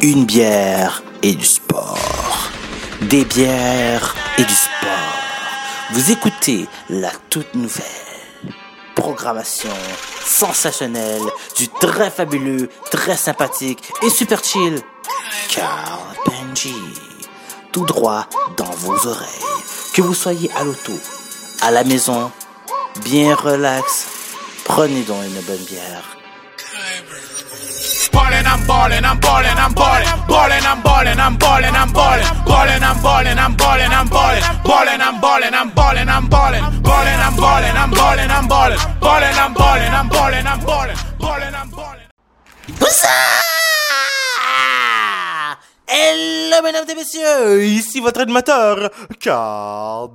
Une bière et du sport. Des bières et du sport. Vous écoutez la toute nouvelle programmation sensationnelle du très fabuleux, très sympathique et super chill Carl Benji. Tout droit dans vos oreilles. Que vous soyez à l'auto, à la maison, bien relax, prenez donc une bonne bière. Ballin', I'm ballin', I'm ballin', I'm ballin', ballin', I'm ballin', I'm ballin', I'm ballin', ballin', I'm ballin', I'm ballin', I'm ballin', ballin', I'm ballin', I'm ballin', I'm ballin', ballin', I'm ballin', I'm ballin', I'm ballin', ballin', I'm ballin', I'm ballin', I'm ballin', ballin', I'm ballin'. Bonsoir! Hello mesdames et messieurs, ici votre animateur, Carl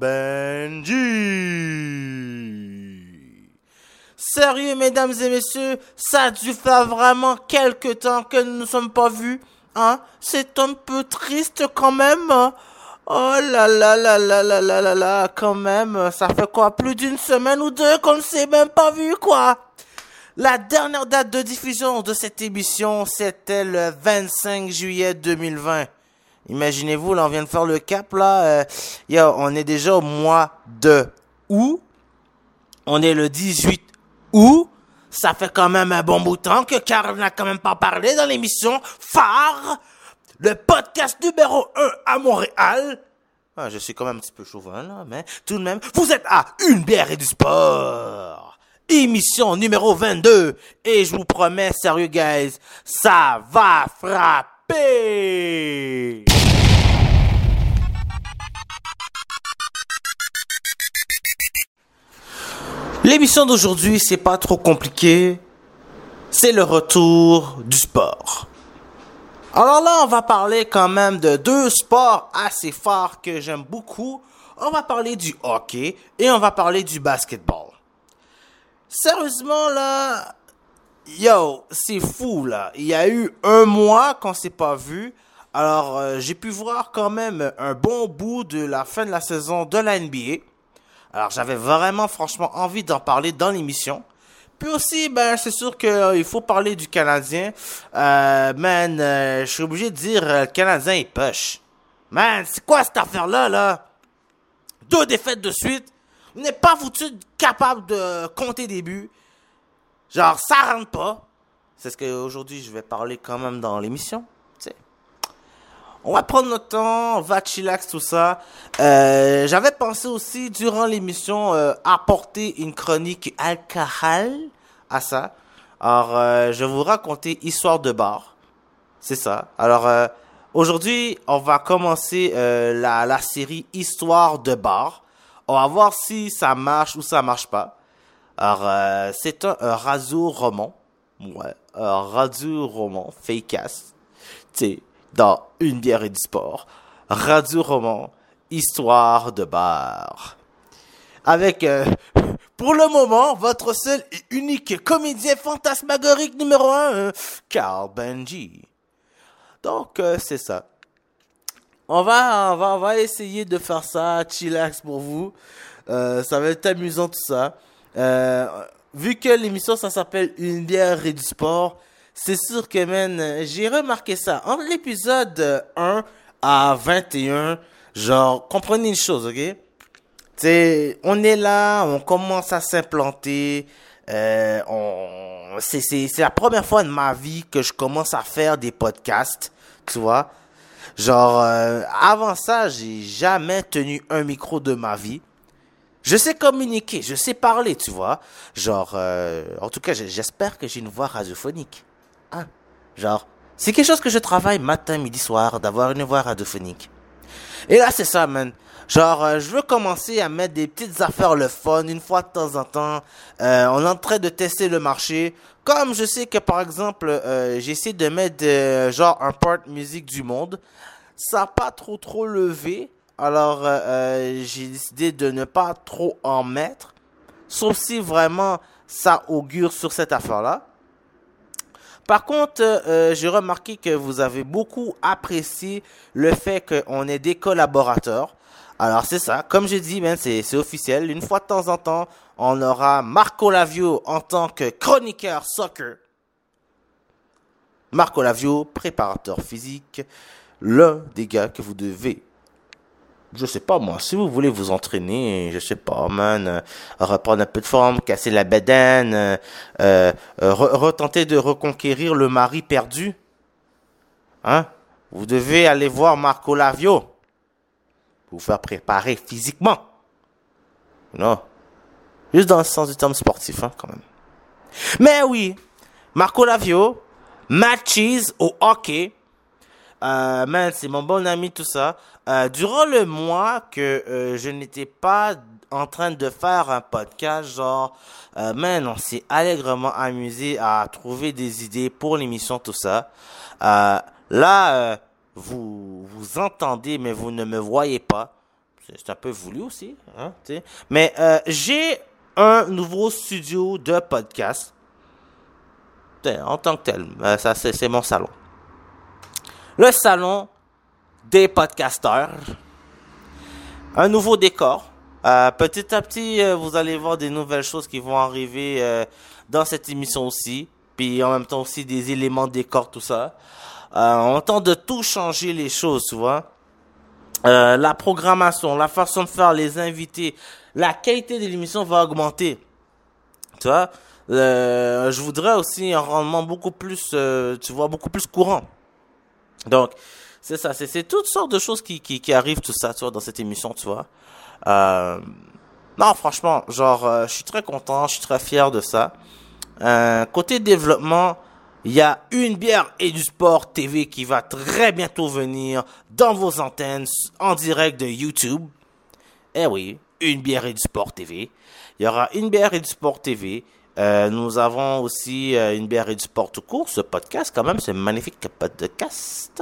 Benji. Sérieux mesdames et messieurs, ça a dû faire vraiment quelque temps que nous ne nous sommes pas vus, hein? C'est un peu triste quand même. Oh là là là là là là là là, quand même, ça fait quoi, plus d'une semaine ou deux qu'on ne s'est même pas vu quoi? La dernière date de diffusion de cette émission, c'était le 25 juillet 2020. Imaginez-vous, là, on vient de faire le cap, là. On est déjà au mois de août. On est le 18 août. Ça fait quand même un bon bout de temps que Carl n'a quand même pas parlé dans l'émission phare, le podcast numéro 1 à Montréal. Ah, je suis quand même un petit peu chauvin, là, mais tout de même, vous êtes à Une bière et du sport. Émission numéro 22. Et je vous promets, sérieux, guys, ça va frapper. L'émission d'aujourd'hui, c'est pas trop compliqué. C'est le retour du sport. Alors là, on va parler quand même de deux sports assez forts que j'aime beaucoup. On va parler du hockey et on va parler du basketball. Sérieusement, là, c'est fou, là. Il y a eu un mois qu'on s'est pas vu. Alors, j'ai pu voir quand même un bon bout de la fin de la saison de la NBA. Alors, j'avais vraiment, franchement, envie d'en parler dans l'émission. Puis aussi, c'est sûr qu'il faut parler du Canadien. Je suis obligé de dire, le Canadien, il push. Man, c'est quoi cette affaire-là, là? 2 défaites de suite. Vous n'êtes pas foutu capable de compter des buts. Genre, ça rentre pas. C'est ce qu'aujourd'hui, je vais parler quand même dans l'émission. T'sais. On va prendre notre temps, on va chillax, tout ça. J'avais pensé aussi, durant l'émission, apporter une chronique alcool à ça. Alors, je vais vous raconter Histoire de bar. C'est ça. Alors, aujourd'hui, on va commencer la série Histoire de bar. On va voir si ça marche ou ça marche pas. Alors, c'est un radio-roman. Ouais, un radio-roman, fake-ass. Tu sais, dans Une bière et du sport. Radio-roman, histoire de bar. Avec, pour le moment, votre seul et unique comédien fantasmagorique numéro 1, Carl Benji. Donc, c'est ça. On va essayer de faire ça, chillax pour vous. Ça va être amusant tout ça. Vu que l'émission ça s'appelle Une bière et du sport, c'est sûr que j'ai remarqué ça. Entre l'épisode 1 à 21, genre, comprenez une chose, ok? T'sais, on est là, on commence à s'implanter. C'est la première fois de ma vie que je commence à faire des podcasts, tu vois? Genre, avant ça, j'ai jamais tenu un micro de ma vie. Je sais communiquer, je sais parler, tu vois. Genre, en tout cas, j'espère que j'ai une voix radiophonique. Hein? Genre, c'est quelque chose que je travaille matin, midi, soir, d'avoir une voix radiophonique. Et là, c'est ça, man. Genre, je veux commencer à mettre des petites affaires le fun, une fois de temps en temps. On est en train de tester le marché. Comme je sais que, par exemple, j'essaie de mettre genre un part musique du monde. Ça n'a pas trop levé. Alors, j'ai décidé de ne pas trop en mettre. Sauf si vraiment ça augure sur cette affaire-là. Par contre, j'ai remarqué que vous avez beaucoup apprécié le fait qu'on ait des collaborateurs. Alors, c'est ça. Comme je dis, c'est officiel. Une fois de temps en temps, on aura Marco Lavio en tant que chroniqueur soccer. Marco Lavio, préparateur physique, l'un des gars que vous devez, je sais pas moi, si vous voulez vous entraîner, je sais pas, man, reprendre un peu de forme, casser la bedaine, retenter de reconquérir le mari perdu, hein, vous devez aller voir Marco Lavio, vous faire préparer physiquement, non, juste dans le sens du terme sportif, hein, quand même. Mais oui, Marco Lavio, Matt Cheese au hockey. Man, c'est mon bon ami, tout ça. Durant le mois que je n'étais pas en train de faire un podcast, genre, man, on s'est allègrement amusé à trouver des idées pour l'émission, tout ça. Là, vous entendez, mais vous ne me voyez pas. C'est un peu voulu aussi, hein, t'sais. Mais j'ai un nouveau studio de podcast. En tant que tel, ça c'est mon salon. Le salon des podcasteurs. Un nouveau décor. Petit à petit, vous allez voir des nouvelles choses qui vont arriver dans cette émission aussi. Puis en même temps aussi des éléments de décor, tout ça. On tente de tout changer les choses, tu vois. La programmation, la façon de faire, les invités, la qualité de l'émission va augmenter. Tu vois. Je voudrais aussi un rendement beaucoup plus, tu vois, beaucoup plus courant. Donc, c'est ça, c'est toutes sortes de choses qui arrivent, tout ça, tu vois, dans cette émission, tu vois. Non, franchement, genre, je suis très content, je suis très fier de ça. Côté développement, il y a Une bière et du sport TV qui va très bientôt venir dans vos antennes en direct de YouTube. Eh oui, Une bière et du sport TV. Il y aura Une bière et du sport TV. Nous avons aussi Une bière et du sport tout court, ce podcast quand même, ce magnifique podcast.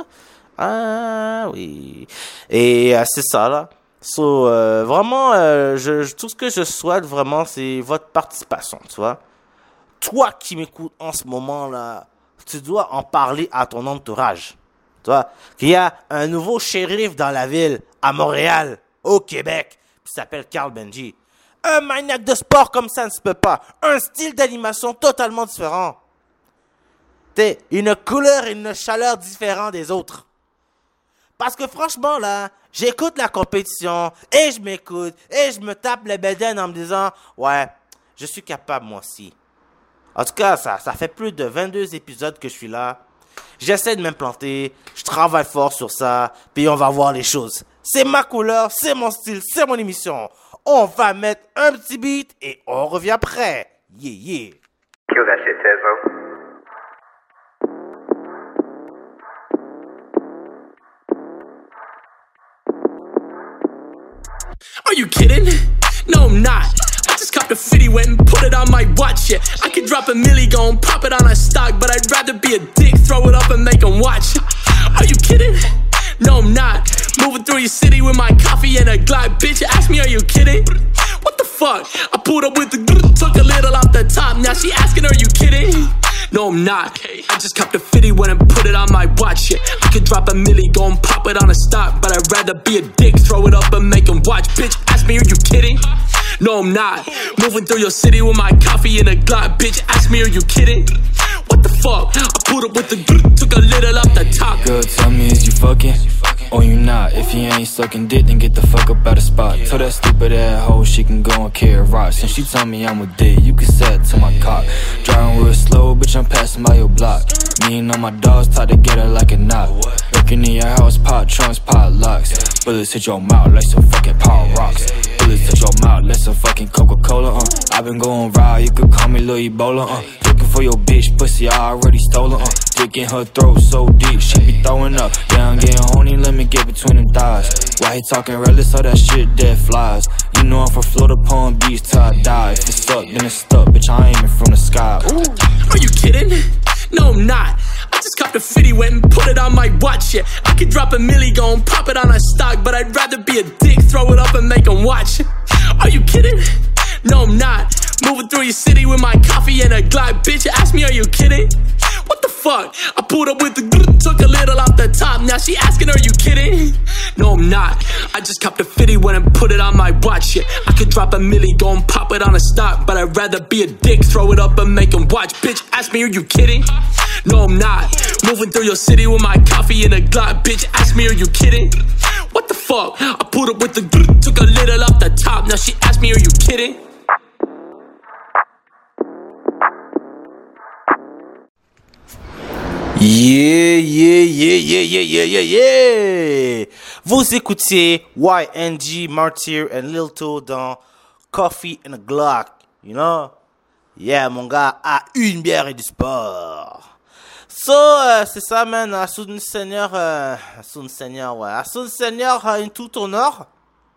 Ah oui. Et c'est ça là. So, vraiment, tout ce que je souhaite vraiment, c'est votre participation, tu vois. Toi qui m'écoutes en ce moment là, tu dois en parler à ton entourage. Tu vois, qu'il y a un nouveau shérif dans la ville, à Montréal, au Québec, qui s'appelle Carl Benji. Un maniaque de sport comme ça ne se peut pas. Un style d'animation totalement différent. T'es une couleur et une chaleur différentes des autres. Parce que franchement là, j'écoute la compétition et je m'écoute et je me tape les bédaines en me disant ouais, je suis capable moi aussi. En tout cas, ça fait plus de 22 épisodes que je suis là. J'essaie de m'implanter, je travaille fort sur ça, puis on va voir les choses. C'est ma couleur, c'est mon style, c'est mon émission. On va mettre un petit beat et on revient après. Yeah, yeah. Kill that shit, Tesla. Are you kidding? No, I'm not. I just copped a 50, went and put it on my watch, yeah. I could drop a milli, go and pop it on a stock, but I'd rather be a dick, throw it up and make them watch. Are you kidding? No, I'm not. Moving through your city with my coffee and a Glock, bitch, ask me, are you kidding? What the fuck? I pulled up with the took a little off the top, now she asking, are you kidding? No, I'm not. I just copped a 50, went and put it on my watch, yeah. I could drop a milli, go and pop it on a stock, but I'd rather be a dick, throw it up and make them watch, bitch, ask me, are you kidding? No, I'm not. Moving through your city with my coffee and a Glock, bitch, ask me, are you kidding? What the fuck? I pulled up with the took a little off the top. Girl, tell me, is you fucking? Or you not? If you ain't sucking dick, then get the fuck up out the spot. Tell that stupid ass hoe she can go and carry rocks. And she tell me I'm a dick, you can say it to my cock. Driving real slow, bitch, I'm passing by your block. Me and all my dogs tied together like a knot. Looking in your house, pot trunks, pot locks. Bullets hit your mouth like some fucking power rocks. Bullets hit your mouth like some fucking Coca-Cola, I've been going wild, you could call me Lil Ebola, Looking for your bitch, pussy, I already stole her, Dick in her throat so deep, she be throwing up. Yeah, I'm getting horny, let me get between them thighs. Why he talking reckless, all that shit dead flies. You know I'm from Florida, Palm Beach till I die. If it's stuck, then it's stuck, bitch, I ain't aiming from the sky. Ooh. Are you kidding? No, I'm not. I just copped a 50, went and put it on my watch, yeah. I could drop a milli, go and pop it on a stock, but I'd rather be a dick, throw it up and make them watch. Are you kidding? No, I'm not. Moving through your city with my coffee and a Glock, bitch, ask me, are you kidding? What the fuck? fuck? I pulled up with the took a little off the top. Now she asking, are you kidding? No, I'm not. I just copped a 50 when and put it on my watch. Yeah, I could drop a milli, go and pop it on a stock, but I'd rather be a dick, throw it up and make him watch. Bitch, ask me, are you kidding? No, I'm not. Moving through your city with my coffee in a Glock. Bitch, ask me, are you kidding? What the fuck? I pulled up with the took a little off the top. Now she asked me, are you kidding? Yeah. Vous écoutiez YNG, Martyr and Lil To dans Coffee and a Glock, you know? Yeah, mon gars, à une bière et du sport. So, c'est ça, man. À Soun Seigneur, À Soun Seigneur, in tout honneur.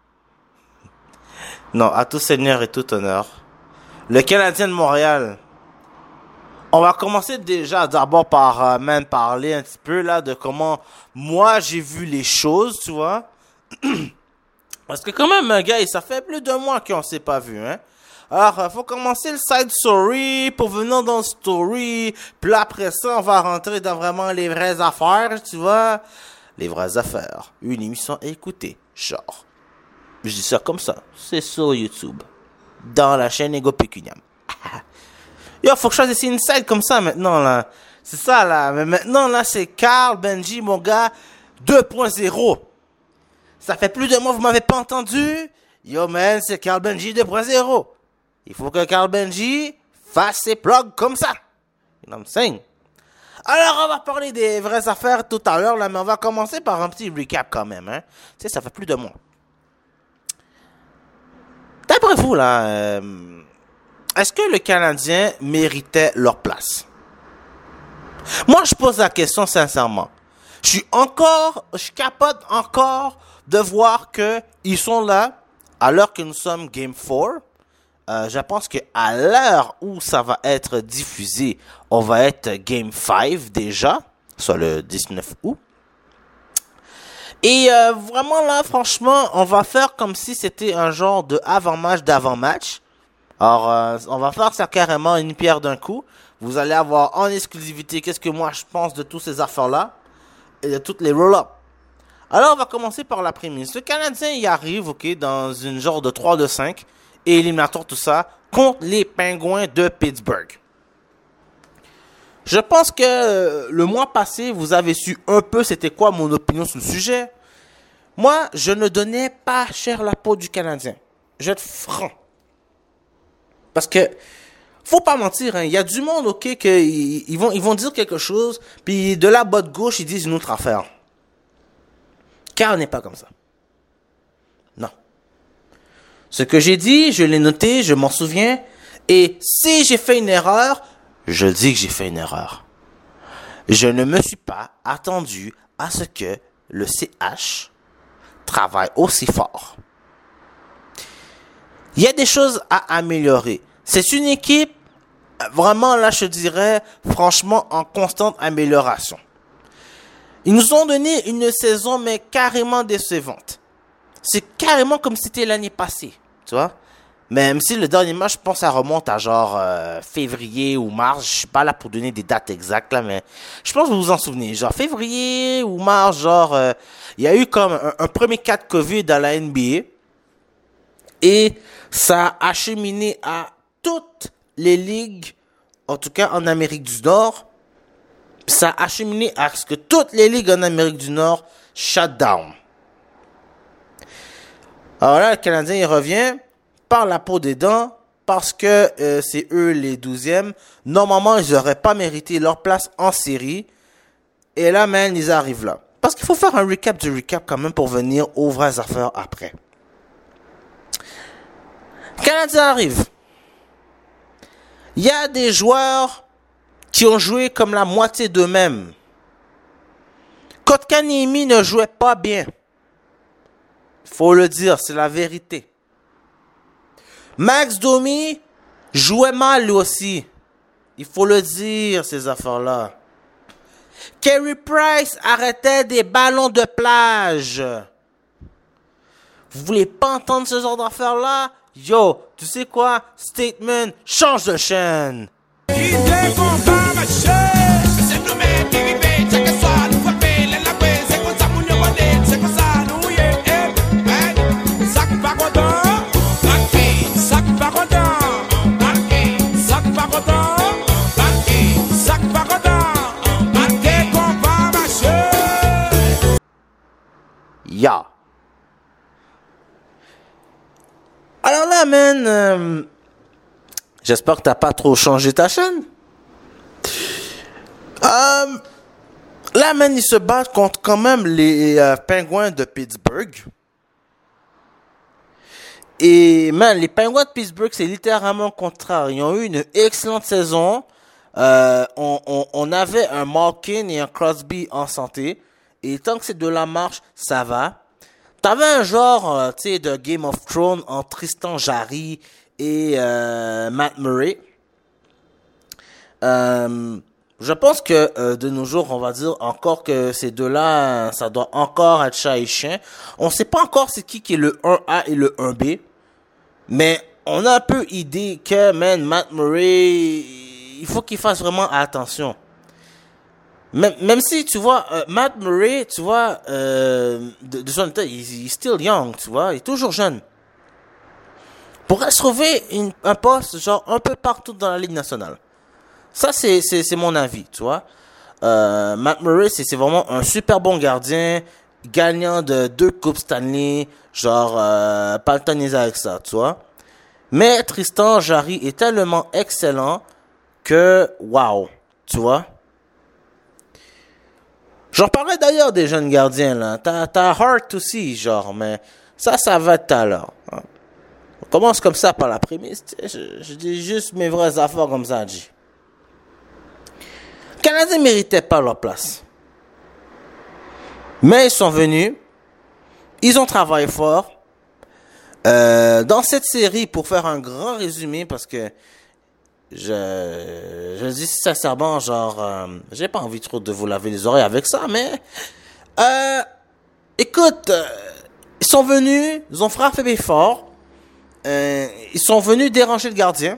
Non, à tout Seigneur et tout honneur. Le Canadien de Montréal. On va commencer déjà d'abord par parler un petit peu là de comment moi j'ai vu les choses, tu vois. Parce que quand même, gars, ça fait plus de mois qu'on s'est pas vu, hein. Alors, faut commencer le side story pour venir dans le story. Puis là, après ça, on va rentrer dans vraiment les vraies affaires, tu vois. Les vraies affaires. Une émission à écouter, genre. Je dis ça comme ça. C'est sur YouTube. Dans la chaîne Ego Pécuniam. Yo, faut que je fasse une side comme ça maintenant, là. C'est ça, là. Mais maintenant, là, c'est Carl Benji, mon gars, 2.0. Ça fait plus de mois, vous m'avez pas entendu? Yo, man, c'est Carl Benji 2.0. Il faut que Carl Benji fasse ses plugs comme ça. You know what I'm saying? Alors, on va parler des vraies affaires tout à l'heure, là, mais on va commencer par un petit recap quand même, hein. Tu sais, ça fait plus de mois. D'après vous, là, est-ce que le Canadien méritait leur place? Moi, je pose la question sincèrement. Je capote encore de voir que ils sont là, alors que nous sommes Game 4. Je pense qu'à l'heure où ça va être diffusé, on va être Game 5 déjà, soit le 19 août. Et vraiment là, franchement, on va faire comme si c'était un genre de avant-match d'avant-match. Alors, on va faire ça carrément une pierre d'un coup. Vous allez avoir en exclusivité qu'est-ce que moi je pense de toutes ces affaires-là et de toutes les roll-up. Alors, on va commencer par la prémisse. Le Canadien y arrive, ok, dans une genre de 3-5 et éliminatoire tout ça contre les Pingouins de Pittsburgh. Je pense que le mois passé, vous avez su un peu c'était quoi mon opinion sur le sujet. Moi, je ne donnais pas cher la peau du Canadien. Je vais être franc. Parce que, faut pas mentir, hein, y a du monde, ok, ils vont dire quelque chose, puis de la botte gauche, ils disent une autre affaire. Car on n'est pas comme ça. Non. Ce que j'ai dit, je l'ai noté, je m'en souviens, et si j'ai fait une erreur, je dis que j'ai fait une erreur. Je ne me suis pas attendu à ce que le CH travaille aussi fort. Il y a des choses à améliorer. C'est une équipe, vraiment, là, je dirais, franchement, en constante amélioration. Ils nous ont donné une saison, mais carrément décevante. C'est carrément comme si c'était l'année passée, tu vois. Même si le dernier match, je pense, ça remonte à genre février ou mars. Je suis pas là pour donner des dates exactes, là, mais je pense que vous vous en souvenez. Genre février ou mars, genre, il y a eu comme un premier cas de COVID dans la NBA. Et ça a acheminé à toutes les ligues, en tout cas en Amérique du Nord. Ça a acheminé à ce que toutes les ligues en Amérique du Nord shut down. Alors là, le Canadien, il revient par la peau des dents parce que c'est eux les 12e. Normalement, ils n'auraient pas mérité leur place en série. Et là, man, ils arrivent là. Parce qu'il faut faire un recap du recap quand même pour venir aux vraies affaires après. Le Canadien arrive. Il y a des joueurs qui ont joué comme la moitié d'eux-mêmes. Kotkaniemi ne jouait pas bien. Faut le dire, c'est la vérité. Max Domi jouait mal lui aussi. Il faut le dire, ces affaires-là. Carey Price arrêtait des ballons de plage. Vous voulez pas entendre ce genre d'affaires-là? Yo, tu sais quoi? Statement, change de chaîne. He's there for my shit. Sac pas content. Sac pas content. Sac pas content. Maté qu'on va marcher. Ya. Alors là, man, j'espère que t'as pas trop changé ta chaîne. Là, man, ils se battent contre quand même les Penguins de Pittsburgh. Et, man, les Penguins de Pittsburgh, c'est littéralement le contraire. Ils ont eu une excellente saison. On avait un Malkin et un Crosby en santé. Et tant que ces deux-là marchent, ça va. T'avais un genre, tu sais, de Game of Thrones entre Tristan Jarry et Matt Murray. Je pense que de nos jours, on va dire encore que ces deux-là, ça doit encore être chat et chien. On sait pas encore c'est qui est le 1A et le 1B. Mais on a un peu idée que, man, Matt Murray, il faut qu'il fasse vraiment attention. Même si, tu vois, Matt Murray, tu vois, de son état, il est still young, tu vois, il est toujours jeune. Pourrait se trouver un poste, genre, un peu partout dans la Ligue nationale. Ça, c'est mon avis, tu vois. Matt Murray, c'est vraiment un super bon gardien, gagnant de 2 Coupes Stanley, genre, pas le temps de niaiser avec ça, tu vois. Mais Tristan Jarry est tellement excellent que, wow, tu vois. J'en parlais d'ailleurs des jeunes gardiens, là. T'as Hart aussi, genre, mais ça va tout à l'heure. Hein. On commence comme ça par la prémisse. Je dis juste mes vraies affaires comme ça, G. Les Canadiens ne méritaient pas leur place. Mais ils sont venus. Ils ont travaillé fort. Dans cette série, pour faire un grand résumé, parce que je dis sincèrement, genre, j'ai pas envie trop de vous laver les oreilles avec ça, mais écoute, ils sont venus, ils ont frappé fort, ils sont venus déranger le gardien,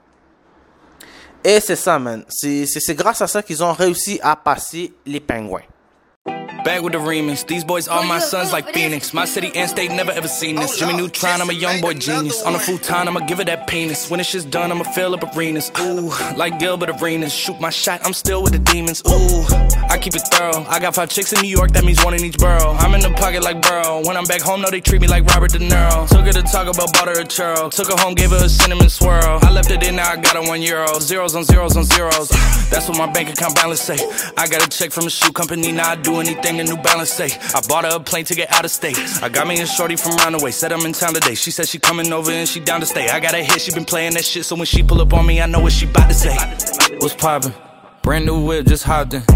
et c'est ça, man. C'est grâce à ça qu'ils ont réussi à passer les Pingouins. Back with the remix. These boys are my sons like Phoenix. My city and state never ever seen this. Jimmy Neutron, I'm a young boy genius. On a futon, I'ma give it that penis. When this shit's done, I'ma fill up arenas. Ooh, like Gilbert Arenas. Shoot my shot, I'm still with the demons. Ooh, I keep it thorough. I got 5 chicks in New York, that means 1 in each borough. I'm in the pocket like Burrow. When I'm back home, no, they treat me like Robert De Niro. Took her to talk about butter or churro. Took her home, gave her a cinnamon swirl. I left it in, now I got her €1. Zeros on zeros on zeros. That's what my bank account balance say. I got a check from a shoe company, now I do anything the New Balance say. I bought her a plane to get out of state. I got me a shorty from round the way. Said I'm in town today. She said she coming over and she down to stay. I got a hit, she been playing that shit. So when she pull up on me, I know what she bout to say. What's poppin'? Brand new whip, just hopped in.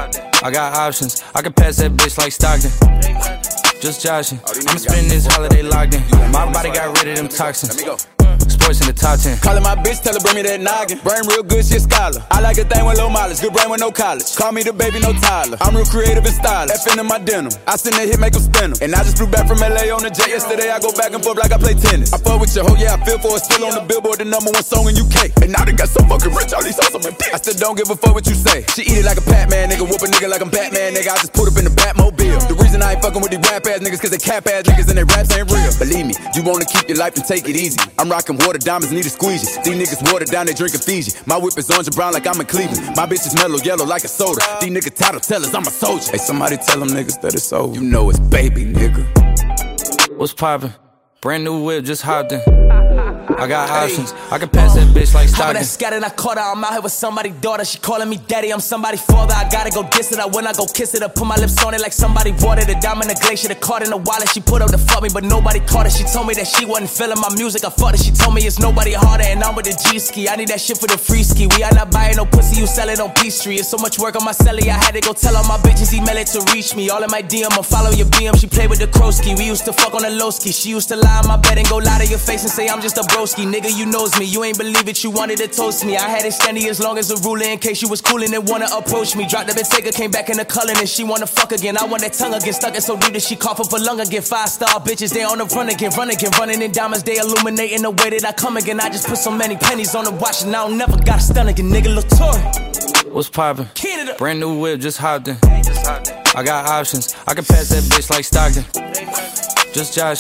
I got options. I can pass that bitch like Stockton. Just joshing. I'ma spend this holiday locked in. My body got rid of them toxins. Sports in the top 10. Callin' my bitch, tell her bring me that noggin. Brain real good, shit scholar. I like a thing with low mileage, good brain with no college. Call me the baby, no Tyler. I'm real creative and stylish. F in my denim. I send that hit, make them spin 'em. And I just flew back from LA on the jet yesterday. I go back and forth like I play tennis. I fuck with your hoe, yeah, I feel for it. Still on the Billboard, the #1 song in UK. And now they got so fucking rich, all these hoes on my dick. I still don't give a fuck what you say. She eat it like a Pac-Man, nigga. Whoop a nigga like I'm Batman, nigga. I just put up in the Batmobile. The reason I ain't fucking with these rap ass niggas, cause they cap ass niggas and they raps ain't real. Believe me, you wanna keep your life and take it easy. I'm rocking water, diamonds need a squeegee. These niggas watered down, they drinking Fiji. My whip is orange and brown like I'm in Cleveland. My bitch is mellow yellow like a soda. These niggas title tellers, I'm a soldier. Hey, somebody tell them niggas that it's over. You know it's baby, nigga. What's poppin'? Brand new whip, just hopped in. I got options. I can pass that bitch like Stockton. I scattered, I caught her. I'm out here with somebody's daughter. She calling me daddy. I'm somebody's father. I gotta go diss it. I when I go kiss it. I put my lips on it like somebody watered it. Diamond the glacier, the card in the wallet. She put up to fuck me, but nobody caught it. She told me that she wasn't feeling my music. I fucked it. She told me it's nobody harder, and I'm with the G ski. I need that shit for the free ski. We are not buying no pussy. You sell it on Peachtree. It's so much work on my celly. I had to go tell all my bitches email it to reach me. All in my DM, I follow your BM. She played with the Krosky. We used to fuck on the low ski. She used to lie on my bed and go lie to your face and say I'm just a broski. Nigga, you knows me. You ain't believe it. You wanted to toast me. I had it standing as long as a ruler in case you was coolin' and wanna approach me. Dropped the Bentayga, came back in the Cullen and she wanna fuck again. I want that tongue again. Stuck it so deep that she cough up a lung again. 5-star bitches, they on the run again. Running in diamonds. They illuminating the way that I come again. I just put so many pennies on the watch and I don't never got a stun again. Nigga, Latour. What's poppin'? Canada. Brand new whip, just hopped in. I got options. I can pass that bitch like Stockton. Just joshing.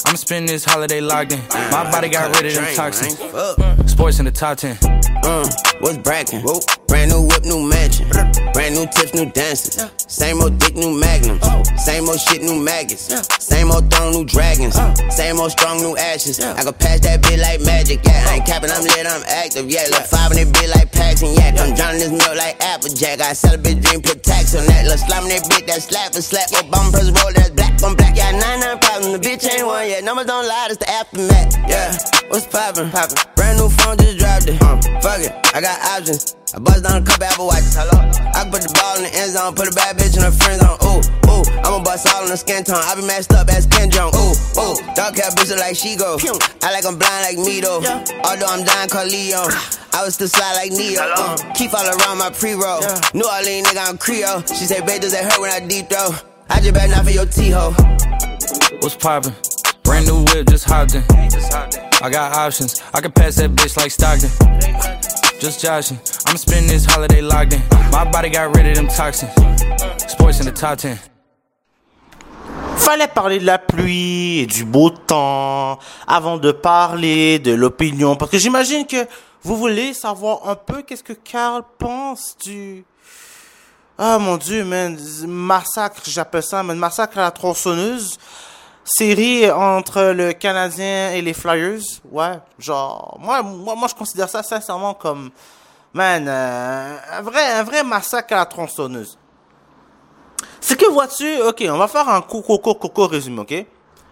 I'ma spend this holiday locked in. My body got rid of them toxins. Sports in the top 10. What's brackin'? Brand new whip, new mansion. Brand new tips, new dances. Same old dick, new magnums. Same old shit, new maggots. Same old throne, new dragons. Same old strong, new ashes. I can pass that bit like magic. Yeah, I ain't capping, I'm lit, I'm active. Yeah, look 5 in that bit like Paxton. Yeah, I'm drowning this milk like Applejack. I sell a bitch dream, put tax on that. Look slime in that bit, that slap. Obama press roll, that's black on black. Yeah, 99 problems, the bitch ain't one yet. Numbers don't lie, that's the aftermath. Yeah, what's poppin'? Brand new phone, just dropped it. Fuck it, I got options. I bust down a couple Apple Watches. Hello, I can put the ball in the end zone, put a bad bitch in her friend zone. Ooh, I'ma bust all in the skin tone. I be messed up as Ken Jong. Ooh, dark hair bitch look like she go. I like I'm blind like me though. Although I'm dying called Leo. I was still slide like Neo. Keep all around my pre-roll. New Orleans nigga, I'm Creole. She say, babe, does that hurt when I deep throw? I just better not for your T-ho. What's poppin'? Brand new whip, just hopped in. I got options. I can pass that bitch like Stockton. Just joshing. I'ma spend this holiday locked in. My body got rid of them toxins. Sports in the top 10. Fallait parler de la pluie et du beau temps avant de parler de l'opinion. Parce que j'imagine que vous voulez savoir un peu qu'est-ce que Carl pense du... Ah mon Dieu, man. Massacre, j'appelle ça, man. Massacre à la tronçonneuse. Série entre le Canadien et les Flyers. Ouais, genre... Moi, je considère ça sincèrement comme... Man, un vrai massacre à la tronçonneuse. C'est que vois-tu... Ok, on va faire un coco résumé, ok?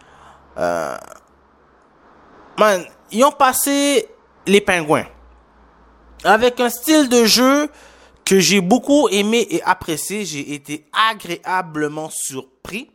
Man, ils ont passé les Pingouins. Avec un style de jeu que j'ai beaucoup aimé et apprécié. J'ai été agréablement surpris.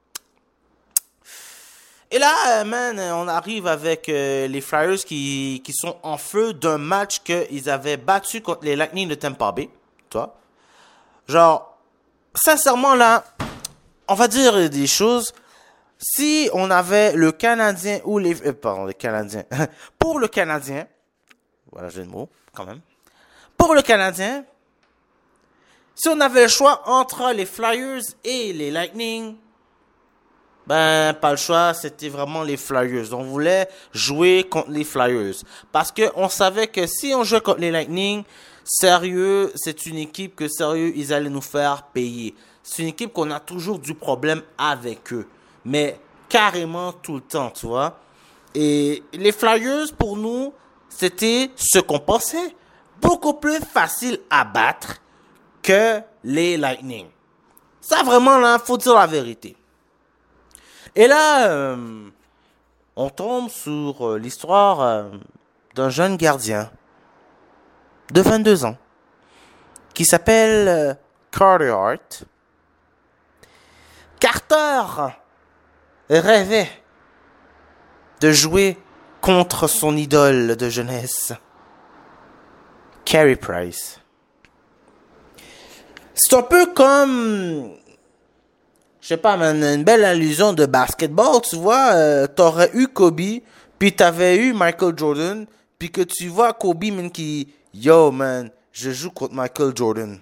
Et là, man, on arrive avec les Flyers qui sont en feu d'un match qu'ils avaient battu contre les Lightning de Tampa Bay. Toi. Genre, sincèrement, là, on va dire des choses. Si on avait le Canadien ou les... pardon, les Canadiens. Pour le Canadien... Voilà, j'ai le mot, quand même. Pour le Canadien, si on avait le choix entre les Flyers et les Lightning... Ben, pas le choix, c'était vraiment les Flyers. On voulait jouer contre les Flyers. Parce que on savait que si on jouait contre les Lightning, sérieux, c'est une équipe que, sérieux, ils allaient nous faire payer. C'est une équipe qu'on a toujours du problème avec eux. Mais carrément tout le temps, tu vois. Et les Flyers, pour nous, c'était ce qu'on pensait. Beaucoup plus facile à battre que les Lightning. Ça, vraiment, là, faut dire la vérité. Et là, on tombe sur l'histoire d'un jeune gardien de 22 ans qui s'appelle Carter Hart. Carter rêvait de jouer contre son idole de jeunesse, Carey Price. C'est un peu comme... Je sais pas, man, une belle allusion de basketball, tu vois. T'aurais eu Kobe, puis t'avais eu Michael Jordan, puis que tu vois Kobe, man, qui... Yo, man, je joue contre Michael Jordan.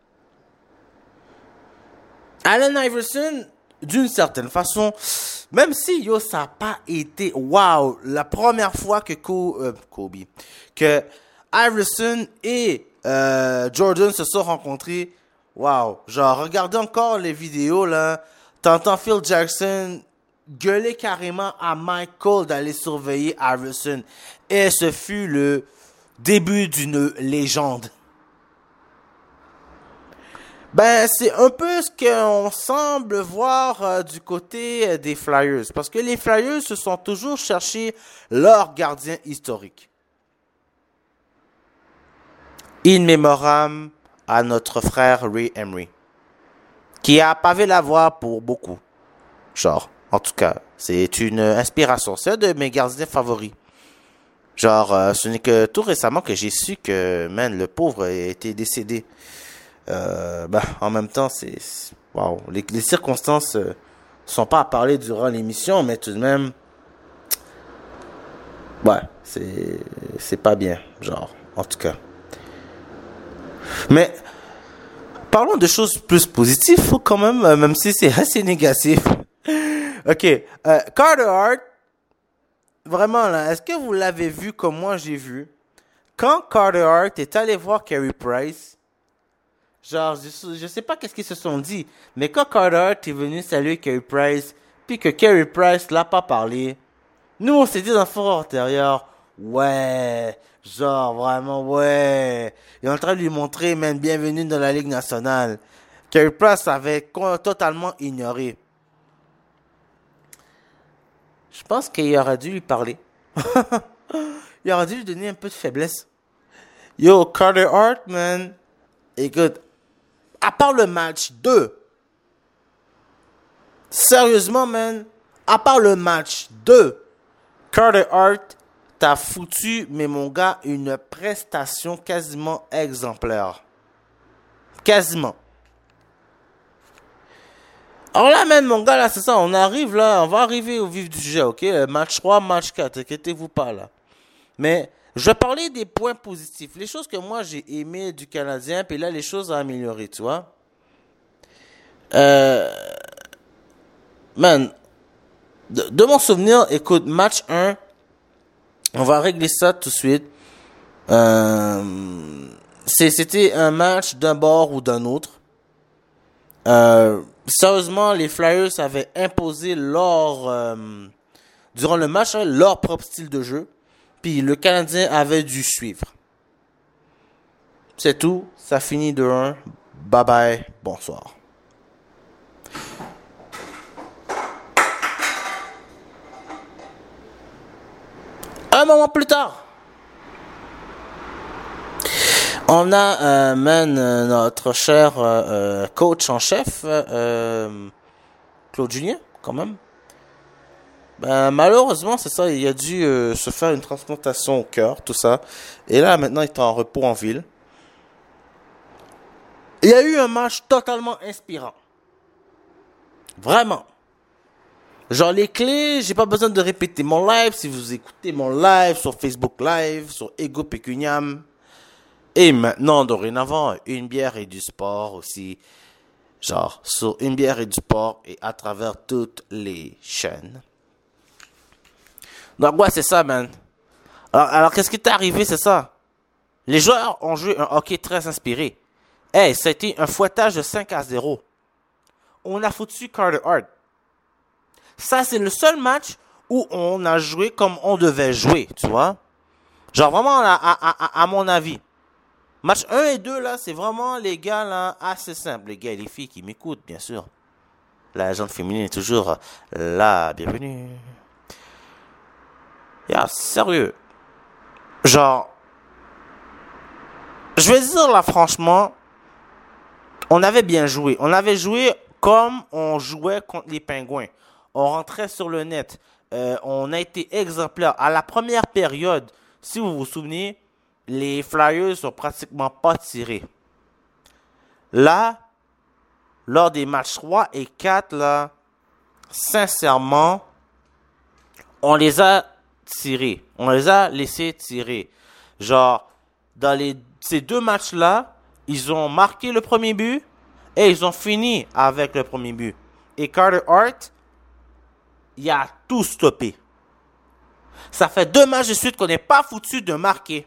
Allen Iverson, d'une certaine façon, même si, yo, ça n'a pas été... Wow, la première fois que que Iverson et Jordan se sont rencontrés... Wow, genre, regardez encore les vidéos, là. T'entends Phil Jackson gueuler carrément à Michael d'aller surveiller Iverson. Et ce fut le début d'une légende. Ben, c'est un peu ce qu'on semble voir du côté des Flyers. Parce que les Flyers se sont toujours cherchés leur gardien historique. In memoriam à notre frère Ray Emery, qui a pavé la voie pour beaucoup. Genre, en tout cas, c'est une inspiration. C'est un de mes gardiens favoris. Genre, ce n'est que tout récemment que j'ai su que, man, le pauvre était décédé. En même temps, c'est... Wow. Les circonstances sont pas à parler durant l'émission, mais tout de même... Ouais, c'est pas bien, genre, en tout cas. Mais parlons de choses plus positives, faut quand même si c'est assez négatif. Ok, Carter Hart, vraiment là, est-ce que vous l'avez vu comme moi j'ai vu? Quand Carter Hart est allé voir Carey Price, genre, je sais pas qu'est-ce qu'ils se sont dit, mais quand Carter Hart est venu saluer Carey Price, puis que Carey Price l'a pas parlé, nous on s'est dit dans le fort intérieur, ouais, genre vraiment ouais, il est en train de lui montrer, même bienvenue dans la Ligue nationale. Carey Price avait totalement ignoré. Je pense qu'il aurait dû lui parler. Il aurait dû lui donner un peu de faiblesse. Yo, Carter Hart, man. Écoute, à part le match 2, sérieusement, man, à part le match 2, Carter Hart t'a foutu, mais mon gars, une prestation quasiment exemplaire. Quasiment. Alors là, man, mon gars, là, c'est ça, on arrive là, on va arriver au vif du sujet, ok? Match 3, match 4, inquiétez-vous pas là. Mais je vais parler des points positifs, les choses que moi j'ai aimé du Canadien, puis là, les choses à améliorer, tu vois? Man, de mon souvenir, écoute, match 1, on va régler ça tout de suite. C'était un match d'un bord ou d'un autre. Sérieusement, les Flyers avaient imposé durant le match, leur propre style de jeu. Puis le Canadien avait dû suivre. C'est tout. Ça finit de 1. Bye bye. Bonsoir. Un moment plus tard, on a notre cher coach en chef, Claude Julien, quand même. Malheureusement, c'est ça, il a dû se faire une transplantation au cœur, tout ça. Et là, maintenant, il est en repos en ville. Il y a eu un match totalement inspirant. Vraiment. Genre, les clés, j'ai pas besoin de répéter mon live. Si vous écoutez mon live sur Facebook Live, sur Ego Pecuniam. Et maintenant, dorénavant, une bière et du sport aussi. Genre, sur une bière et du sport et à travers toutes les chaînes. Donc, ouais, c'est ça, man. Alors qu'est-ce qui est arrivé, c'est ça? Les joueurs ont joué un hockey très inspiré. Hey, ça a été un fouettage de 5-0. On a foutu Carter Hart. Ça, c'est le seul match où on a joué comme on devait jouer, tu vois? Genre, vraiment, à mon avis. Match 1 et 2, là, c'est vraiment, les gars, là, assez simple. Les gars et les filles qui m'écoutent, bien sûr. La gente féminine est toujours là. Bienvenue. Sérieux. Genre, je vais dire, là, franchement, on avait bien joué. On avait joué comme on jouait contre les Pingouins. On rentrait sur le net. On a été exemplaire. À la première période, si vous vous souvenez, les Flyers sont pratiquement pas tirés. Là, lors des matchs 3 et 4, là, sincèrement, on les a tirés. On les a laissés tirer. Genre, dans ces deux matchs-là, ils ont marqué le premier but et ils ont fini avec le premier but. Et Carter Hart, il a tout stoppé. Ça fait 2 matchs de suite qu'on n'est pas foutu de marquer.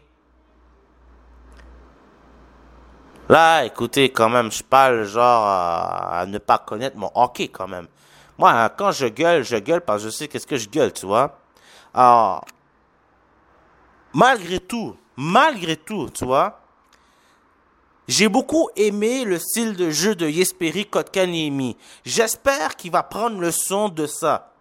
Là, écoutez, quand même, je parle genre à ne pas connaître mon hockey quand même. Moi, quand je gueule parce que je sais qu'est-ce que je gueule, tu vois. Alors, malgré tout, tu vois, j'ai beaucoup aimé le style de jeu de Jesperi Kotkaniemi. J'espère qu'il va prendre leçon de ça.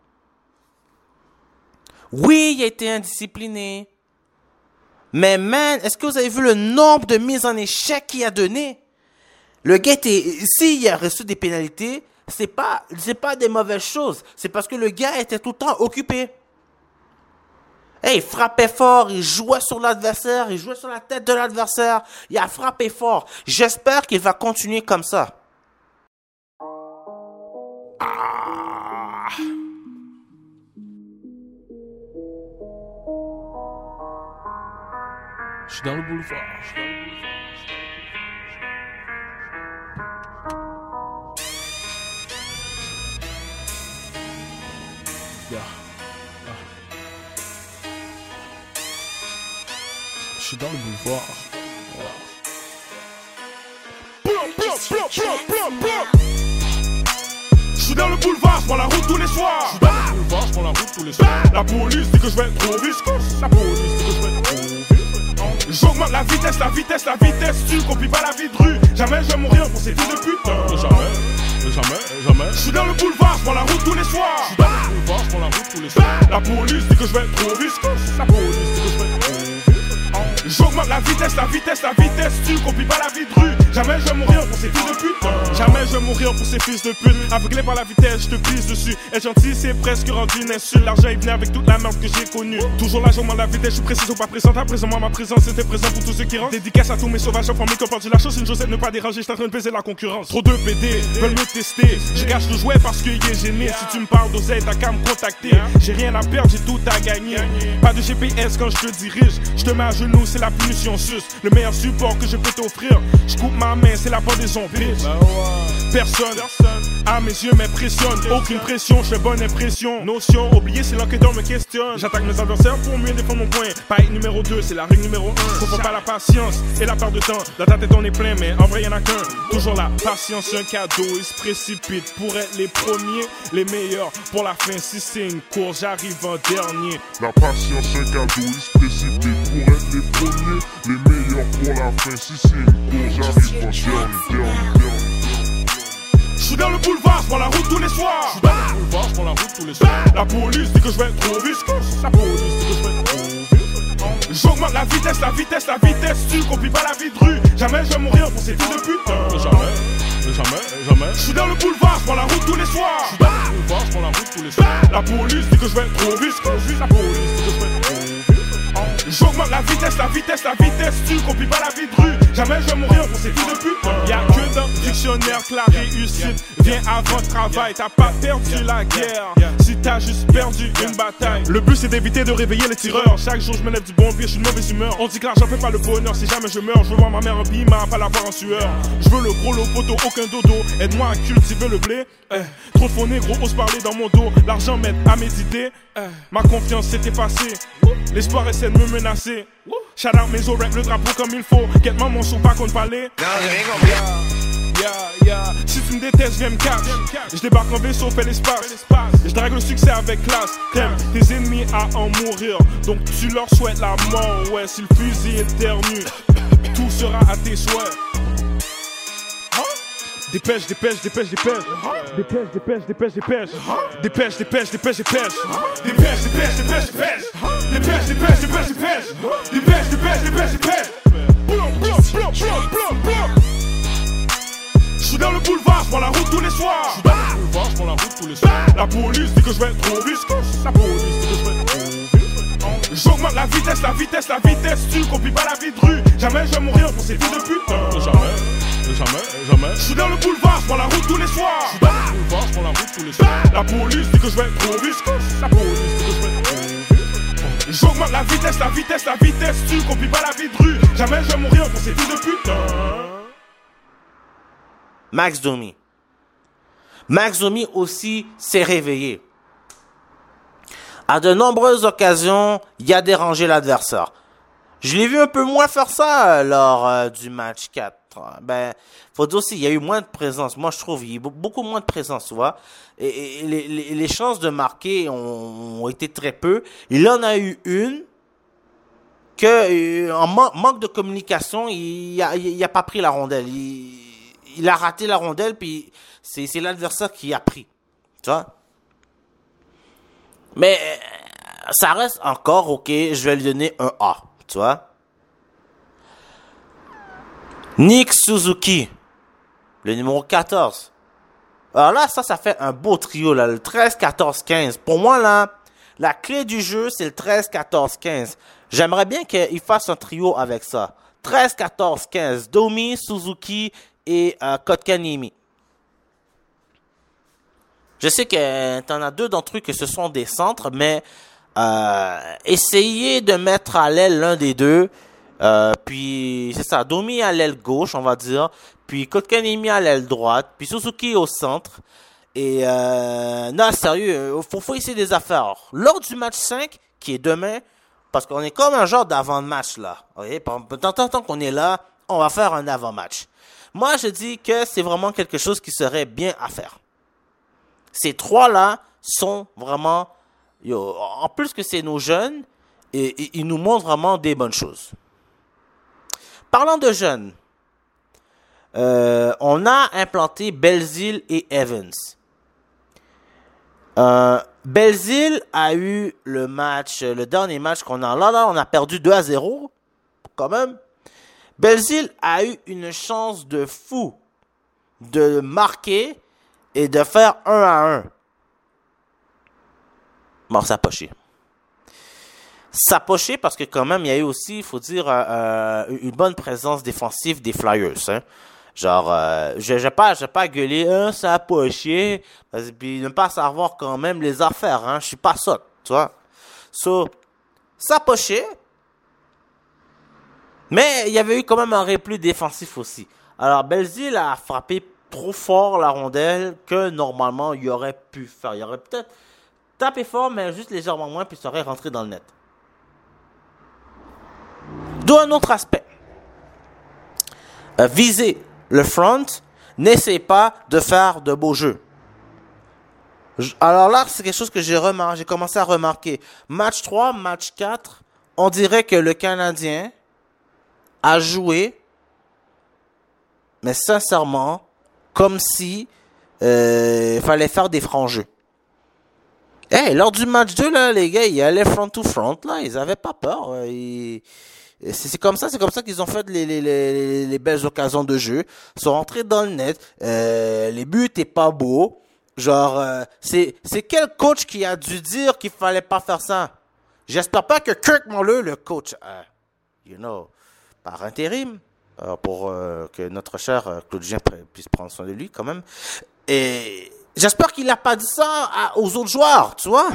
Oui, il a été indiscipliné. Mais man, est-ce que vous avez vu le nombre de mises en échec qu'il a donné? Le gars s'il a reçu des pénalités, c'est pas des mauvaises choses. C'est parce que le gars était tout le temps occupé. Hey, il frappait fort, il jouait sur l'adversaire, il jouait sur la tête de l'adversaire. Il a frappé fort. J'espère qu'il va continuer comme ça. Je suis dans le boulevard. Yeah. Je suis dans le boulevard. Je suis dans le boulevard, je prends la route tous les soirs. Je prends la route tous les soirs. La police dit que je vais être trop viscose. La police dit que je vais être trop viscose. J'augmente la vitesse, la vitesse, la vitesse. Tu copies pas la vie de rue. Jamais je vais mourir pour ces fils de pute. Jamais. Je suis dans le boulevard, je prends la route tous les soirs. Je prends la route tous les soirs. La police dit que je vais être trop viscose. La police dit que je vais être trop viscose. J'augmente la vitesse, la vitesse, la vitesse. Tu copies pas la vie de rue. Jamais je vais mourir pour ces fils de pute. Jamais je vais mourir pour ces fils de pute. Aveuglé par la vitesse, je te pisse dessus. Être gentil, c'est presque rendu une insulte. L'argent est venu avec toute la merde que j'ai connue. Toujours là, j'augmente la vitesse, je suis précis ou pas présent. À présent, moi, ma présence était présente pour tous ceux qui rentrent. Dédicace à tous mes sauvages en famille qui ont perdu la chose. Une chose, c'est de ne pas déranger. Je suis en train de baiser la concurrence. Trop de PD veulent me tester. Je gâche le jouet parce qu'il est gêné. Si tu me parles d'oseille, t'as qu'à me contacter. J'ai rien à perdre, j'ai tout à gagner. Pas de GPS quand je te dirige. Je te mets à genoux, c'est la punition sus. Le meilleur support que je peux t'offrir. Je coupe ma main, c'est la pendaison, bitch. Personne à mes yeux m'impressionne. Aucune pression, je fais bonne impression. Notion, oublier si l'enquêteur me questionne. J'attaque mes adversaires pour mieux défendre mon point. Paille numéro 2, c'est la règle numéro 1. Faut pas la patience et la perte de temps. La tête est en est plein, mais en vrai y'en a qu'un. Toujours la patience, un cadeau. Ils se précipitent pour être les premiers, les meilleurs. Pour la fin, si c'est une course, j'arrive en dernier. La patience, un cadeau. Ils se précipitent pour être les premiers, les meilleurs. Pour la fin, si c'est une course, j'arrive en dernier. Je suis dans le boulevard, je prends la route tous les soirs. Je prends la route tous les soirs. La police dit que je vais être trop viscose. La police dit que je vais être trop viscose. J'augmente la vitesse, la vitesse, la vitesse. Tu copies pas la vie de rue. Jamais je vais mourir pour ces fils de pute. Jamais. Je suis dans le boulevard, je prends la route tous les soirs. Je prends la route tous les soirs. La police dit que je vais être trop viscose. La police dit que je vais être trop viscose. J'augmente la vitesse, la vitesse, la vitesse. Tu copies pas la vie de rue. Jamais je vais mourir pour ces fils de pute. Y'a que dans le dictionnaire que la réussite vient avant le travail. T'as pas perdu la guerre si t'as juste perdu une bataille. Le but c'est d'éviter de réveiller les tireurs. Chaque jour je me lève du bon pied, je suis de mauvaise humeur. On dit que l'argent fait pas le bonheur. Si jamais je meurs, je veux voir ma mère en bima, pas la voir en sueur. Je veux le gros lot photo, aucun dodo. Aide-moi à cultiver le blé. Trop de faux négros osent parler dans mon dos. L'argent m'aide à méditer. Ma confiance s'est effacée. L'espoir essaie de me menacer. Shout out mes oreilles, le drapeau comme il faut. Get mon son pas contre palais. Si tu me détestes, viens me catch. Je débarque en vaisseau, fais l'espace. Je drague le succès avec classe. T'aimes tes ennemis à en mourir, donc tu leur souhaites la mort. Ouais, si le fusil éternue, tout sera à tes souhaits. Dépêche. Dépêche. Dépêche. Je suis dans le boulevard, je prends la route tous les soirs. Je prends la route tous les soirs. La police dit que je vais être trop viscose. La police dit que je vais être trop viscose. J'augmente la vitesse, la vitesse, la vitesse. Tu copies pas la vie de rue. Jamais je vais mourir pour ces fils de pute. Jamais. Je suis dans le boulevard, je prends la route tous les soirs. Je prends la route tous les soirs. La police dit que je vais être trop viscose. La police dit que je vais être trop viscose. J'augmente la vitesse, la vitesse, la vitesse. Tu copies pas la vie de rue. Jamais je vais mourir pour ces fils de pute. Max Domi. Max Domi aussi s'est réveillé. À de nombreuses occasions, il a dérangé l'adversaire. Je l'ai vu un peu moins faire ça lors du match 4. Ben, faut dire aussi, il y a eu moins de présence. Moi, je trouve, il y a eu beaucoup moins de présence, tu vois. Et les chances de marquer ont été très peu. Il en a eu une que, en manque de communication, il a pas pris la rondelle. Il a raté la rondelle, puis c'est l'adversaire qui a pris. Tu vois? Mais ça reste encore OK. Je vais lui donner un A. Tu vois? Nick Suzuki, le numéro 14. Alors là, ça fait un beau trio, là, le 13, 14, 15. Pour moi, là, la clé du jeu, c'est le 13, 14, 15. J'aimerais bien qu'il fasse un trio avec ça. 13, 14, 15. Domi, Suzuki et Kotkaniemi. Je sais que t'en as deux d'entre eux que ce sont des centres, mais essayez de mettre à l'aile l'un des deux. Puis c'est ça, Domi à l'aile gauche, on va dire. Puis Kotkaniemi à l'aile droite. Puis Suzuki au centre. Et non, sérieux, faut essayer des affaires. Lors du match 5, qui est demain, parce qu'on est comme un genre d'avant-match, là. Okay? Tant qu'on est là, on va faire un avant-match. Moi, je dis que c'est vraiment quelque chose qui serait bien à faire. Ces trois-là sont vraiment... en plus que c'est nos jeunes, et ils nous montrent vraiment des bonnes choses. Parlant de jeunes, on a implanté Belzile et Evans. Belzile a eu le dernier match qu'on a là, on a perdu 2-0, quand même. Belzile a eu une chance de fou de marquer et de faire 1-1. Bon, ça a poché. Ça a poché parce que quand même, il y a eu aussi, il faut dire, une bonne présence défensive des Flyers. Hein. Genre, je vais pas gueuler, ça a poché, puis ne pas savoir quand même les affaires. Hein. Je suis pas ça, tu vois. So, ça a poché. Mais il y avait eu quand même un repli défensif aussi. Alors, Belzile a frappé trop fort la rondelle que normalement, il aurait pu faire. Il aurait peut-être tapé fort, mais juste légèrement moins, puis ça aurait rentré dans le net. D'où un autre aspect. Viser le front, n'essaie pas de faire de beaux jeux. Alors là, c'est quelque chose que j'ai commencé à remarquer. Match 3, match 4, on dirait que le Canadien a joué, mais sincèrement, comme si fallait faire des francs jeux. Lors du match 2, là, les gars, ils allaient front to front, là, ils avaient pas peur. C'est comme ça qu'ils ont fait les belles occasions de jeu. Ils sont rentrés dans le net. Les buts étaient pas beaux. Genre, c'est quel coach qui a dû dire qu'il fallait pas faire ça? J'espère pas que Kirk Muller, le coach, par intérim, pour que notre cher Claudien puisse prendre soin de lui quand même. Et j'espère qu'il n'a pas dit ça aux autres joueurs, tu vois.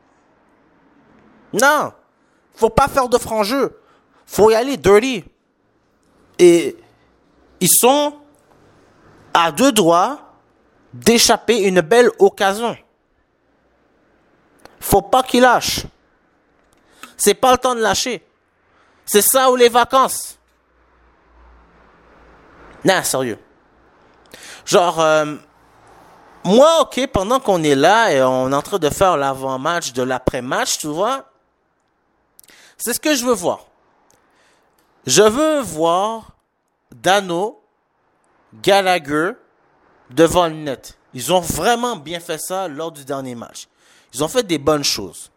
Non, faut pas faire de franc jeu. Faut y aller dirty. Et ils sont à deux doigts d'échapper une belle occasion. Faut pas qu'ils lâchent. C'est pas le temps de lâcher. C'est ça ou les vacances. Non, sérieux. Genre, moi, ok, pendant qu'on est là et on est en train de faire l'avant-match de l'après-match, tu vois, c'est ce que je veux voir. Je veux voir Dano, Gallagher devant le net. Ils ont vraiment bien fait ça lors du dernier match. Ils ont fait des bonnes choses.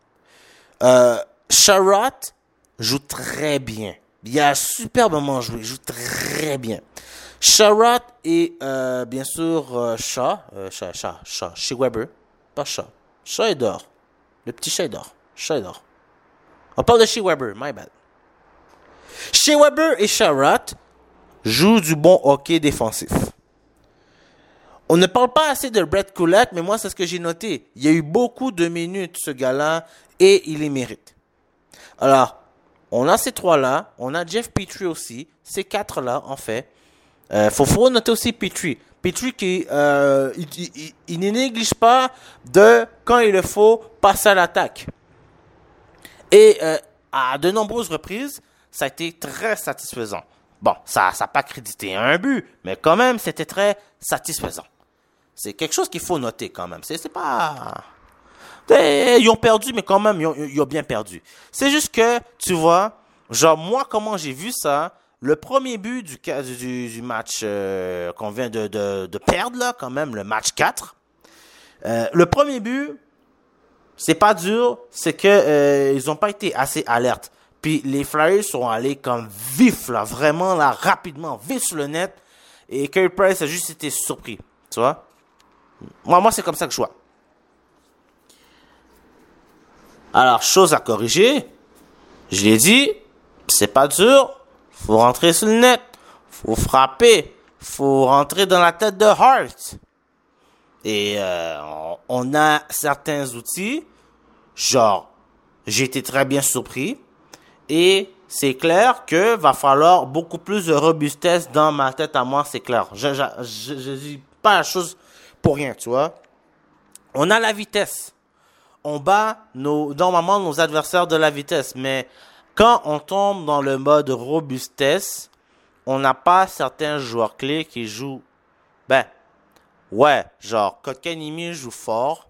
Sherratt joue très bien. Il a superbement joué. Il joue très bien. Sherratt et bien sûr Shaw. Shea Weber. Pas Shaw. Shaw est dehors. Le petit chat est dehors. Shaw est dehors. On parle de Shea Weber. My bad. Shea Weber et Sherratt jouent du bon hockey défensif. On ne parle pas assez de Brett Kulak, mais moi, c'est ce que j'ai noté. Il y a eu beaucoup de minutes, ce gars-là, et il les mérite. Alors, on a ces trois-là. On a Jeff Petrie aussi. Ces quatre-là, en fait. Faut noter aussi Petrie. Petrie qui, il ne néglige pas de, quand il le faut, passer à l'attaque. Et à de nombreuses reprises, ça a été très satisfaisant. Bon, ça n'a pas crédité un but, mais quand même, c'était très satisfaisant. C'est quelque chose qu'il faut noter quand même. C'est pas... Ils ont perdu, mais quand même, ils ont bien perdu. C'est juste que, tu vois, genre moi, comment j'ai vu ça, le premier but du match qu'on vient de perdre, là, quand même, le match 4, le premier but, c'est pas dur, c'est que ils n'ont pas été assez alertes. Puis les Flyers sont allés comme vifs, là, vraiment, là, rapidement, vif sur le net. Et Carey Price a juste été surpris, tu vois. Moi, c'est comme ça que je vois. Alors, chose à corriger, je l'ai dit, c'est pas dur, faut rentrer sur le net, faut frapper, faut rentrer dans la tête de Hart. Et on a certains outils, genre, j'ai été très bien surpris. Et c'est clair que va falloir beaucoup plus de robustesse dans ma tête à moi, c'est clair. Je dis pas la chose pour rien, tu vois. On a la vitesse. on bat normalement nos adversaires de la vitesse. Mais quand on tombe dans le mode robustesse, on n'a pas certains joueurs clés qui jouent. Genre Kotkaniemi joue fort.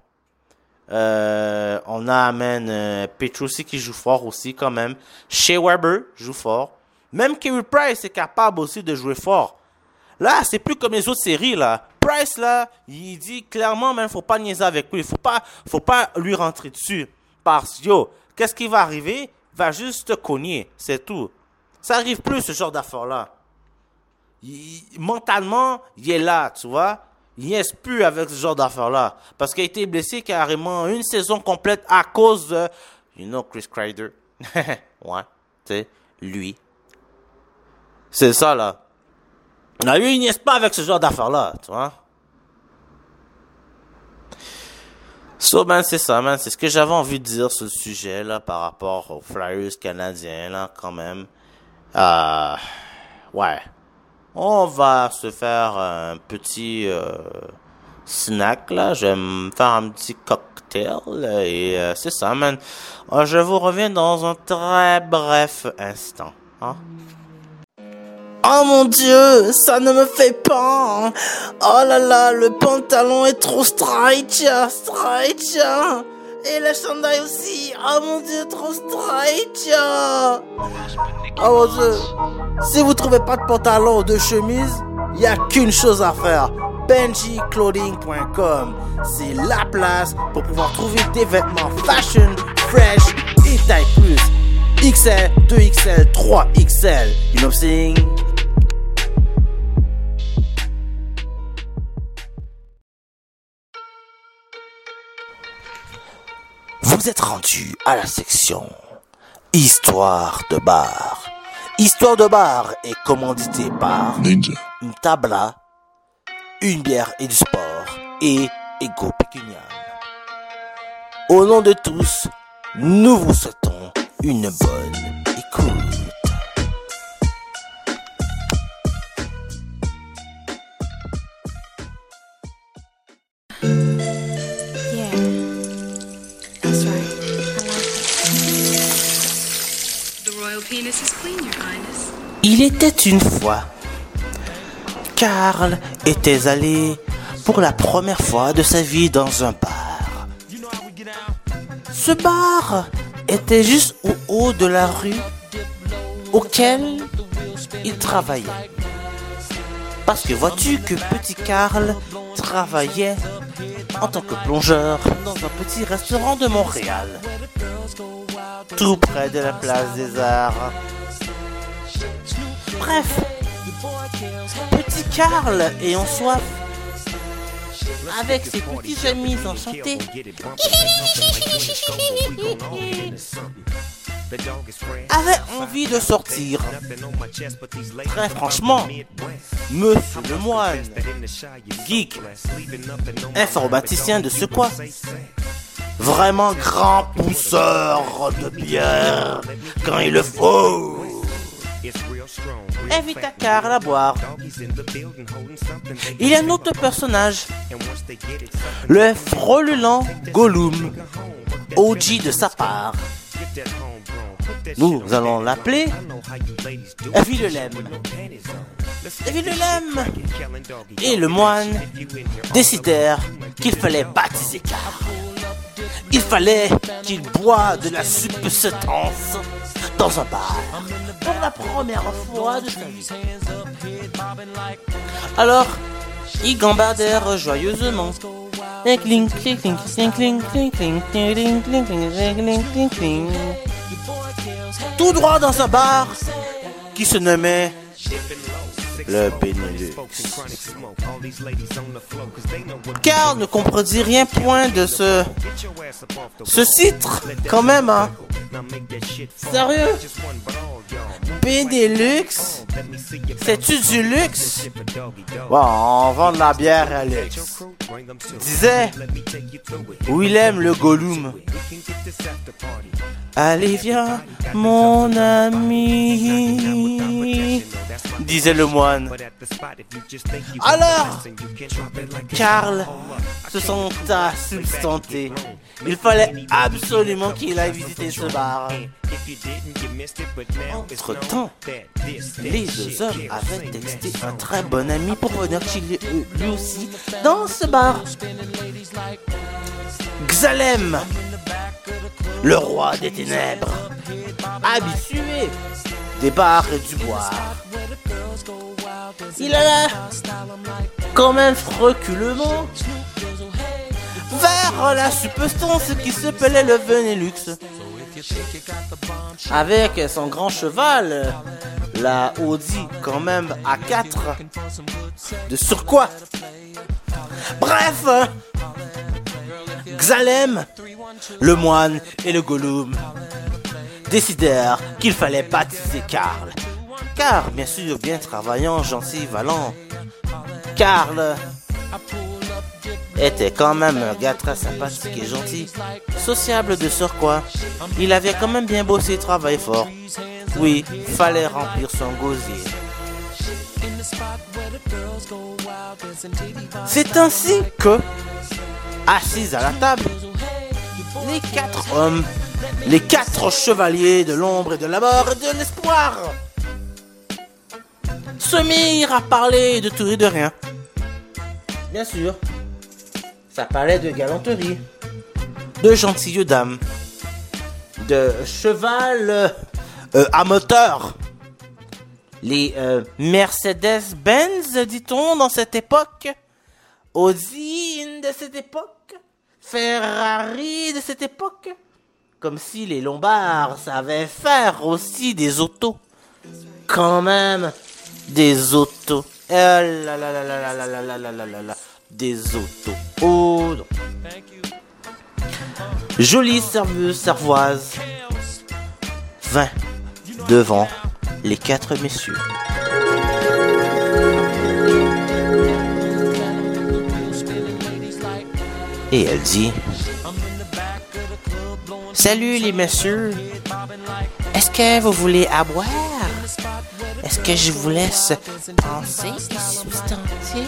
On a Petrucci qui joue fort aussi quand même. Shea Weber joue fort. Même Carey Price est capable aussi de jouer fort. Là, c'est plus comme les autres séries là. Price là, il dit clairement même faut pas niaiser avec lui, faut pas lui rentrer dessus parce qu'est-ce qui va arriver? Il va juste te cogner, c'est tout. Ça arrive plus ce genre d'affaires là. Mentalement, il est là, tu vois. Il niaise plus avec ce genre d'affaires là parce qu'il a été blessé carrément une saison complète à cause de Chris Kreider. Ouais, tu sais, lui. C'est ça là. Lui, il niaise pas avec ce genre d'affaires-là, tu vois. So, c'est ça, c'est ce que j'avais envie de dire sur le sujet, là, par rapport aux Flyers canadiens, là, quand même. Ouais. On va se faire un petit snack, là. Je vais me faire un petit cocktail, et c'est ça, man. Je vous reviens dans un très bref instant, hein. Oh mon Dieu, ça ne me fait pas. Oh là là, le pantalon est trop stretch. Et le chandail aussi. Oh mon Dieu, trop stretch. Oh mon Dieu. Si vous trouvez pas de pantalon ou de chemise, il y a qu'une chose à faire. benjiclothing.com. C'est la place pour pouvoir trouver des vêtements fashion, fresh et taille plus. XL, 2XL, 3XL. You know what I'm saying? Vous êtes rendu à la section Histoire de bar. Histoire de bar est commandité par Ninja, une tabla, une bière et du sport et Ego Pécuniam. Au nom de tous, nous vous souhaitons une bonne écoute. Il était une fois. Carl était allé pour la première fois de sa vie dans un bar. Ce bar était juste au haut de la rue auquel il travaillait. Parce que vois-tu que petit Carl travaillait en tant que plongeur dans un petit restaurant de Montréal, tout près de la place des Arts. Bref, petit Carl ayant soif, avec ses petits amis enchantés, avait envie de sortir. Très franchement, monsieur le moine, geek, informaticien de ce quoi, vraiment grand pousseur de bière quand il le faut, invita Carl à boire. Il y a un autre personnage, le frôlant Gollum, OG de sa part. Nous allons l'appeler Vilhelm. Vilhelm et le moine décidèrent qu'il fallait baptiser Carl. Il fallait qu'il boive de la substance dans un bar pour la première fois de sa vie. Alors, ils gambadèrent joyeusement. Tout droit dans un bar qui se nommait le Benelux. Carl ne comprenait rien point de ce titre, quand même, hein. Sérieux? Benelux? C'est-tu du luxe? Bon, on vend de la bière à luxe. Disait Willem le Gollum. Allez viens, mon ami. disait le moine. Alors, Karl se senta substanté. Il fallait absolument qu'il aille visiter ce bar. Entre-temps, les deux hommes avaient texté un très bon ami pour venir chiller lui aussi dans ce bar. Xalem, le roi des ténèbres, habitué des bars et du boire, il alla quand même reculement vers la substance qui s'appelait le Benelux. Avec son grand cheval, la Audi quand même A4 de surcroît. Bref, Xalem, le moine et le Gollum décidèrent qu'il fallait baptiser Karl. Car, bien sûr, bien travaillant, gentil, vaillant, Karl était quand même un gars très sympathique et gentil, sociable de surcroît. Il avait quand même bien bossé et travaillé fort. Oui, fallait remplir son gosier. C'est ainsi que, assis à la table, les 4 hommes, les 4 chevaliers de l'ombre et de la mort et de l'espoir, se mirent à parler de tout et de rien. Bien sûr, ça parlait de galanterie, de gentilles dames, de cheval à moteur, les Mercedes-Benz, dit-on, dans cette époque, Audi de cette époque, Ferrari de cette époque, comme si les Lombards savaient faire aussi des autos. Quand même, des autos. Là là là là là là là là là là là là. Des autos. Oh non. Jolie serveuse servoise vint devant les 4 messieurs. Et elle dit: salut les messieurs, est-ce que vous voulez à boire? Est-ce que je vous laisse penser et substanter?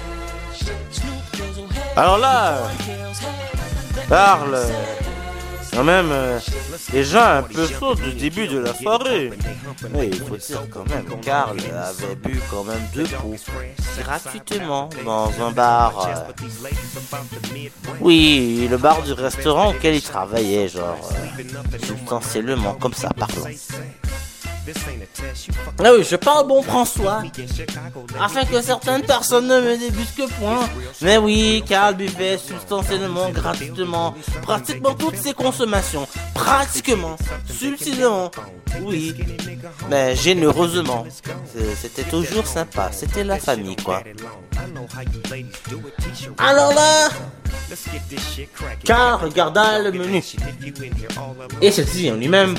Alors là, parle quand même déjà un peu chaud du début de la soirée. Oui, il faut dire quand même, Karl avait bu quand même 2 pots gratuitement dans un bar. Oui, le bar du restaurant auquel il travaillait, genre substantiellement comme ça, parlant. Ah oui, je parle bon François, afin que certaines personnes ne me débutent que point. Mais oui, Karl buvait substantiellement, gratuitement, pratiquement toutes ses consommations, pratiquement, subtilement, oui, mais généreusement. C'était toujours sympa, c'était la famille quoi. Alors là, Karl regarda le menu et se dit en lui-même: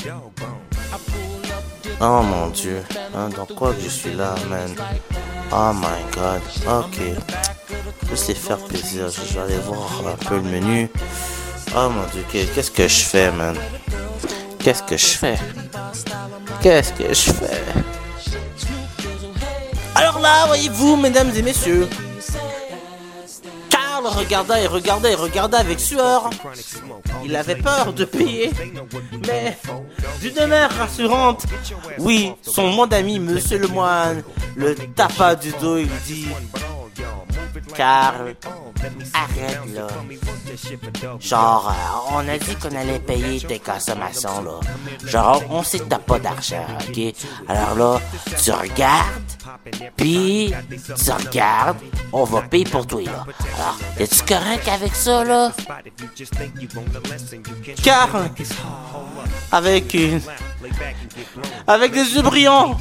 oh mon Dieu, dans quoi que je suis là, man? Oh my god, ok. Je sais faire plaisir, je vais aller voir un peu le menu. Oh mon Dieu, qu'est-ce que je fais, man? Qu'est-ce que je fais? Qu'est-ce que je fais? Alors là, voyez-vous, mesdames et messieurs, Karl regardait et regardait et regardait avec sueur. Il avait peur de payer, mais d'une manière rassurante, oui, son mon ami, monsieur le moine, le tapa du dos, il dit: Karl, arrête là. Genre, on a dit qu'on allait payer tes consommations là. Genre, on sait que t'as pas d'argent, ok? Alors là, tu regardes, puis tu regardes, on va payer pour toi là. Alors, es-tu correct avec ça là? Karl, avec des yeux brillants,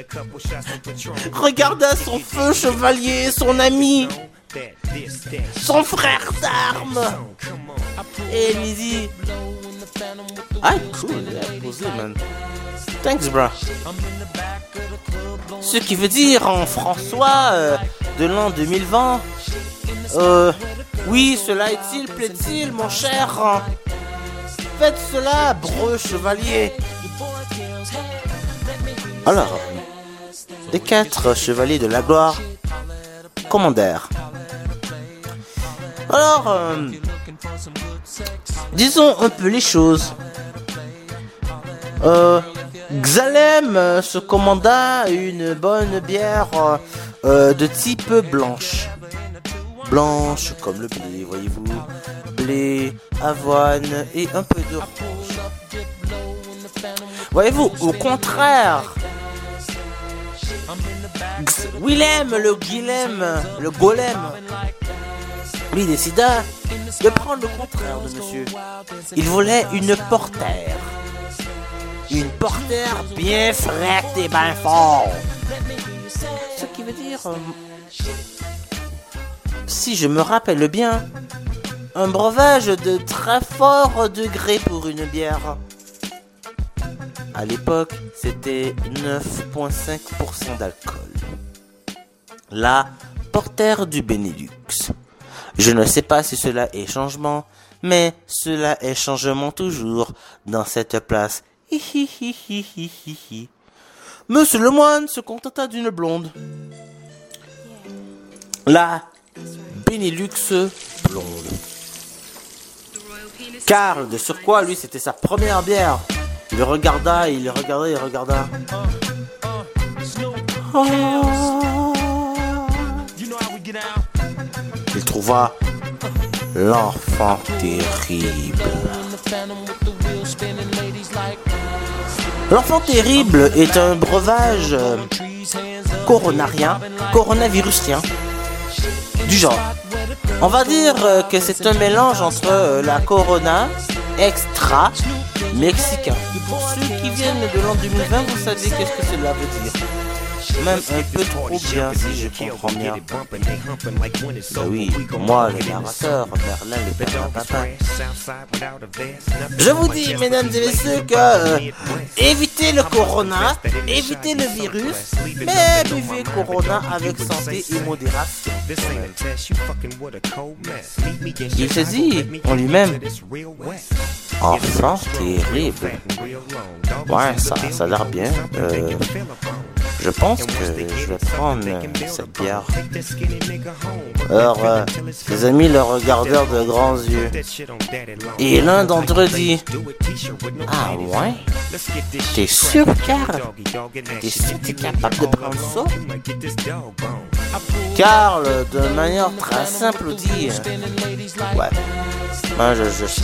regarda son feu chevalier, son ami, son frère d'armes, et lui dit: ah cool, il a posé, man. Thanks bro. Ce qui veut dire en François de l'an 2020, oui, cela est-il, plaît-il, mon cher? Faites cela, breu chevalier. Alors, des 4 chevaliers de la gloire commandèrent. Alors, disons un peu les choses. Xalem se commanda une bonne bière de type blanche. Blanche comme le blé, voyez-vous. Blé, avoine et un peu de rouge. Voyez-vous, au contraire, Willem, le golem, lui décida de prendre le contraire de monsieur. Il voulait une portère. Une portère bien frette et bien fort. Ce qui veut dire, si je me rappelle bien, un breuvage de très fort degré pour une bière. À l'époque, c'était 9,5% d'alcool. La portère du Benelux. Je ne sais pas si cela est changement, mais cela est changement toujours dans cette place. Monsieur le moine se contenta d'une blonde. La Benelux blonde. Karl, de surcroît, lui, c'était sa première bière. Il regarda. Il trouva l'enfant terrible. L'enfant terrible est un breuvage coronavirusien du genre. On va dire que c'est un mélange entre la Corona extra mexicain. Et pour ceux qui viennent de l'an 2020, vous savez qu'est-ce que cela veut dire. Même un peu trop bien, si je comprends bien. Ben oui, moi, le narrateur, Merlin, le père papa. Je vous dis, mesdames et messieurs, que évitez le corona, évitez le virus, mais buvez corona avec santé et modération. Il se dit en lui-même, enfant terrible. Ouais, ça a l'air bien. Je pense que je vais prendre cette bière. Alors, les amis le regardèrent de grands yeux. Et l'un d'entre eux dit, ah ouais? T'es sûr, Karl? T'es sûr que t'es capable de prendre ça? Karl, de manière très simple, dit, ouais, moi je sais.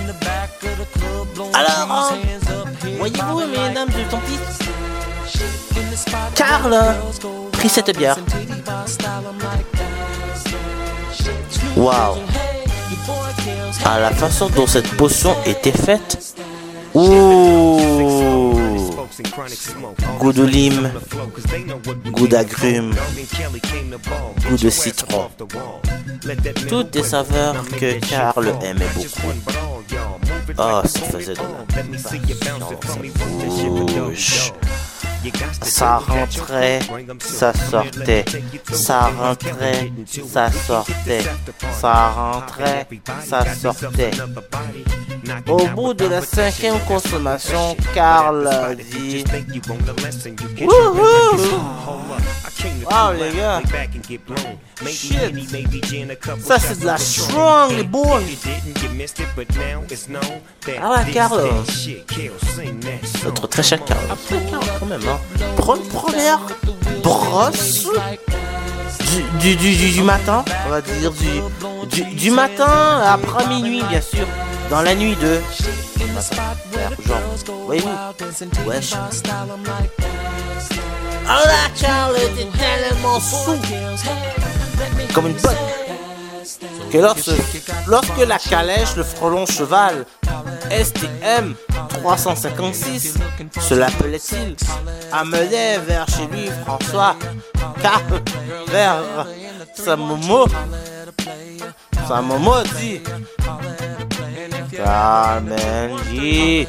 Alors, voyez-vous, mesdames et tantis, Karl prit cette bière. Waouh! À la façon dont cette potion était faite. Ouh! Goût de lime, goût d'agrumes, goût de citron. Toutes des saveurs que Karl aimait beaucoup. Oh, ça faisait de la passion dans sa bouche. Ça rentrait, ça sortait, ça rentrait, ça sortait, ça rentrait, ça sortait. Au bout de la 5e consommation, Karl dit wouhou! Wow les gars! Shit! Ça c'est de la strong boy! Ah ouais Karl! Notre très cher Karl. Quand même hein. Première brosse du matin, on va dire du matin après minuit bien sûr, dans la nuit de genre, voyez-vous, wesh. Oh là, Karl était tellement sous comme une botte que lorsque la calèche, le frelon cheval STM 356, se l'appelait-il, amenait vers chez lui François, Karl, vers sa momo dit Carmen dit,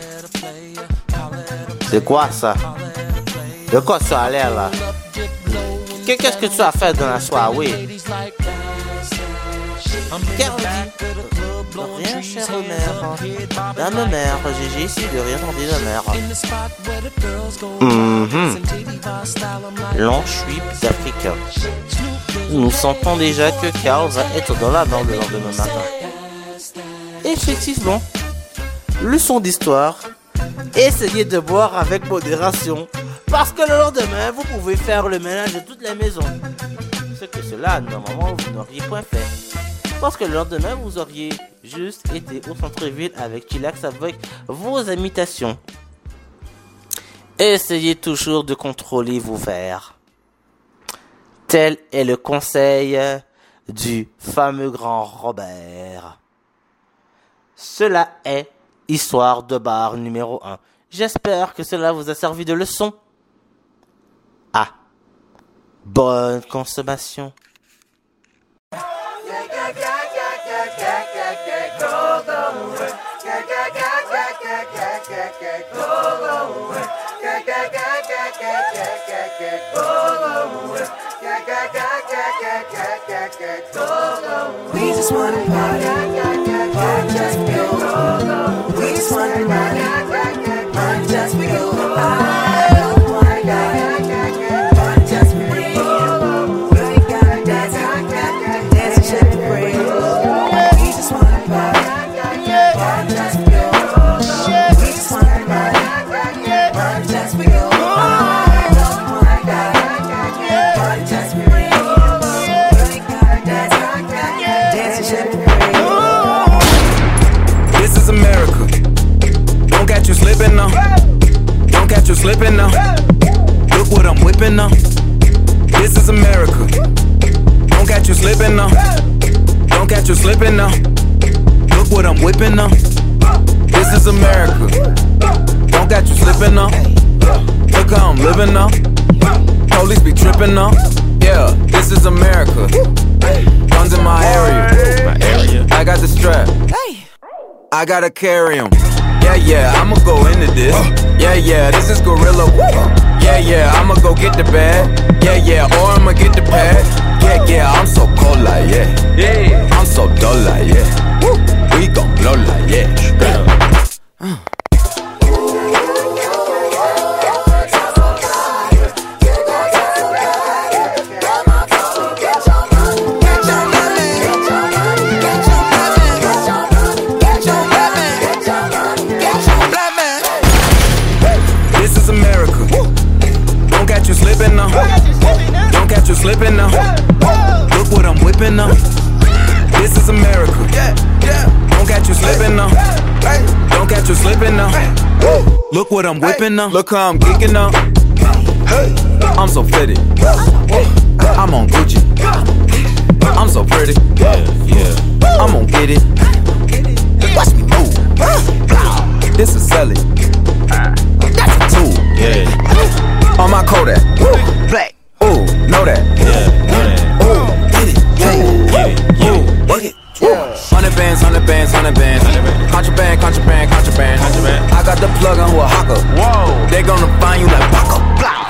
c'est quoi ça? De quoi ça a l'air là? Qu'est-ce que tu as fait dans la soirée? Karl dit, Rien, chère mère. Dame mère, GG ici de rien entendu de mère. L'enchuip d'Africa. Nous sentons déjà que Carl va être dans la mort le lendemain matin. Effectivement, leçon d'histoire, essayez de boire avec modération, parce que le lendemain, vous pouvez faire le ménage de toutes les maisons. Ce que cela, normalement, vous n'auriez point fait. Parce que le lendemain, vous auriez juste été au centre-ville avec Chillax avec vos imitations. Essayez toujours de contrôler vos verres. Tel est le conseil du fameux grand Robert. Cela est Histoire de bar numéro 1. J'espère que cela vous a servi de leçon. Ah, bonne consommation. We just wanna party, party just for you. We just wanna party, party just for you. I don't wanna die, party just for you. We ain't gotta dance and shake it for you. We just wanna party just for you. We just wanna party just for you. I don't wanna die, party just for you. This is America. Don't catch you slipping now. Don't catch you slipping now. Look what I'm whipping now. This is America. Don't catch you slipping now. Don't catch you slipping now. Look what I'm whipping now. This is America. Don't catch you slipping now. Look how I'm living now. Police be tripping now. Yeah, this is America. Guns in my area. I got the strap. I gotta carry 'em. Yeah, I'ma go into this. Yeah, this is gorilla. Yeah, I'ma go get the bag. Yeah, or I'ma get the pad. Yeah, I'm so cold like yeah. I'm so dull like yeah. We gon' blow like yeah. Slipping now. Don't catch you slipping now. Look what I'm whipping now. This is America. Don't catch you slipping now. Don't catch you slipping now. Look what I'm whipping now. Look how I'm geeking now. I'm so fitted. I'm on Gucci. I'm so pretty. I'm gon' get it. Watch me move. This is selling. That's a tool. On my Kodak, black, ooh, know that, ooh, get it, work it, 100 bands, 100 bands, 100 bands, contraband, I got the plug on who a hawker, whoa, they gonna find you like Paco, blah.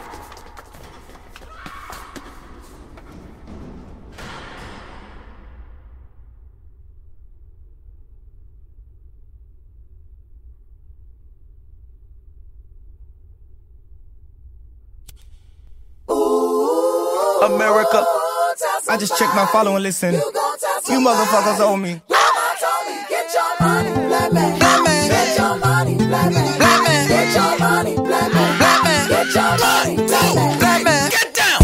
America, I just checked my follow and listen. You motherfuckers owe me. Get your money, black man. Get your money, black man. Get your money, black man. Get your money, black man. Get down.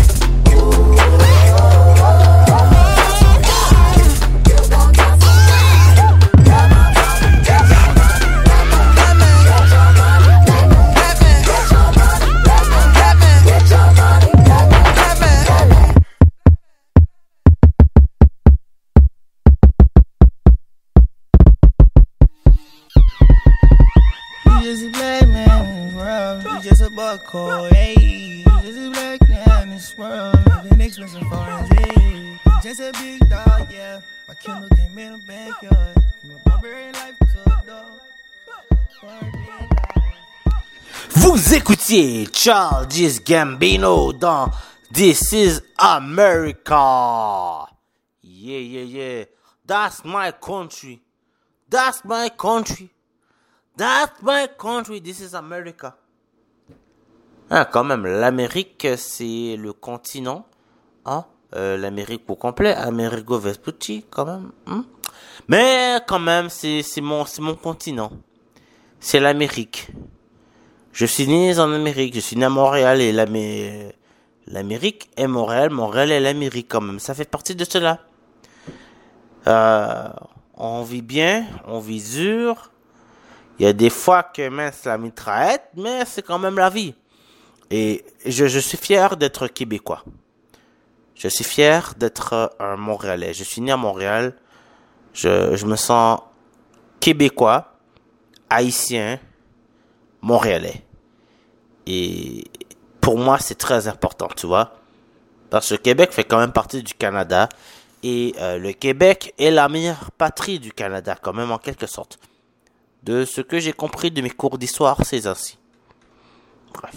Buckle, hey, just a black man in this world, living expensive foreign, hey. Just a big dog, yeah. My Kindle came in the backyard. From a barbarian life to a dog. Vous écoutiez Childish Gambino dans This is America. Yeah. That's my country. That's my country. That's my country. This is America. Ah, quand même, l'Amérique, c'est le continent. Ah, l'Amérique au complet. Amerigo Vespucci, quand même. Mais, quand même, c'est mon continent. C'est l'Amérique. Je suis né en Amérique. Je suis né à Montréal et l'Amérique est Montréal. Montréal est l'Amérique, quand même. Ça fait partie de cela. On vit bien, on vit dur. Il y a des fois que mince la mitraillette, mais c'est quand même la vie. Et je suis fier d'être québécois. Je suis fier d'être un Montréalais. Je suis né à Montréal. Je me sens québécois, haïtien, Montréalais. Et pour moi, c'est très important, tu vois. Parce que le Québec fait quand même partie du Canada. Et le Québec est la meilleure patrie du Canada, quand même, en quelque sorte. De ce que j'ai compris de mes cours d'histoire, c'est ainsi. Bref.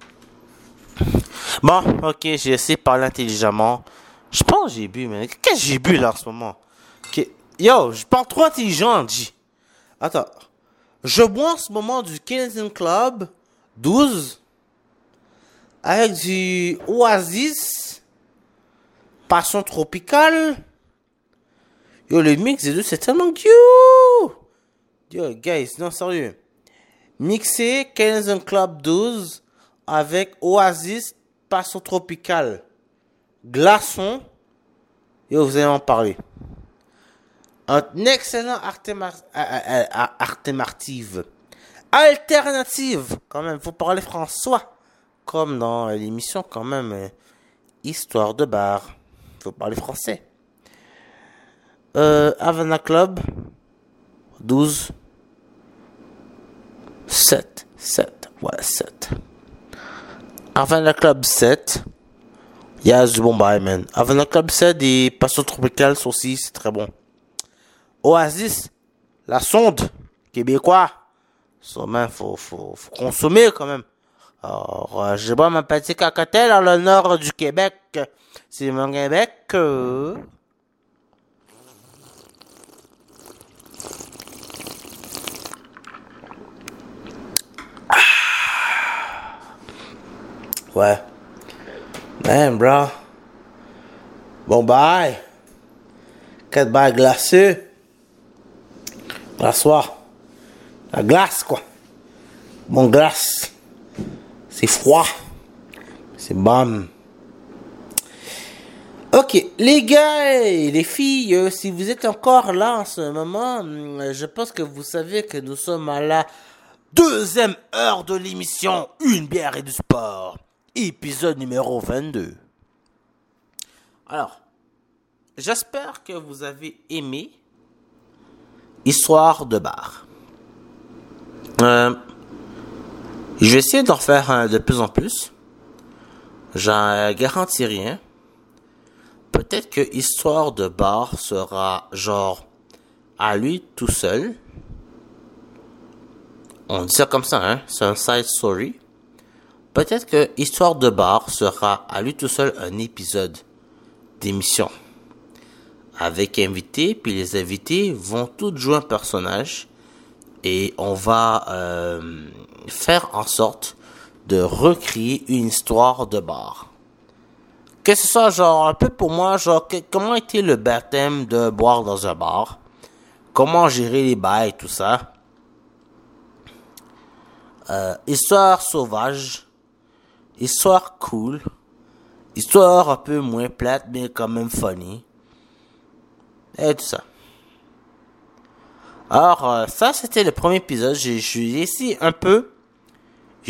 Bon, ok, j'ai essayé de parler intelligemment. Je pense que j'ai bu, mais qu'est-ce que j'ai bu là en ce moment? Yo, je parle trop intelligent, G. Attends. Je bois en ce moment du Canadian Club 12 avec du Oasis Passion Tropicale. Yo, le mix des deux, c'est tellement cute. Yo, guys, non, sérieux. Mixer Canadian Club 12 avec Oasis Passion Tropicale. Glaçon. Yo, vous allez en parler. Un excellent alternative. Quand même, faut parler François. Comme dans l'émission, quand même, Histoire de bar. Faut parler français. Havana Club 12 7 Havana Club 7. Il y a du bon bail, man. Havana Club 7 et Passion Tropicale aussi, c'est très bon. Oasis, la sonde, québécois. Ça, faut consommer quand même. Alors, je bois ma petite cacatelle dans le nord du Québec. C'est mon Québec. Ouais. Man, bro. Bon, bye. 4 bails glacés. Glaçoir. La glace, quoi. Bon, glace. C'est froid. C'est bon. Ok, les gars et les filles, si vous êtes encore là en ce moment, je pense que vous savez que nous sommes à la 2e heure de l'émission Une bière et du sport. Épisode numéro 22. Alors, j'espère que vous avez aimé Histoire de bar. Je vais essayer d'en faire de plus en plus. J'en garantis rien. Peut-être que Histoire de bar sera genre à lui tout seul. On dit ça comme ça, hein. C'est un side story. Peut-être que Histoire de bar sera à lui tout seul un épisode d'émission. Avec invités, puis les invités vont tous jouer un personnage. Et on va faire en sorte de recréer une histoire de bar. Que ce soit genre un peu pour moi, genre comment était le baptême de boire dans un bar, comment gérer les bails, tout ça. Histoire sauvage, histoire cool, histoire un peu moins plate mais quand même funny. Et tout ça. Alors, ça, c'était le premier épisode. J'ai essayé un peu. J'ai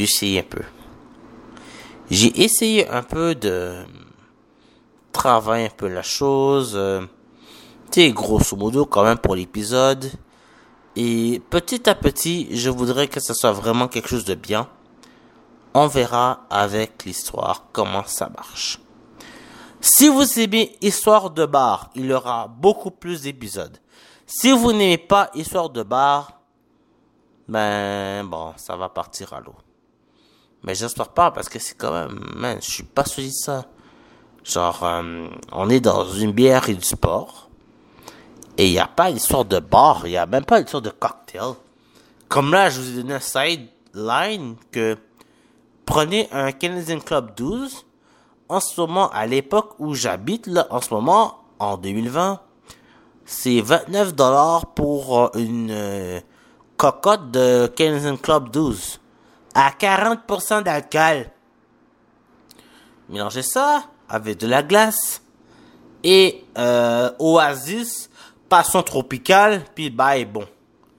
essayé un peu de travailler un peu la chose. Tu sais, grosso modo, quand même, pour l'épisode. Et petit à petit, je voudrais que ce soit vraiment quelque chose de bien. On verra avec l'histoire comment ça marche. Si vous aimez Histoire de bar, il y aura beaucoup plus d'épisodes. Si vous n'aimez pas Histoire de bar, ben bon, ça va partir à l'eau. Mais j'espère pas parce que c'est quand même, man, je suis pas sûr de ça. Genre, on est dans une bière et du sport. Et il n'y a pas l'histoire de bar, il n'y a même pas l'histoire de cocktail. Comme là, je vous ai donné un sideline que prenez un Canadian Club 12. En ce moment, à l'époque où j'habite, là, en ce moment, en 2020, c'est 29$ pour une cocotte de Canadian Club 12. À 40% d'alcool. Mélangez ça avec de la glace et Oasis, passion tropicale, puis bah est bon.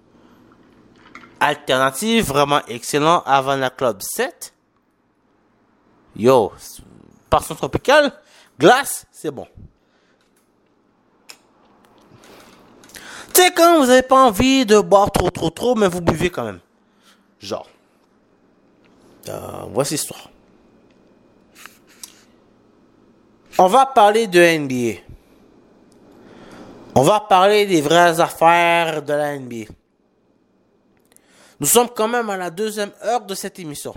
Alternative vraiment excellent avant la Club 7. Yo, passion tropicale, glace, c'est bon. Tu sais quand vous avez pas envie de boire trop, mais vous buvez quand même. Genre. Voici l'histoire. On va parler de NBA. On va parler des vraies affaires de la NBA. Nous sommes quand même à la 2e heure de cette émission.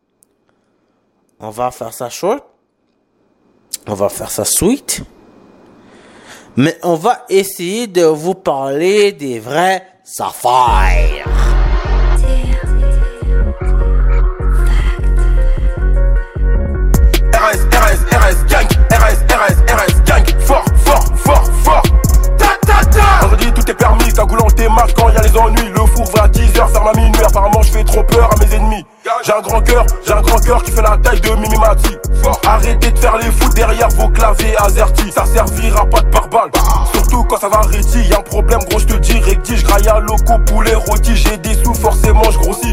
On va faire ça short. On va faire ça sweet. Mais on va essayer de vous parler des vraies affaires. RS, gang, RS, gang, fort. Vendredi tout est permis, cagoule en démarche quand y'a les ennuis. Le four va à 10h, ferme à minuit. Apparemment je fais trop peur à mes ennemis. J'ai un grand cœur qui fait la taille de Mimi Mati. Arrêtez de faire les fous derrière vos claviers azertis. Ça servira pas de pare-balles, surtout quand ça va réti. Y'a un problème gros, je te dis rectige. Graille à loco, poulet rôti. J'ai des sous, forcément je grossis.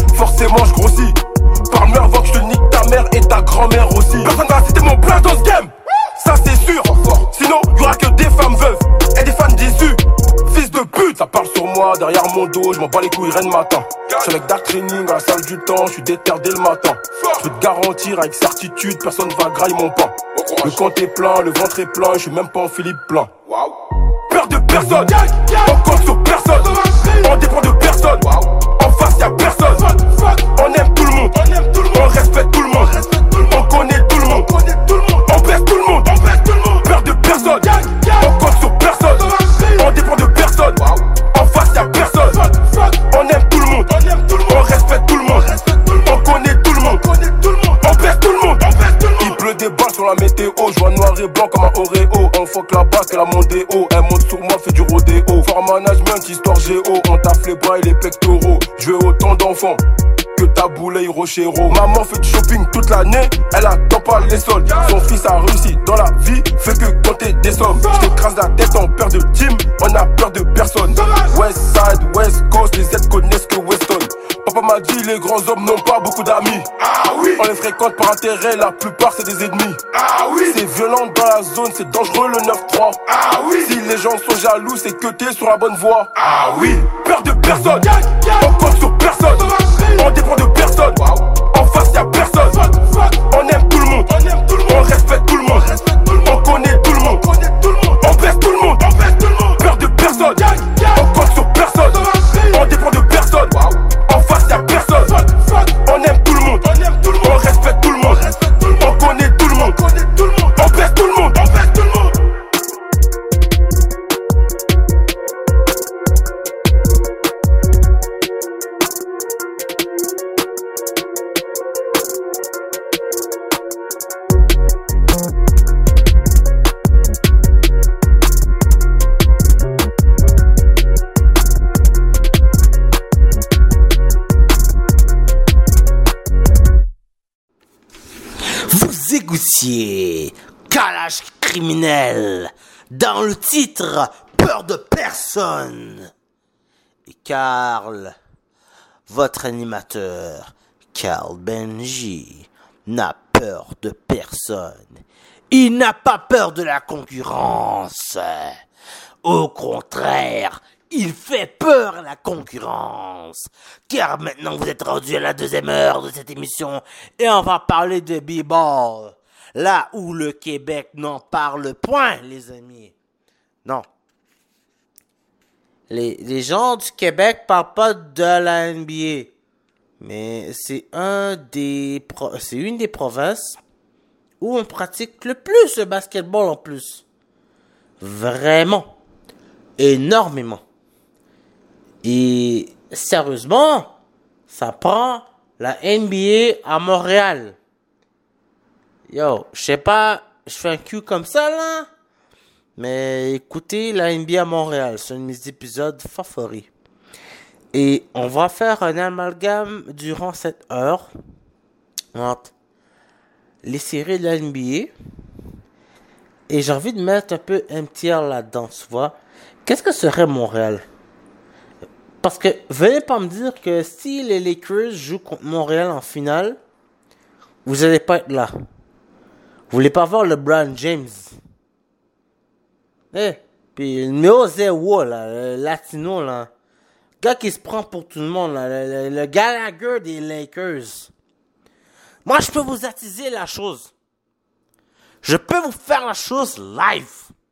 Parle-moi avant que je te nique ta mère et ta grand-mère aussi. Personne va citer mon plein dans ce game, ça c'est sûr. Sinon y'aura que des femmes veuves et des fans déçus. Fils de pute, ça parle sur moi derrière mon dos. Je m'en bats les couilles rien de matin. J'suis avec Dark Training à la salle du temps. J'suis déter dès le matin. Je peux te garantir avec certitude, personne va grailler mon pain. Le compte est plein, le ventre est plein. J'suis même pas en Philippe plein. Peur de personne, on compte sur personne. On dépend de personne. En face y'a personne. On aime tout le monde, on respecte tout le monde. On connaît tout le monde, on baisse tout le monde. Peur de personne, on compte sur personne. On dépend de personne. En face y'a personne. On aime tout le monde, on respecte tout le monde. On connaît tout le monde, on baisse tout le monde. Il pleut des balles sur la météo. Je vois noir et blanc comme un Oreo. On fuck là-bas qu'elle a monté haut. Elle monte sur moi, fait du rodéo. Fort management, histoire géo. On taffe les bras et les pectoraux. Je veux autant d'enfants que ta boulet Rochero. Maman fait du shopping toute l'année, elle attend pas les soldes. Son fils a réussi dans la vie, fait que compter des sommes. Je t'écrase la tête en peur de team, on a peur de personne. West Side, West Coast, les Z connaissent que Weston. Papa m'a dit les grands hommes n'ont pas beaucoup d'amis. Ah oui. On les fréquente par intérêt, la plupart c'est des ennemis. Ah oui. C'est violent dans la zone, c'est dangereux le 9-3. Ah oui. Si les gens sont jaloux, c'est que t'es sur la bonne voie. Ah oui. Peur de personne, on compte sur personne. On dépend de personne. En face y'a personne. On aime tout le monde, on respecte tout le monde. On connaît tout le monde, on baisse tout le monde. Peur de personne, on compte sur personne. On dépend de personne. En face y'a personne. On aime tout le monde, on respecte tout le monde. On connaît tout le monde, on baisse tout le monde. Égoutier, calage criminel, dans le titre Peur de personne. Et Carl, votre animateur, Carl Benji, n'a peur de personne. Il n'a pas peur de la concurrence. Au contraire, il fait peur à la concurrence. Car maintenant vous êtes rendu à la 2e heure de cette émission et on va parler de b-ball. Là où le Québec n'en parle point, les amis. Non. Les gens du Québec parlent pas de la NBA. Mais c'est une des provinces où on pratique le plus le basketball en plus. Vraiment. énormément. Et sérieusement, ça prend la NBA à Montréal. Yo, je sais pas, je fais un cul comme ça là, mais écoutez la NBA à Montréal, c'est un de mes épisodes favoris. Et on va faire un amalgame durant cette heure entre les séries de la NBA. Et j'ai envie de mettre un peu un tiers là-dedans, tu vois. Qu'est-ce que serait Montréal? Parce que, venez pas me dire que si les Lakers jouent contre Montréal en finale, vous allez pas être là. Vous voulez pas voir LeBron James. Puis le numéro 0, là, le latino, là. Gars qui se prend pour tout le monde, là. Le Gallagher des Lakers. Moi, je peux vous attiser la chose. Je peux vous faire la chose live.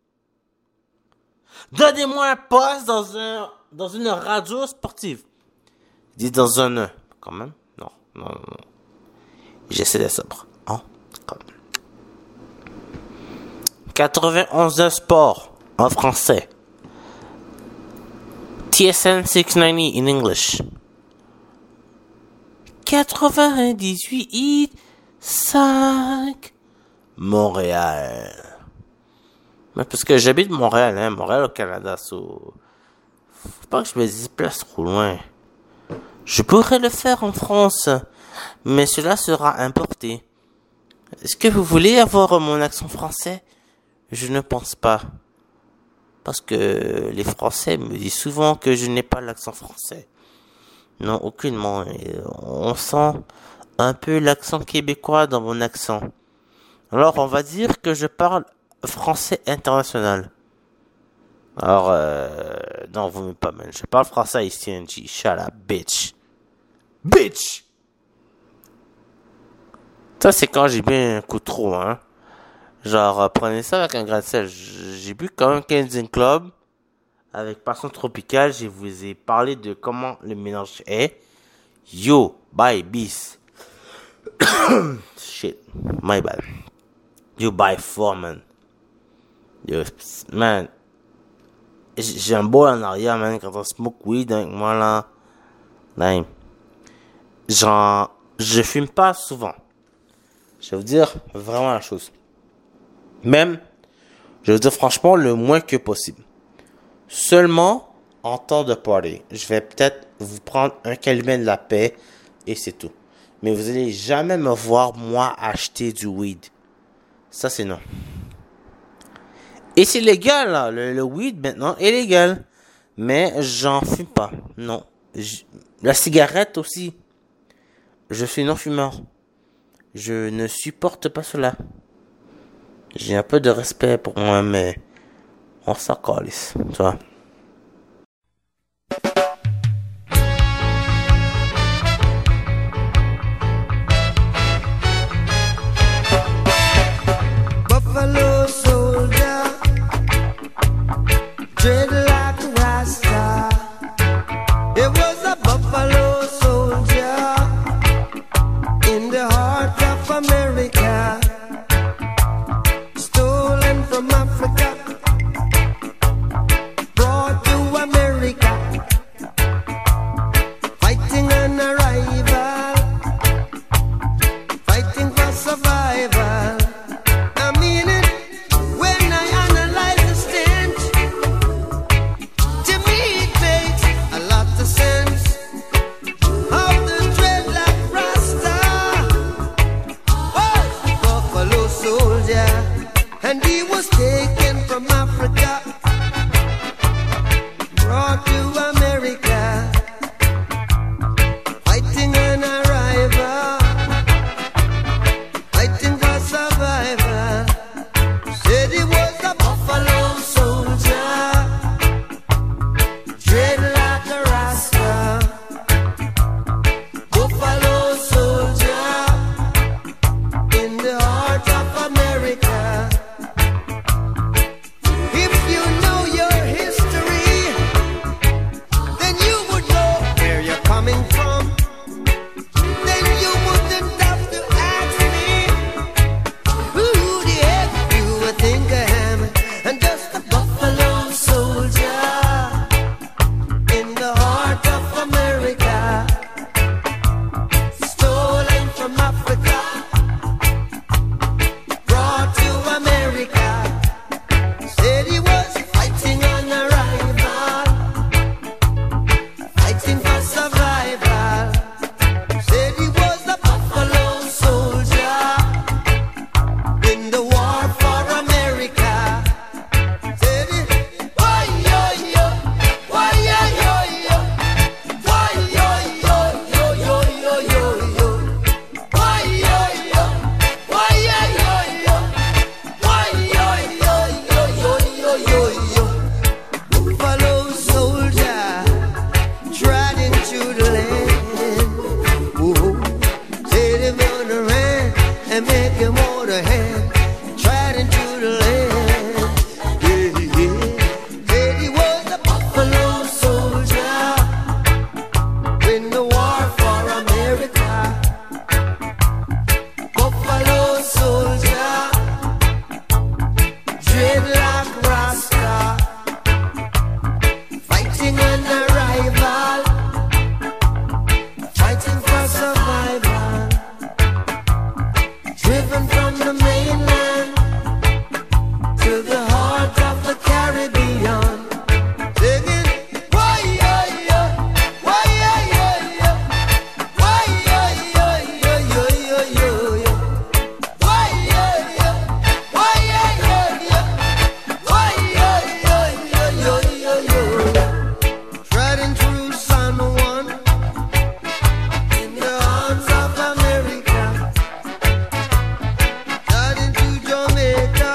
Donnez-moi un poste dans une radio sportive. Dis dans un quand même. Non. J'essaie d'être sobre. Hein? Quand même. 91 sport en français. TSN 690 in English. 98.5 Montréal. Mais parce que j'habite Montréal, hein, Montréal au Canada, faut pas que je me déplace trop loin. Je pourrais le faire en France, mais cela sera importé. Est-ce que vous voulez avoir mon accent français? Je ne pense pas. Parce que les Français me disent souvent que je n'ai pas l'accent français. Non, aucunement. On sent un peu l'accent québécois dans mon accent. Alors, on va dire que je parle français international. Alors, non, vous m'aimez pas, man. Je parle français haïtien, G. Shut up, bitch. Bitch! Ça, c'est quand j'ai bu un coup trop, hein. Genre, prenez ça avec un grain de sel. J'ai bu quand même Canadian Club avec Passion Tropicale. Je vous ai parlé de comment le mélange est. Yo, bye, bis. Shit, my bad. You buy 4, man. Yo, man. J'ai un bol en arrière, man, quand on smoke weed avec moi, là. Damn. Genre, je fume pas souvent. Je vais vous dire vraiment la chose. Même, je vais vous dire franchement, le moins que possible. Seulement en temps de party. Je vais peut-être vous prendre un calumet de la paix et c'est tout. Mais vous allez jamais me voir, moi, acheter du weed. Ça, c'est non. Et c'est légal, là. Le weed, maintenant, est légal. Mais j'en fume pas. Non. La cigarette aussi. Je suis non-fumeur. Je ne supporte pas cela. J'ai un peu de respect pour moi, mais on s'en calisse, tu vois. Buffalo soldier, dread like a Rasta. It was a buffalo soldier in the heart of America, stolen from Africa, brought to America, fighting an arrival, fighting for survival. I mean it when I analyze the stench. To me it makes a lot of sense. How the dreadlock Rasta was a buffalo soldier, and he was taken from Africa, brought to America, fighting an arrival, fighting for survival. Said he was a buffalo soldier, dread like a Rasta. Buffalo soldier in the heart of America. and make him hold a hand, trod into the land. Yeah, yeah. Said he was a buffalo soldier in the war for America. Buffalo soldier, dreadlock rasta, fighting an rival, fighting for survival, driven from the mainland to the heart of the Caribbean. Singing, why, yeah, yeah, why, yeah, yeah, yeah, why, yeah, yeah, yeah, yeah, yeah, yeah, yeah. Why, yeah, yeah, why, yeah, yeah, yeah, why, yeah, yeah, yeah, yeah, yeah, yeah. Treading through San Juan in the arms of America, heading to Jamaica,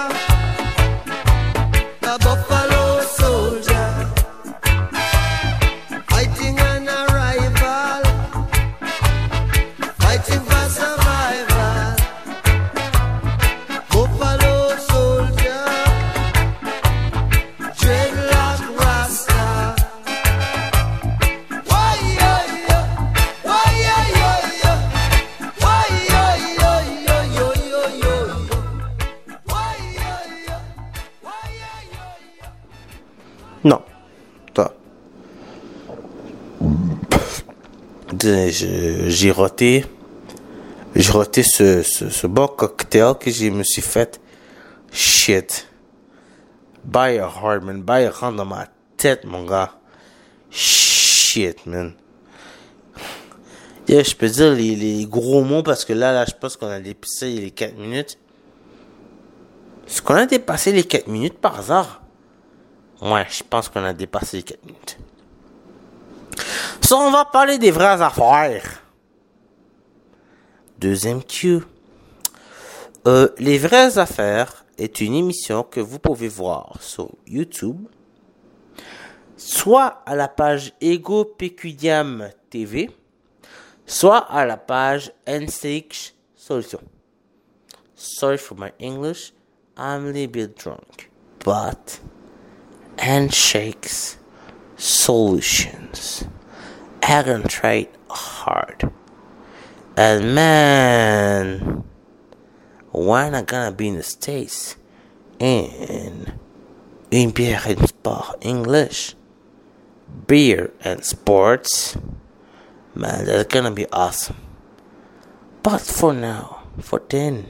the buffalo soldier, fighting an rival, fighting for survival. Buffalo soldier, dreadlock rasta. Why, yeah, yeah, why, yeah, yeah, yeah, why, yeah, yeah, yeah, yeah, yeah, yeah, why, yeah, yeah, why, yeah, yeah, yeah. Non. Toi. J'ai roté ce bon cocktail que je me suis fait. Shit. By a heart, man. By a rentre dans ma tête, mon gars. Shit, man. Yeah, je peux dire les gros mots parce que là, je pense qu'on a dépassé les 4 minutes. Est-ce qu'on a dépassé les 4 minutes par hasard? Ouais, je pense qu'on a dépassé les 4 minutes. So, on va parler des vraies affaires. Deuxième cue. Les vraies affaires est une émission que vous pouvez voir sur YouTube, soit à la page Ego Peculiam TV, soit à la page Handshake Solution. Sorry for my English, I'm a little bit drunk, but Handshakes Solutions. I can try hard. And man, when I'm gonna be in the States in beer and sport English, beer and sports, man, that's gonna be awesome. But for now, for then,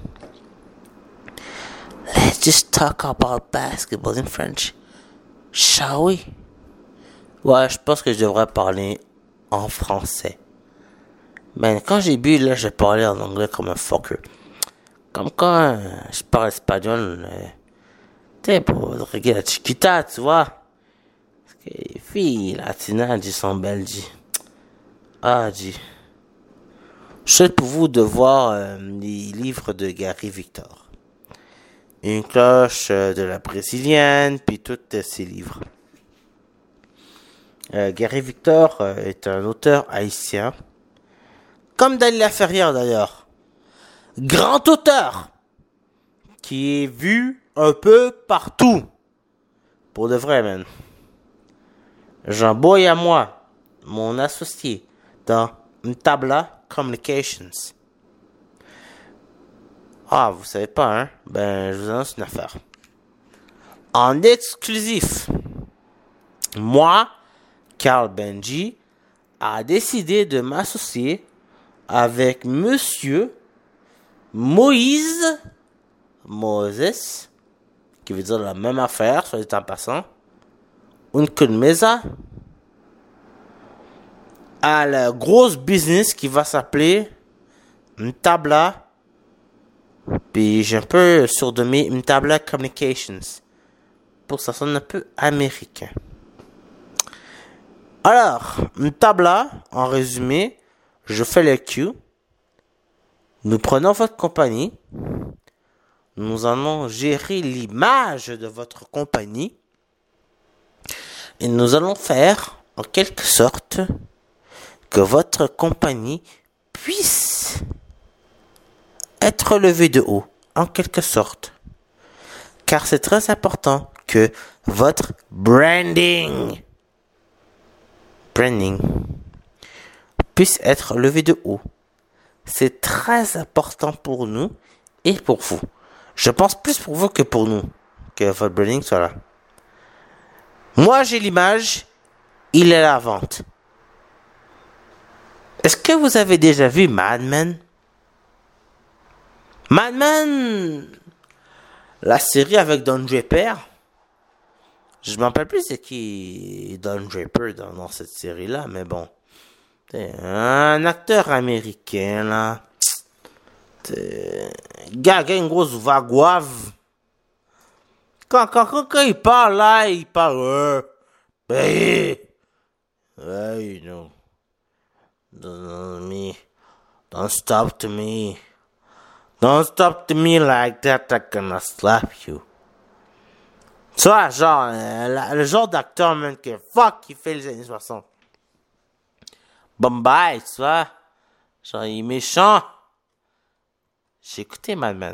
let's just talk about basketball in French, shall we? Ouais, je pense que je devrais parler en français. Mais quand j'ai bu, là, je parlais en anglais comme un fucker. Comme quand je parle espagnol, tu sais, pour regarder la chiquita, tu vois. Parce que les filles latinas, elles sont belles, dit. Ah, dit. Je souhaite pour vous de voir les livres de Gary Victor. Une cloche de la brésilienne, puis tous ces livres. Gary Victor est un auteur haïtien. Comme Daniel Laferrière d'ailleurs. Grand auteur. Qui est vu un peu partout. Pour de vrai, man. Jean-Boy à moi, mon associé dans Mtabla Communications. Ah, vous savez pas, hein? Ben, je vous annonce une affaire. En exclusif, moi, Carl Benji, a décidé de m'associer avec Monsieur Moses, qui veut dire la même affaire, soit dit en passant, une mesa, à la grosse business qui va s'appeler Mtabla, puis j'ai un peu surnommé Mtabla Communications, pour que ça sonne un peu américain. Alors, Mtabla, en résumé, je fais le Q. Nous prenons votre compagnie. Nous allons gérer l'image de votre compagnie. Et nous allons faire, en quelque sorte, que votre compagnie puisse être relevé de haut, en quelque sorte. Car c'est très important que votre branding puisse être levé de haut. C'est très important pour nous et pour vous. Je pense plus pour vous que pour nous, que votre branding soit là. Moi, j'ai l'image, il est à la vente. Est-ce que vous avez déjà vu Mad Men? Mad Men, la série avec Don Draper. Je me rappelle plus c'est qui Don Draper dans cette série-là, mais bon. C'est un acteur américain, là. Gars, une grosse voix guave. Quand il parle, là, il parle... Hey, you know. Don't stop to me. Don't stop to me like that, I'm gonna slap you. Tu vois, genre, le genre d'acteur, man, que fuck, il fait les années 60. Bombay, tu vois. Genre, il est méchant. J'ai écouté Mad Men.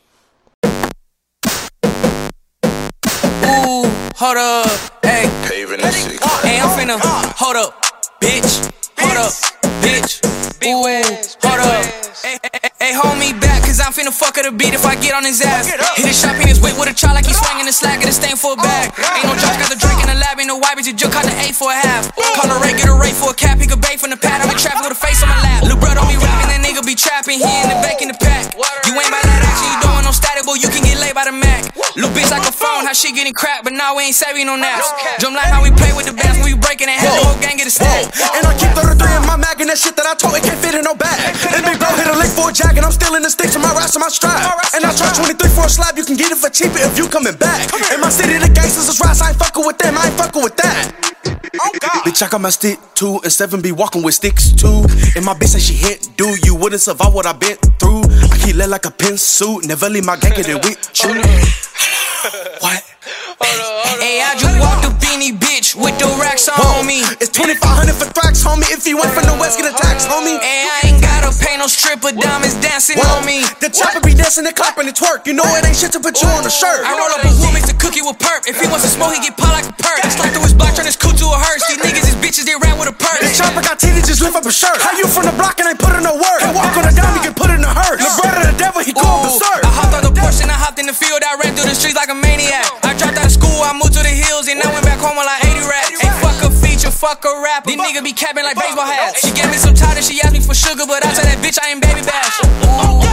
Ooh, hold up, hey. Hey, I'm finna, hold up, bitch. Hold up, bitch. Ooh, hold up. Hey, hold me back, cause I'm finna fuck her the beat if I get on his ass. Hit his shop in his whip with a try like he's swinging the slack, get a stain for a bag. Ain't no joke, got the drink in the lab, ain't no wipers, you just caught the A for a half. Call a rate, get a rate for a cap, pick a bait from the pad, I'm in traffic with a face on my lap. Lil' bro don't be rapping, that nigga be trapping, he in the back in the pack. You ain't by that action, you don't want no static, boy, you can get laid by the Mac. Lil' bitch like a phone, how she getting cracked, but now we ain't saving no naps. Drum like how we play with the bands, when we breaking it, have the whole gang get a stack. And I keep 33 in my mag, and that shit that I told, it can't fit in no bag. And big bro hit a lick for a jack, and I'm still in the sticks of my raps and my strap. And I charge 23 for a slab, you can get it for cheaper if you coming back. In my city, the gangsters is rats, I ain't fucking with them, I ain't fucking with that. Oh God. Bitch, I got my stick too, and 7 be walking with sticks too. And my bitch say she hit, do you wouldn't survive what I been through? I keep lit like a pin suit, never leave my gang get it with you. What? Hey, I just walked up any bitch with the racks on me. It's 2,500 for tracks, homie. If you went from the west, get a tax, homie. Hey, I ain't gotta pay no stripper, diamonds dancing on me. The chopper be dancing and clapping and twerk. You know it ain't shit to put you on a shirt. I roll up a wood, mix a cookie with perp. If he wants to smoke, he get popped like a perk. Slide through his block, turn his coupe to a hearse. These niggas is bitches, they ran with a perk. The chopper got titties, just lift up a shirt. How you from the block and ain't put in no work? Can't walk on a dime, you can put in a hearse. The brother of the devil, he going berserk. I hopped out the Porsche and I hopped in the field. I ran through the streets like a maniac. I dropped out of school, I moved to the hills, and I went back home on like 80 racks. Hey, fuck a feature, fuck a rapper. These niggas be capping like baseball hats. She gave me some time and she asked me for sugar, but I told that bitch I ain't baby bash. Hold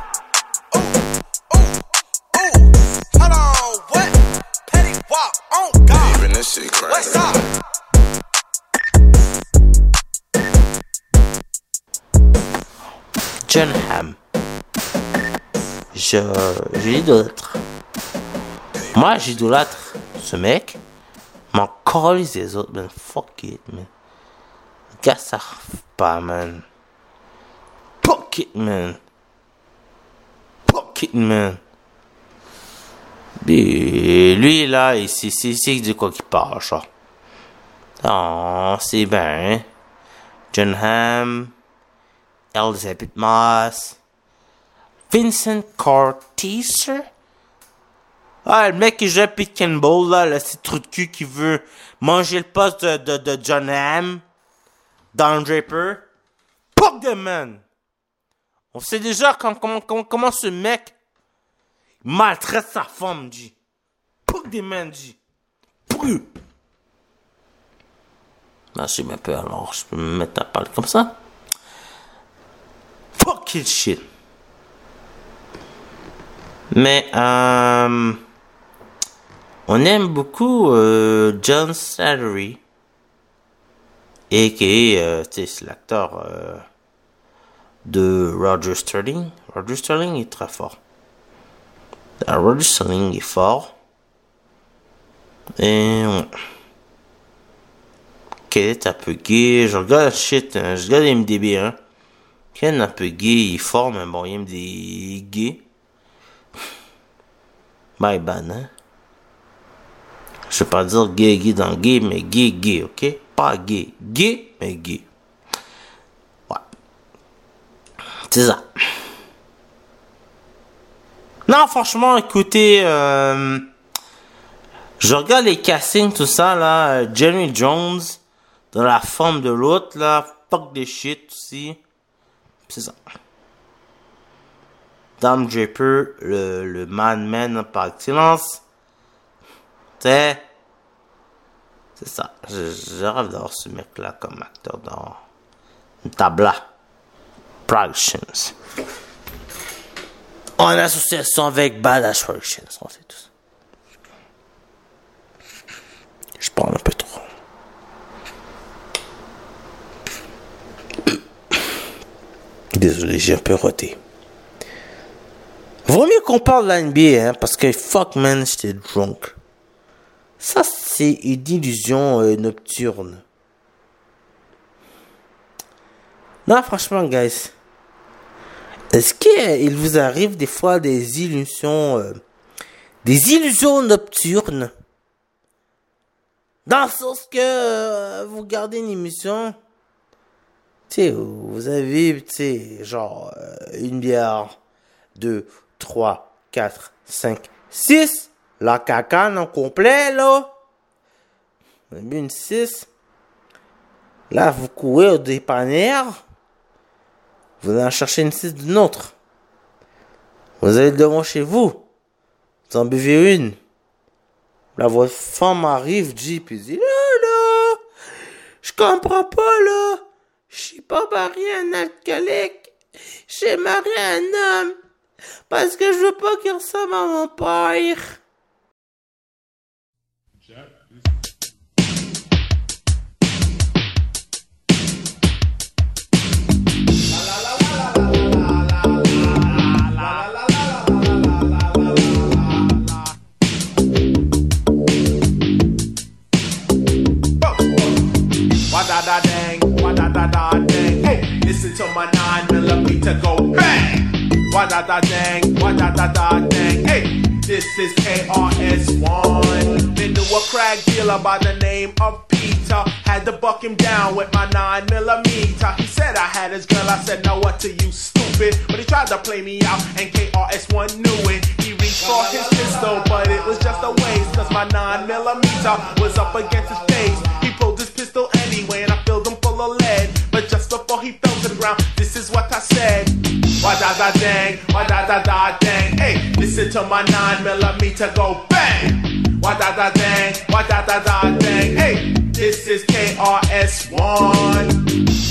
on, what? Petty walk, oh God. Even this shit crazy. What's up? Jon Hamm. Je l'idolâtre. Moi, j'idolâtre ce mec. M'en calisse les autres, man. Fuck it, man. Le gars, ça rêve pas, man. Fuck it, man. Fuck it, man. Et lui, là, c'est de quoi qu'il parle, genre. Oh, c'est bien, hein. Jon Hamm. Elizabeth Moss. Vincent Cortese. Ah, le mec qui joue à Pete Campbell, là, le petit trou de cul qui veut manger le poste de Jon Hamm. Don Draper. Fuck the man. On sait déjà comment ce mec maltraite sa femme, dit. Fuck the man, dit. Pourquoi? Là, je sais même pas, alors je peux me mettre à parler comme ça. Fucking shit. Mais, on aime beaucoup John Slattery. Et qui est, c'est l'acteur de Roger Sterling. Roger Sterling est très fort. Roger Sterling est fort. Et Quel est un peu gay. Je regarde shit, hein, je regarde MDB, hein. Quel est un peu gay, il est fort, mais bon, il aime des gays. My bad, hein. Je vais pas dire gay dans gay, mais gay, ok? Pas gay. Gay, mais gay. Ouais. C'est ça. Non, franchement, écoutez, je regarde les castings, tout ça, là. Jeremy Jones, dans la forme de l'autre, là. Fuck des shit aussi. C'est ça. Dom Draper, le man par excellence. C'est ça. Je rêve d'avoir ce mec-là comme acteur dans une tabla. Productions. En association avec Badass Productions. On sait tout ça. Je parle un peu trop. Désolé, j'ai un peu roté. Vaut mieux qu'on parle de la NBA, hein, parce que fuck man, j'étais drunk. Ça, c'est une illusion nocturne. Non, franchement, guys. Est-ce qu'il vous arrive des fois des illusions nocturnes? Dans le sens que vous regardez une émission, tu sais, vous avez, tu sais, genre, une bière, 2, 3, 4, 5, 6. La cacane en complet, là. Vous avez une 6. Là, vous courez au dépanneur. Vous allez en chercher une 6 d'une autre. Vous allez devant chez vous. Vous en buvez une. Là, votre femme arrive, dit, puis dit, là, je comprends pas, là. Je suis pas marié à un alcoolique. J'ai marié à un homme. Parce que je veux pas qu'il ressemble à mon père. Dang, hey, listen to my 9mm go bang. Dang, hey, this is KRS-One. Been to a crack dealer by the name of Peter. Had to buck him down with my 9mm. He said I had his girl, I said no, what to you, stupid? But he tried to play me out and KRS-One knew it. He reached for his pistol, but it was just a waste, cause my 9mm was up against his face. He pulled his pistol anyway and I filled him full of lead. But just before he fell to the ground, this is what I said. Dang, hey, listen to my 9mm go bang. Dang, hey, this is KRS-One.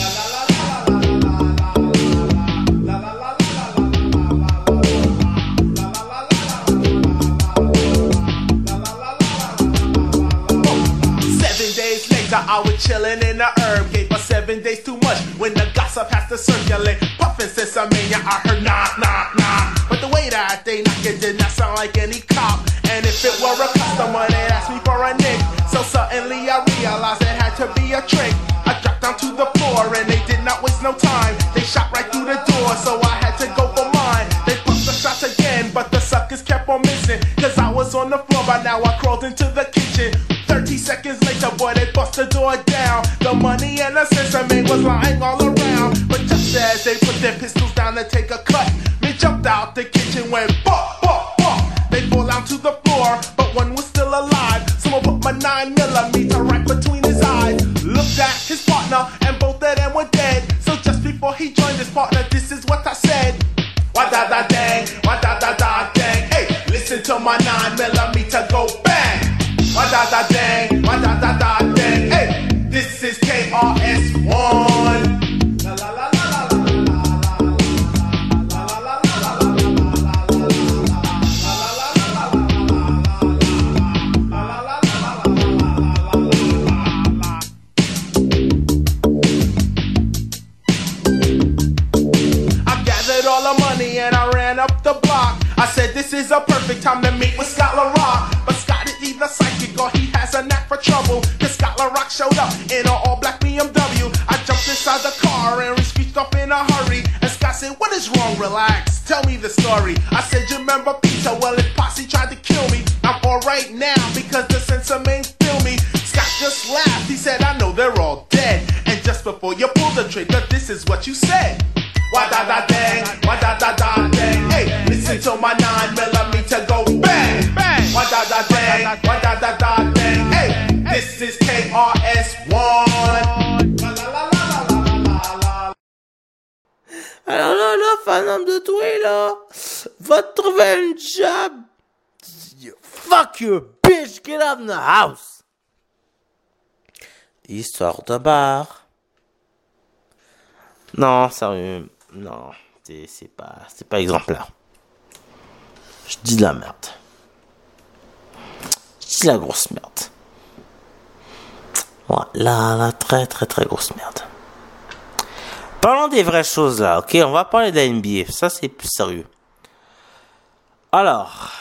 7 days later, I was chillin' in the herb gate for 7 days too much when the gossip has to circulate. Puffin' since I heard knock, knock, knock. But the way that they knock it did not sound like any cop. And if it were a customer, they asked me for a nick. So suddenly I realized it had to be a trick. I dropped down to the floor and they did not waste no time. They shot right through the door, so I had to go for mine. They pumped the shots again, but the suckers kept on missing. Cause I was on the floor, by now I crawled into the kitchen. 30 seconds later, boy, they bust the door down. The money and the sesame was lying all around. But just as they put their pistols down to take a cut, me jumped out the kitchen, went bop, bop, bop. They fall down to the floor, but one was still alive. Someone put my 9mm right between his eyes. Looked at his partner, and both of them were dead. So just before he joined his partner, this is what I said. Dang, hey, listen to my 9mm go bang. Dang, hey, this is KRS-One. All the money and I ran up the block. I said this is a perfect time to meet with Scott LaRock. But Scott is either psychic or he has a knack for trouble. Cause Scott LaRock showed up in an all-black BMW. I jumped inside the car and we screeched off in a hurry. And Scott said, what is wrong? Relax, tell me the story. I said, you remember Peter? Well, his posse tried to kill me. I'm alright now because the censor main feel me. Scott just laughed, he said, I know they're all dead. And just before you pull the trigger, this is what you said. Dang, hey, listen to my 9mm là, va trouver un job. Fuck you, bitch, get out of the house. Histoire de bar. Non, sérieux, non, c'est pas exemplaire. Je dis de la merde. Je dis la grosse merde. Voilà, la très très très grosse merde. Parlons des vraies choses là, ok? On va parler de la NBA, ça c'est plus sérieux. Alors,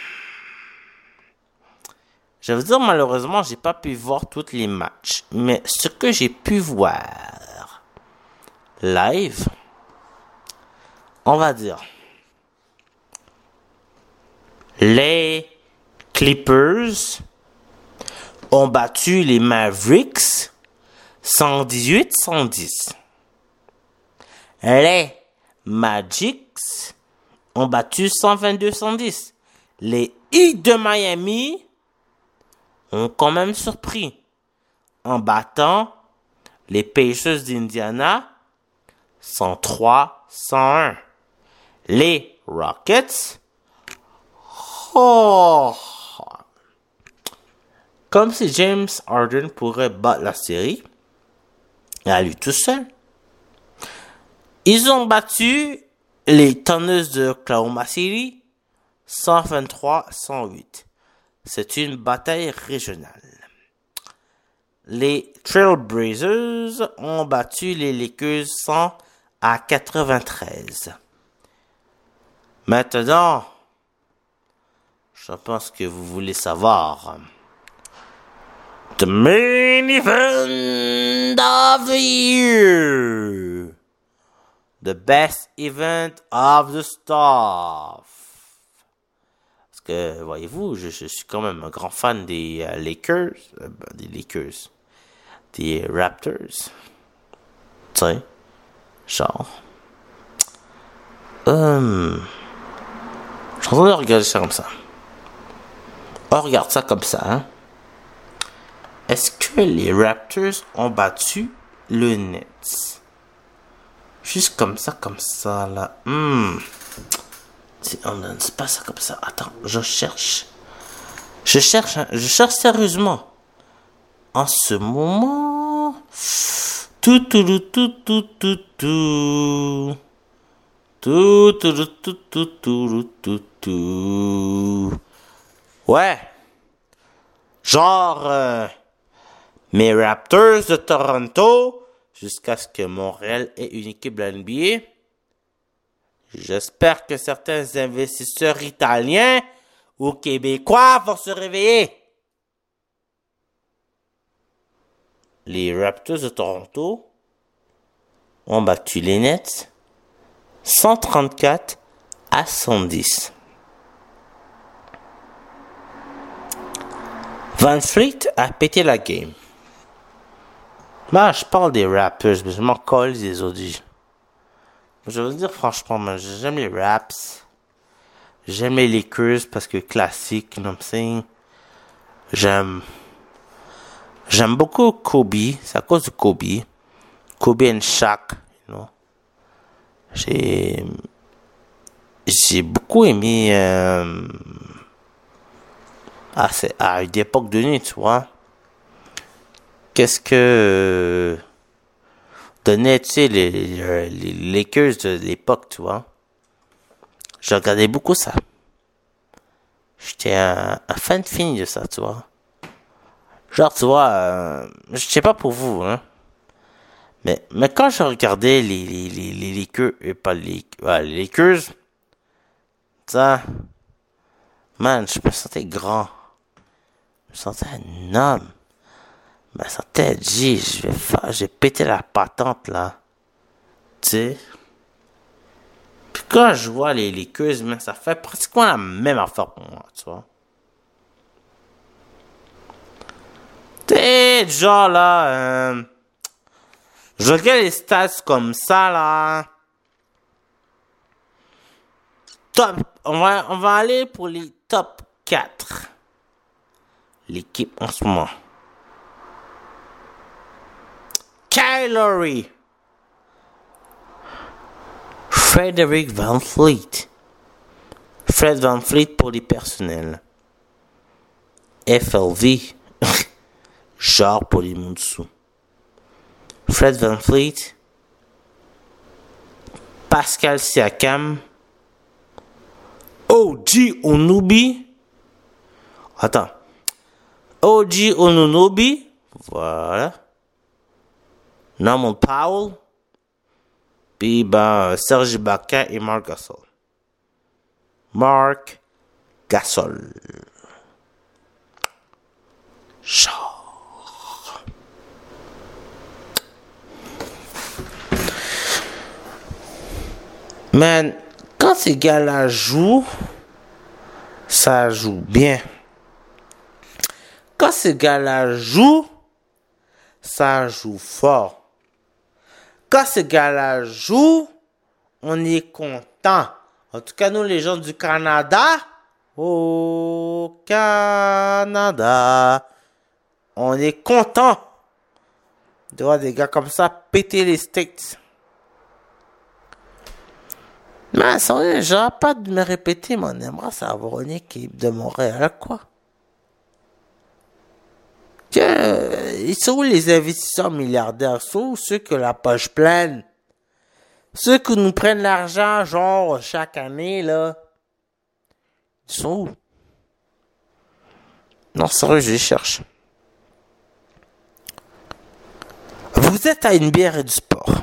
je veux dire, malheureusement, j'ai pas pu voir tous les matchs, mais ce que j'ai pu voir live, on va dire, les Clippers ont battu les Mavericks 118-110. Les Magics ont battu 122-110. Les Heat de Miami ont quand même surpris en battant les Pacers d'Indiana 103-101. Les Rockets, comme si James Harden pourrait battre la série à lui tout seul. Ils ont battu les Thunder de Oklahoma City 123-108. C'est une bataille régionale. Les Trailblazers ont battu les Lakers 100-93. Maintenant, je pense que vous voulez savoir. The main event of the year. The best event of the staff. Parce que, voyez-vous, je suis quand même un grand fan des des Raptors. Tu sais, genre. Je suis en train de regarder ça comme ça. On regarde ça comme ça, hein. Est-ce que les Raptors ont battu le Nets? Juste comme ça, là. C'est pas ça comme ça. Attends, je cherche sérieusement. En ce moment. Ouais. Genre, mes Raptors de Toronto, jusqu'à ce que Montréal ait une équipe de la NBA. J'espère que certains investisseurs italiens ou québécois vont se réveiller. Les Raptors de Toronto ont battu les Nets 134-110. Van Fleet a pété la game. Moi, je parle des Raptors, mais je m'en colle des audis. Je veux dire franchement, man, j'aime les Raps. J'aime les Lakers parce que classique, you know what I'm saying? J'aime beaucoup Kobe, c'est à cause de Kobe. Kobe and Shaq, you know. J'ai beaucoup aimé à une époque donnée, tu vois. Qu'est-ce que donnait, tu sais, les Lakers de l'époque, tu vois. Je regardais beaucoup ça. J'étais un fan fini de ça, tu vois. Genre, tu vois, je sais pas pour vous, hein. Mais quand je regardais les Lakers, pas les Lakers, ça, man, je me sentais grand. Je me sentais un homme. Je me sentais, j'ai pété la patente, là. Tu sais. Puis quand je vois les Lakers, man, ça fait pratiquement la même affaire pour moi, tu vois. T'es genre là, je regarde les stats comme ça là. Top, on va aller pour les top 4. L'équipe en ce moment. Kyle Lowry Frederick Van Fleet. Fred Van Fleet pour les personnels. FLV. Genre pour les Mounsous. Fred Van Fleet. Pascal Siakam. OG Onubi. Attends. OG Onunobi. Voilà. Norman Powell. Puis Serge Ibaka et Marc Gasol. Marc Gasol. Genre. Man, quand ces gars-là jouent, ça joue bien. Quand ces gars-là jouent, ça joue fort. Quand ces gars-là jouent, on est content. En tout cas, nous, les gens du Canada, au Canada, on est content de voir des gars comme ça péter les States. Mais sans genre, pas de me répéter, mais on aimerait savoir une équipe de Montréal, quoi. Ils sont où les investisseurs milliardaires? Sont où ceux qui ont la poche pleine? Ceux qui nous prennent l'argent, genre, chaque année, là. Ils sont où? Non, sérieux, je les cherche. Vous êtes à une bière et du sport.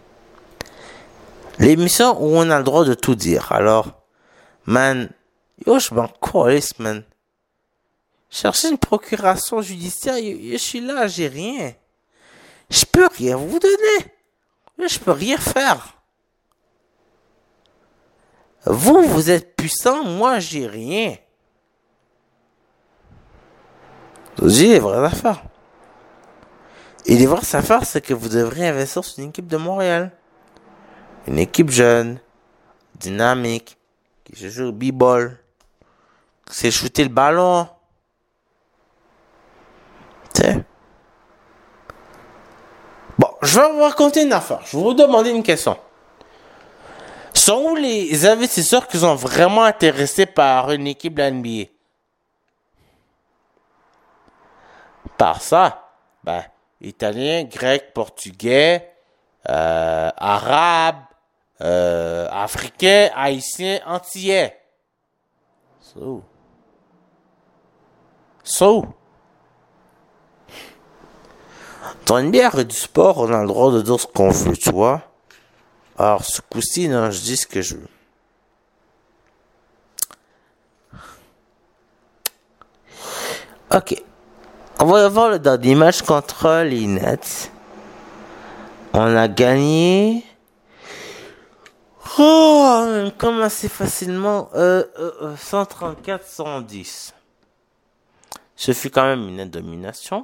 L'émission où on a le droit de tout dire. Alors, man, yo, je m'en calisse, man. Chercher une procuration judiciaire, je suis là, j'ai rien. Je peux rien vous donner. Je peux rien faire. Vous êtes puissant, moi, j'ai rien. J'ai les vraies affaires. Et les vraies affaires, c'est que vous devrez investir sur une équipe de Montréal. Une équipe jeune, dynamique, qui se joue au b-ball, qui sait shooter le ballon. T'sais. Bon, je vais vous raconter une affaire. Je vais vous demander une question. Sont où les investisseurs qui sont vraiment intéressés par une équipe de la NBA? Par ça, italien, grec, portugais, arabe, africain, haïtien, antillais. Dans une bière et du sport, on a le droit de dire ce qu'on veut, tu vois. Alors, ce coup-ci, non, je dis ce que je veux. Ok. On va voir dans des matchs contre les Nets. On a gagné. Comme assez facilement. 134-110. Ce fut quand même une domination.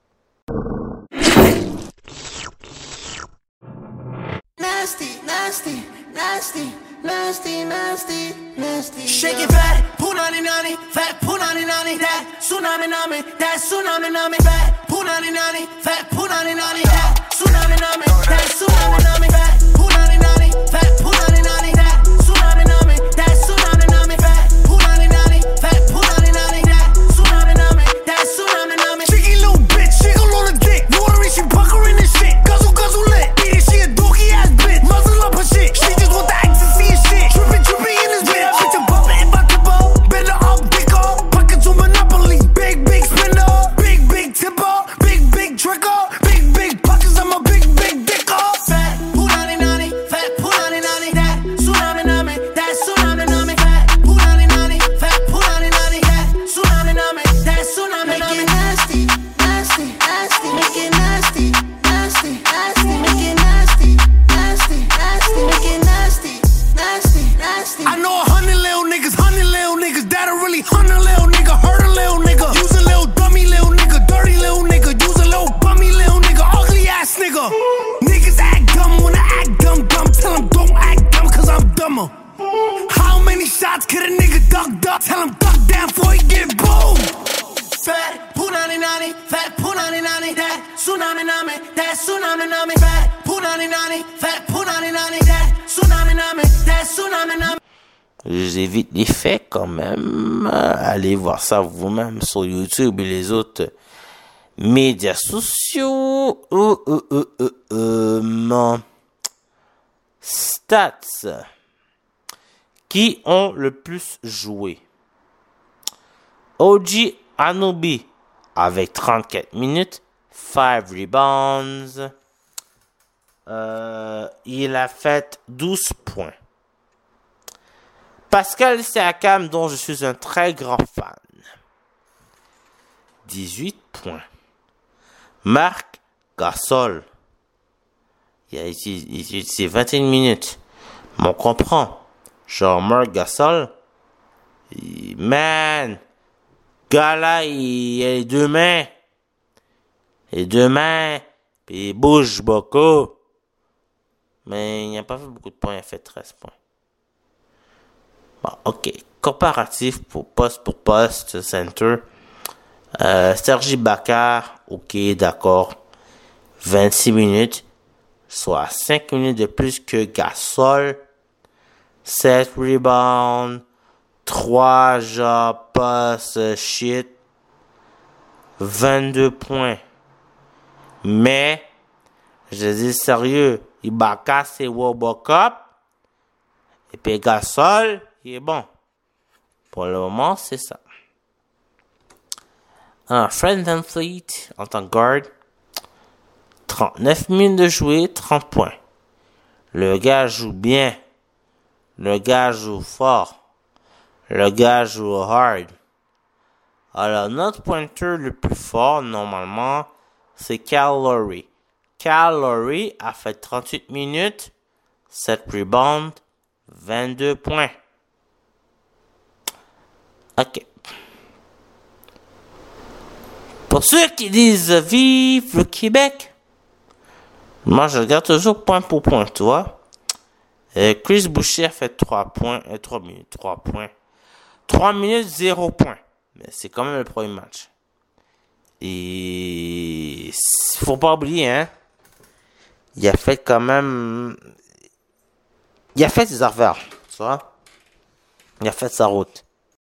Nasty, nasty, nasty, nasty, nasty, nasty. Shake it fat, punani nani, fat punani nani, that tsunami nami, that tsunami nami, fat punani nani, fat punani nani, that tsunami nami, that tsunami nami, fat punani nani, fat punani nani, that tsunami nami, that tsunami nami, fat punani nani, fat punani nani, that tsunami nami, that tsunami nami. Cheeky little bitch, she gon' on the dick, watery, she puckering this shit, guzzle guzzle lit, eat it, she a dookie ass bitch, muzzle up her shit, she just want the ecstasy and shit, trippin' trippin' in this bitch, bitch a bumpin' about to blow, better up, dick off, pocket to monopoly, big spender, big tipper, big tricker, big pockets, I'm a big dick off. Fat punani nani, fat punani nani, that tsunami nami, that tsunami nami, fat punani nani, fat punani nani, that tsunami nami, that tsunami nami. Make it nasty, nasty, nasty, make it nasty, nasty, nasty, make it nasty, nasty, nasty, make it nasty, nasty, nasty. I know 100 little niggas that'll really hunt a little nigga, hurt a little nigga, use a little dummy little nigga, dirty little nigga, use a little bummy little nigga, ugly ass nigga. Niggas act dumb when I act dumb, tell them don't act dumb cause I'm dumber. How many shots could a nigga duck? Tell him duck down before he get boom. Fat punani nani, that tsunami nami, that tsunami nami, fat punani J'évite les faits quand même. Allez voir ça vous-même sur YouTube et les autres médias sociaux. Stats. Qui ont le plus joué? OG Anunoby avec 34 minutes, 5 rebounds. Il a fait 12 points. Pascal Siakam, dont je suis un très grand fan, 18 points. Marc Gasol, il a utilisé 21 minutes. Mais on comprend. Genre, Marc Gasol, man, gars là, il a les deux mains. Les deux mains, puis il bouge beaucoup. Mais il n'a pas fait beaucoup de points, il a fait 13 points. Bon, ok. Comparatif pour poste, center. Serge Ibaka, ok, d'accord. 26 minutes, soit 5 minutes de plus que Gasol. 7 rebounds, 3 jobs, pass, shit. 22 points. Mais, je dis sérieux, Ibaka c'est Robocop. Et puis Gasol, il est bon. Pour le moment, c'est ça. Alors, Fred VanVleet, en tant que guard, 39 minutes de jouer, 30 points. Le gars joue bien. Le gars joue fort. Le gars joue hard. Alors, notre pointeur le plus fort, normalement, c'est Kyle Lowry. Kyle Lowry a fait 38 minutes, 7 rebounds, 22 points. Ok. Pour ceux qui disent vive le Québec, moi je regarde toujours point pour point, tu vois. Chris Boucher a fait 3 points, 3 minutes, 3 points. 3 minutes, 0 points. Mais c'est quand même le premier match. Et faut pas oublier, hein. Il a fait quand même... Il a fait ses affaires, tu vois. Il a fait sa route.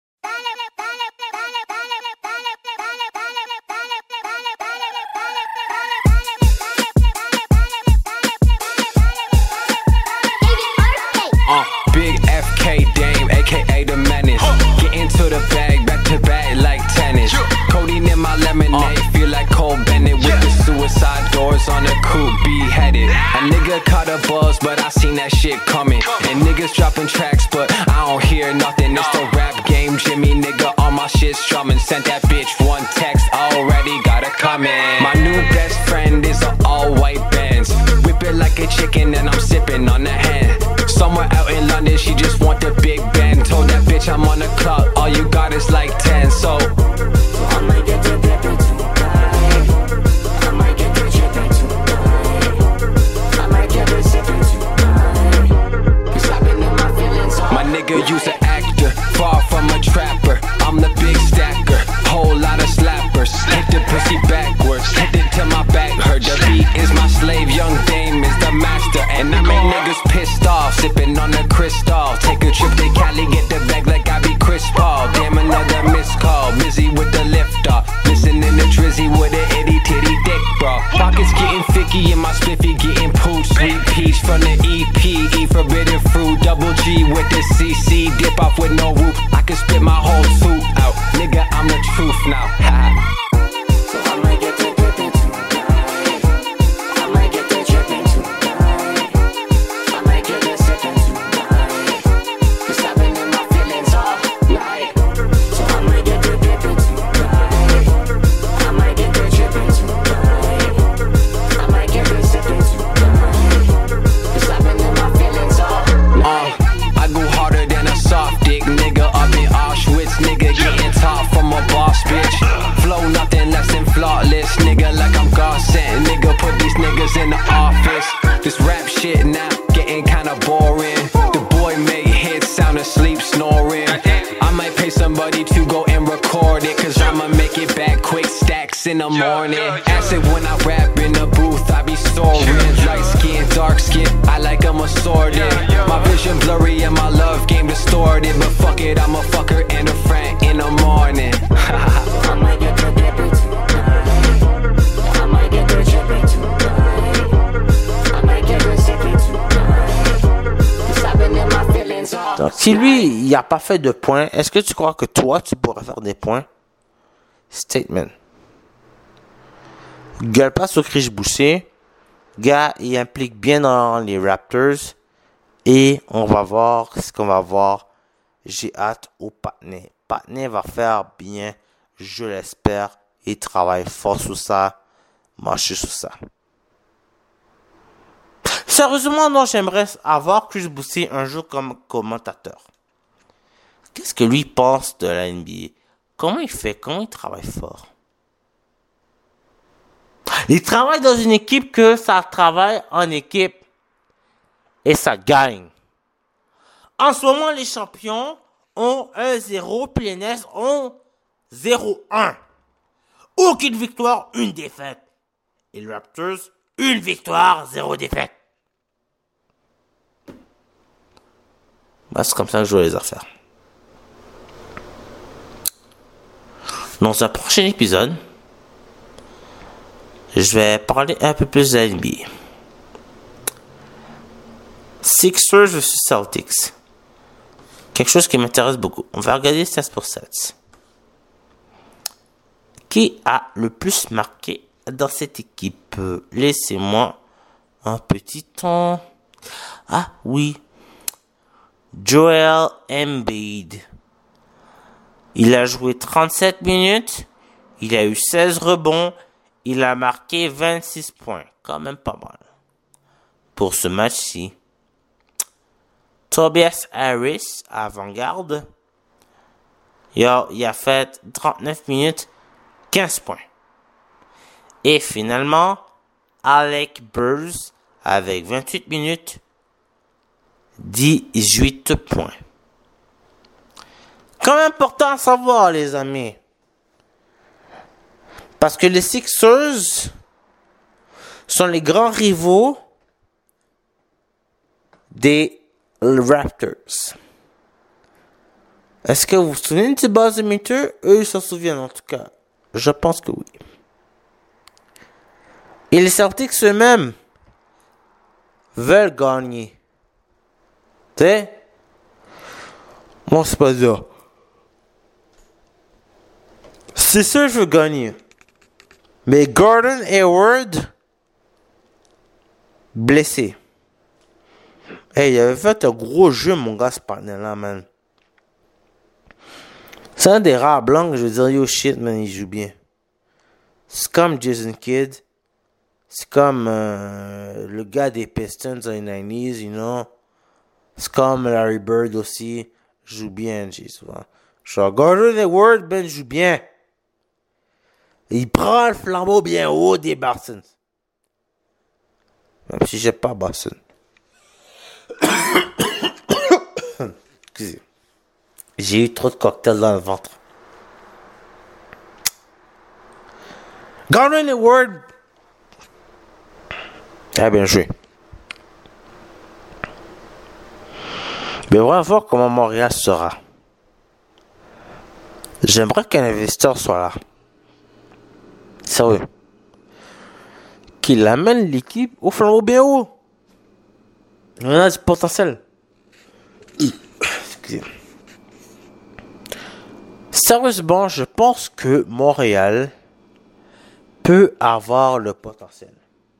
Big FK Dame, aka the menace. Get into the bag, back to back like tennis. Codeine in my lemonade, feel like Cole Bennett with the suicide doors on the coupe, beheaded. A nigga caught a buzz, but I seen that shit coming. And niggas dropping tracks, but I don't hear nothing. It's the rap game, Jimmy nigga, all my shit strumming. Sent that bitch one text, already got it coming. My new best friend is an all-white Benz. Whip it like a chicken and I'm sipping on the hand. Somewhere out in London, she just want the Big Ben. Told that bitch I'm on the clock, all you got is like 10. So I might get the drippin' tonight. I might get the drippin' tonight. I might get the sippin' tonight. Cause I've been in my feelings all my nigga use an actor, far from a trapper. I'm the big stacker, whole lot of slappers. Hit the pussy backwards, hit it till my back hurt. The beat is my slave, young Dame is the master. And I make niggas pissed off, sipping on the crystal. Take a trip to Cali, get the bag like I be Chris Paul. Damn, another missed call, busy with the lift off. Listening to Drizzy with an itty titty dick, bro. Pockets getting thicky and my spiffy getting pooed. Sweet peach from the EP, eat forbidden fruit. Double G with the CC, dip off with no roof. I can spit my whole suit out, nigga, I'm the truth now. So I might get the drippin' tonight. I might get the drippin' tonight. I might get the sippin' tonight. Cause I've been in my feelings all night. So I might get the drippin' tonight. I might get the drippin' tonight. I might get the sippin' tonight. Cause I've been in my feelings all night. I go harder than a soft dick nigga up in Auschwitz, nigga getting taught from a boss bitch. Flow nothing less than flawless, nigga, like I'm God sent. Nigga, put these niggas in the office. This rap shit now getting kinda boring. The boy made hits, sound asleep, snoring. I might pay somebody to go and record it, cause I'ma make it back quick, stacks nights in the morning. Acid when I rap in the booth, I be soaring. Light skin, dark skin, I like 'em assorted. My vision blurry and my love game distorted. But fuck it, I'm a fucker and a friend in the morning. I might get the debit tonight. I might get the debit tonight. I might get the debit tonight. Stopping in my feelings. Donc, si lui, il n'a pas fait de points, est-ce que tu crois que toi, tu pourrais faire des points? Statement. Gueule pas sur Chris Boucher. Gars, il implique bien dans les Raptors. Et on va voir ce qu'on va voir. J'ai hâte au Patnais. Patnais va faire bien, je l'espère. Il travaille fort sur ça. Marcher sur ça. Sérieusement, non, j'aimerais avoir Chris Boucher un jour comme commentateur. Qu'est-ce que lui pense de la NBA? Comment il fait? Comment il travaille fort? Il travaille dans une équipe que ça travaille en équipe et ça gagne. En ce moment, les champions ont 1-0, puis les Nets ont 0-1. Aucune victoire, une défaite. Et les Raptors, une victoire, 0 défaite. Bah, c'est comme ça que je vois les affaires. Dans un prochain épisode, je vais parler un peu plus de la NBA. Sixers vs Celtics. Quelque chose qui m'intéresse beaucoup. On va regarder stats pour stats. Qui a le plus marqué dans cette équipe? Laissez-moi un petit temps. Ah oui. Joel Embiid. Il a joué 37 minutes. Il a eu 16 rebonds. Il a marqué 26 points. Quand même pas mal. Pour ce match-ci. Tobias Harris, avant-garde. Il a fait 39 minutes, 15 points. Et finalement, Alec Burks, avec 28 minutes, 18 points. Quand même important à savoir, les amis. Parce que les Sixers sont les grands rivaux des Raptors. Est-ce que vous vous souvenez du buzz meter? Eux, ils s'en souviennent en tout cas. Je pense que oui. Et les Celtics eux-mêmes veulent gagner. Tu sais? Moi, c'est pas ça. C'est sûr que je veux gagner. Mais Gordon Hayward, blessé. Hey, il avait fait un gros jeu, mon gars, ce panel-là, man. C'est un des rares blancs que je veux dire, yo shit, man, il joue bien. C'est comme Jason Kidd. C'est comme le gars des Pistons dans les 90s, you know. C'est comme Larry Bird aussi. Joue bien, J, souvent. Genre, Gordon Hayward, ben, joue bien. Il prend le flambeau bien haut des Boston. Même si j'ai pas Boston. Excusez. J'ai eu trop de cocktails dans le ventre. Gordon Hayward. Ah, bien joué. Mais on va voir comment Montréal sera. J'aimerais qu'un investisseur soit là. Sérieux. Qu'il amène l'équipe au flambeau bien haut. On a du potentiel. Excusez. Sérieusement, je pense que Montréal peut avoir le potentiel.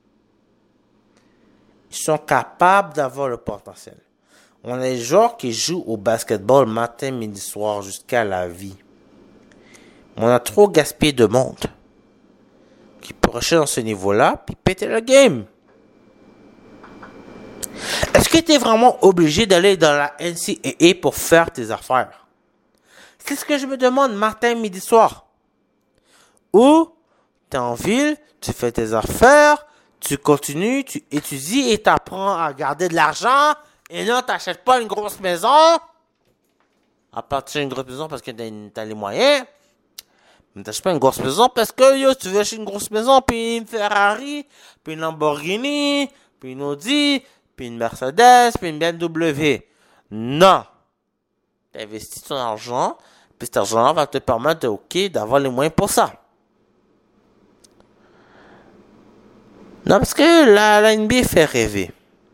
Ils sont capables d'avoir le potentiel. On a des joueurs qui jouent au basketball matin, midi, soir jusqu'à la vie. On a trop gaspillé de monde qui pourrait rester dans ce niveau-là puis péter le game. Est-ce que tu es vraiment obligé d'aller dans la NCAA pour faire tes affaires? C'est ce que je me demande matin, midi, soir. Ou tu es en ville, tu fais tes affaires, tu continues, tu étudies et tu apprends à garder de l'argent. Et non, tu n'achètes pas une grosse maison. À partir d'une grosse maison parce que tu as les moyens. Ne t'achètes pas une grosse maison parce que yo, tu veux acheter une grosse maison, puis une Ferrari, puis une Lamborghini, puis une Audi, puis une Mercedes, puis une BMW. Non. T'investis ton argent, puis cet argent-là va te permettre d'avoir les moyens pour ça. Non, parce que la NBA fait rêver.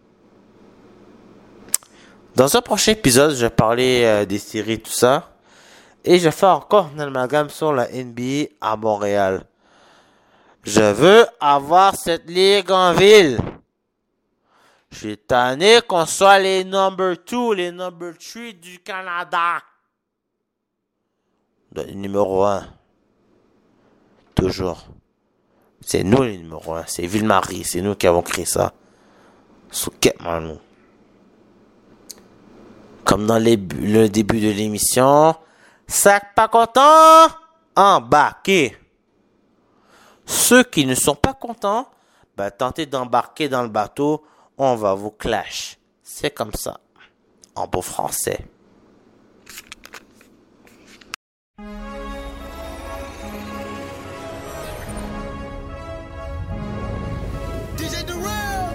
Dans un prochain épisode, je vais parler des séries, tout ça. Et je vais faire encore un amalgame sur la NBA à Montréal. Je veux avoir cette ligue en ville. Je suis tanné qu'on soit les number 2, les number 3 du Canada. Le numéro 1. Toujours. C'est nous les numéro 1. C'est Ville-Marie. C'est nous qui avons créé ça. Souquet-moi, nous. Comme dans le début de l'émission. Sac pas content, embarquez. Ceux qui ne sont pas contents, tentez d'embarquer dans le bateau, on va vous clash. C'est comme ça, en beau français. DJ Durrell.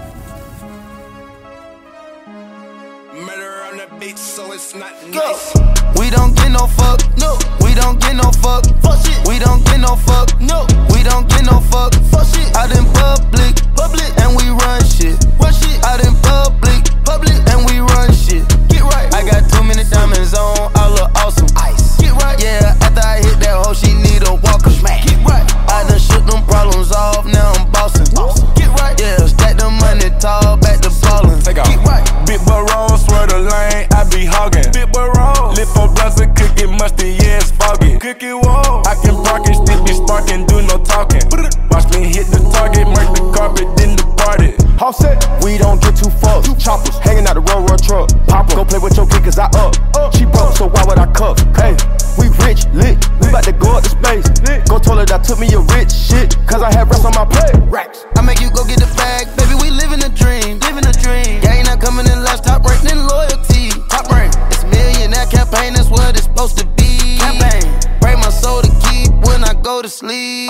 Murder on the beat, so it's not Go. nice. We don't get no fuck, no. We don't get no fuck, fuck shit. We don't get no fuck, no. We don't get no fuck, fuck shit. Out in public, and we run shit, run shit. Out in public, and we run shit. Get right. I got too many diamonds on, I look awesome. Ice. Get right. Yeah, after I hit that hoe, she need a walker. Smack. Get right. I done shook them problems off, now I'm bossing. Get right. Yeah, stack the money tall, back to ballin'. Take off. Get right. Big boy roll, swear the lane, I be hogging. Big boy roll, lift for blunts and cook it musty, yeah, it's foggy. Cook it wall, I can park it, still be sparking, do no talking. Watch me hit the target, mark the carpet, then depart it. All set, we don't get too fucked. Choppers hanging out the road truck. Pop go play with your kid cause I up. She broke, so why would I cuff? Hey, we rich, lit. We bout to go up to space. Go told her that took me a rich shit. Cause I had rest on my plate. Racks. I make you go get the bag, baby, we living a dream, living a dream. Gang not coming in last, top rank, then loyalty. Top rank, it's millionaire campaign, that's what it's supposed to be. Campaign, break my soul to keep when I go to sleep.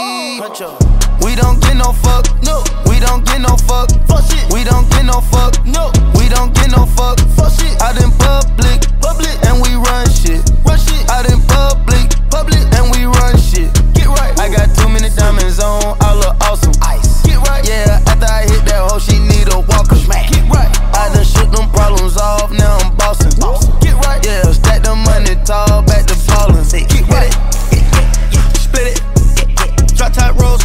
We don't get no fuck, no. We don't get no fuck, fuck shit. We don't get no fuck, no. We don't get no fuck, fuck shit. Out in public, and we run shit, run shit. Out in public, and we run shit. Get right. I got too many diamonds on, I look awesome. Ice. Get right. Yeah, after I hit that hoe, she need a walker. Smack. Get right. I done shook them problems off, now I'm bossing. Get right. Yeah, stack the money tall, back to ballin'. Get right. Split it. Drop top rolls.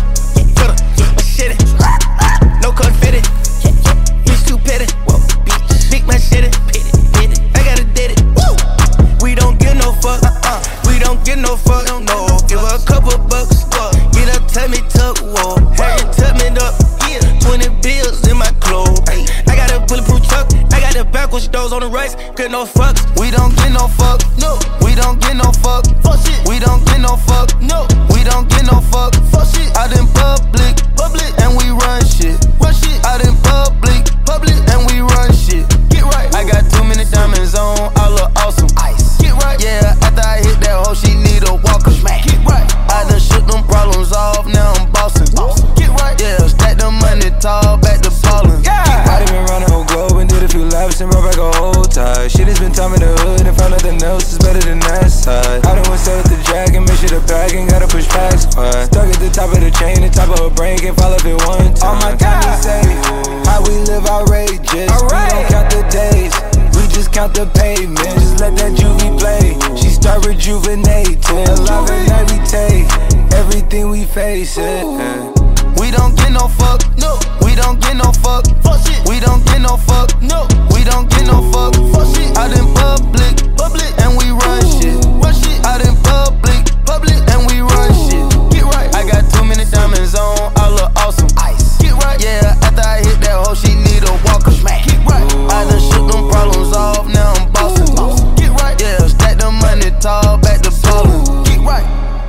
Shit it. No confetti. Bitch too petty. Big man shit it. I gotta did it. We don't get no fuck. We don't get no fuck. No. Give her a couple bucks. Get up, tell me tuck. Whoa. Hey, tuck me up. 20 bills in my clothes. I got a bulletproof truck. I got the backwards doors on the rights. Get no fucks. We don't get no fuck. No. We don't get no fuck. Fuck shit. We don't get no fuck. No. We don't get no fuck. Fuck shit. Out in public, and we run shit. Run shit. Out in public, and we run shit. Get right. I got too many diamonds on, I look awesome. Ice. Get right. Yeah, after I hit that hoe, she need a walker. Smack. Get right. I done shook them problems off, now I'm bossing. Get right. Yeah, stack the money tall, back to ballin'. Yeah. I done been around the whole globe and did a few laps and brought back a whole tie. Shit has been time in the hood and found nothing else is better than that side. I done went set with the dragon, make sure the bag ain't gotta push back squad. Stuck at the top of the chain, the top of her brain can't fall off it one time. All my time is safe, how we live outrageous. We don't count the days, we just count the pavement. Just let that juvie play, she start rejuvenating. Alive and every take, everything we face it. We don't get no fuck, no. We don't get no fuck, fuck shit. We don't get no fuck, no. We don't get no fuck, fuck shit. Out in public, and we run shit, run shit. Out in public, and we run shit. Get right. I got too many diamonds on, I look awesome. Ice. Get right. Yeah, after I hit that hoe, she need a walker. Smack. Get right. I done shook them problems off, now I'm bossing. Get right. Yeah, stack the money tall, back to ballin'. Get right.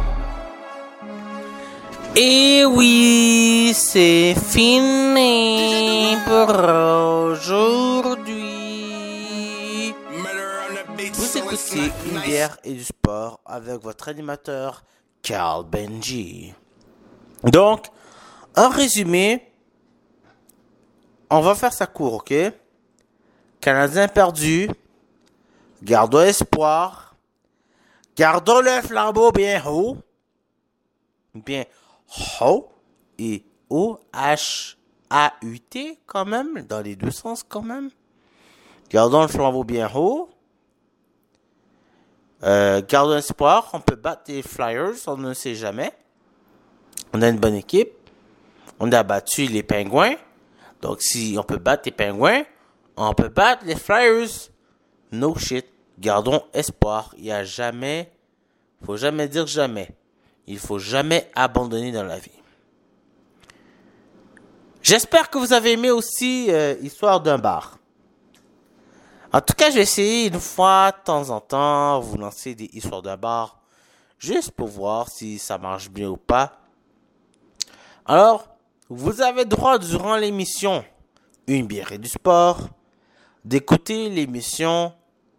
Et oui, c'est fini pour aujourd'hui. Vous écoutez Une bière et du sport avec votre animateur Carl Benji. Donc, en résumé, on va faire ça court, ok? Canadiens perdus, gardons espoir, gardons le flambeau bien haut, et O-H-A-U-T quand même, dans les deux sens quand même. Gardons le flambeau bien haut. Gardons espoir, on peut battre les Flyers, on ne sait jamais. On a une bonne équipe. On a battu les Pingouins. Donc si on peut battre les Pingouins, on peut battre les Flyers. No shit. Gardons espoir. Il y a jamais, faut jamais dire jamais. Il faut jamais abandonner dans la vie. J'espère que vous avez aimé aussi Histoire d'un bar. En tout cas, je vais essayer une fois, de temps en temps, vous lancer des histoires d'un bar, juste pour voir si ça marche bien ou pas. Alors, vous avez droit durant l'émission Une bière et du sport, d'écouter l'émission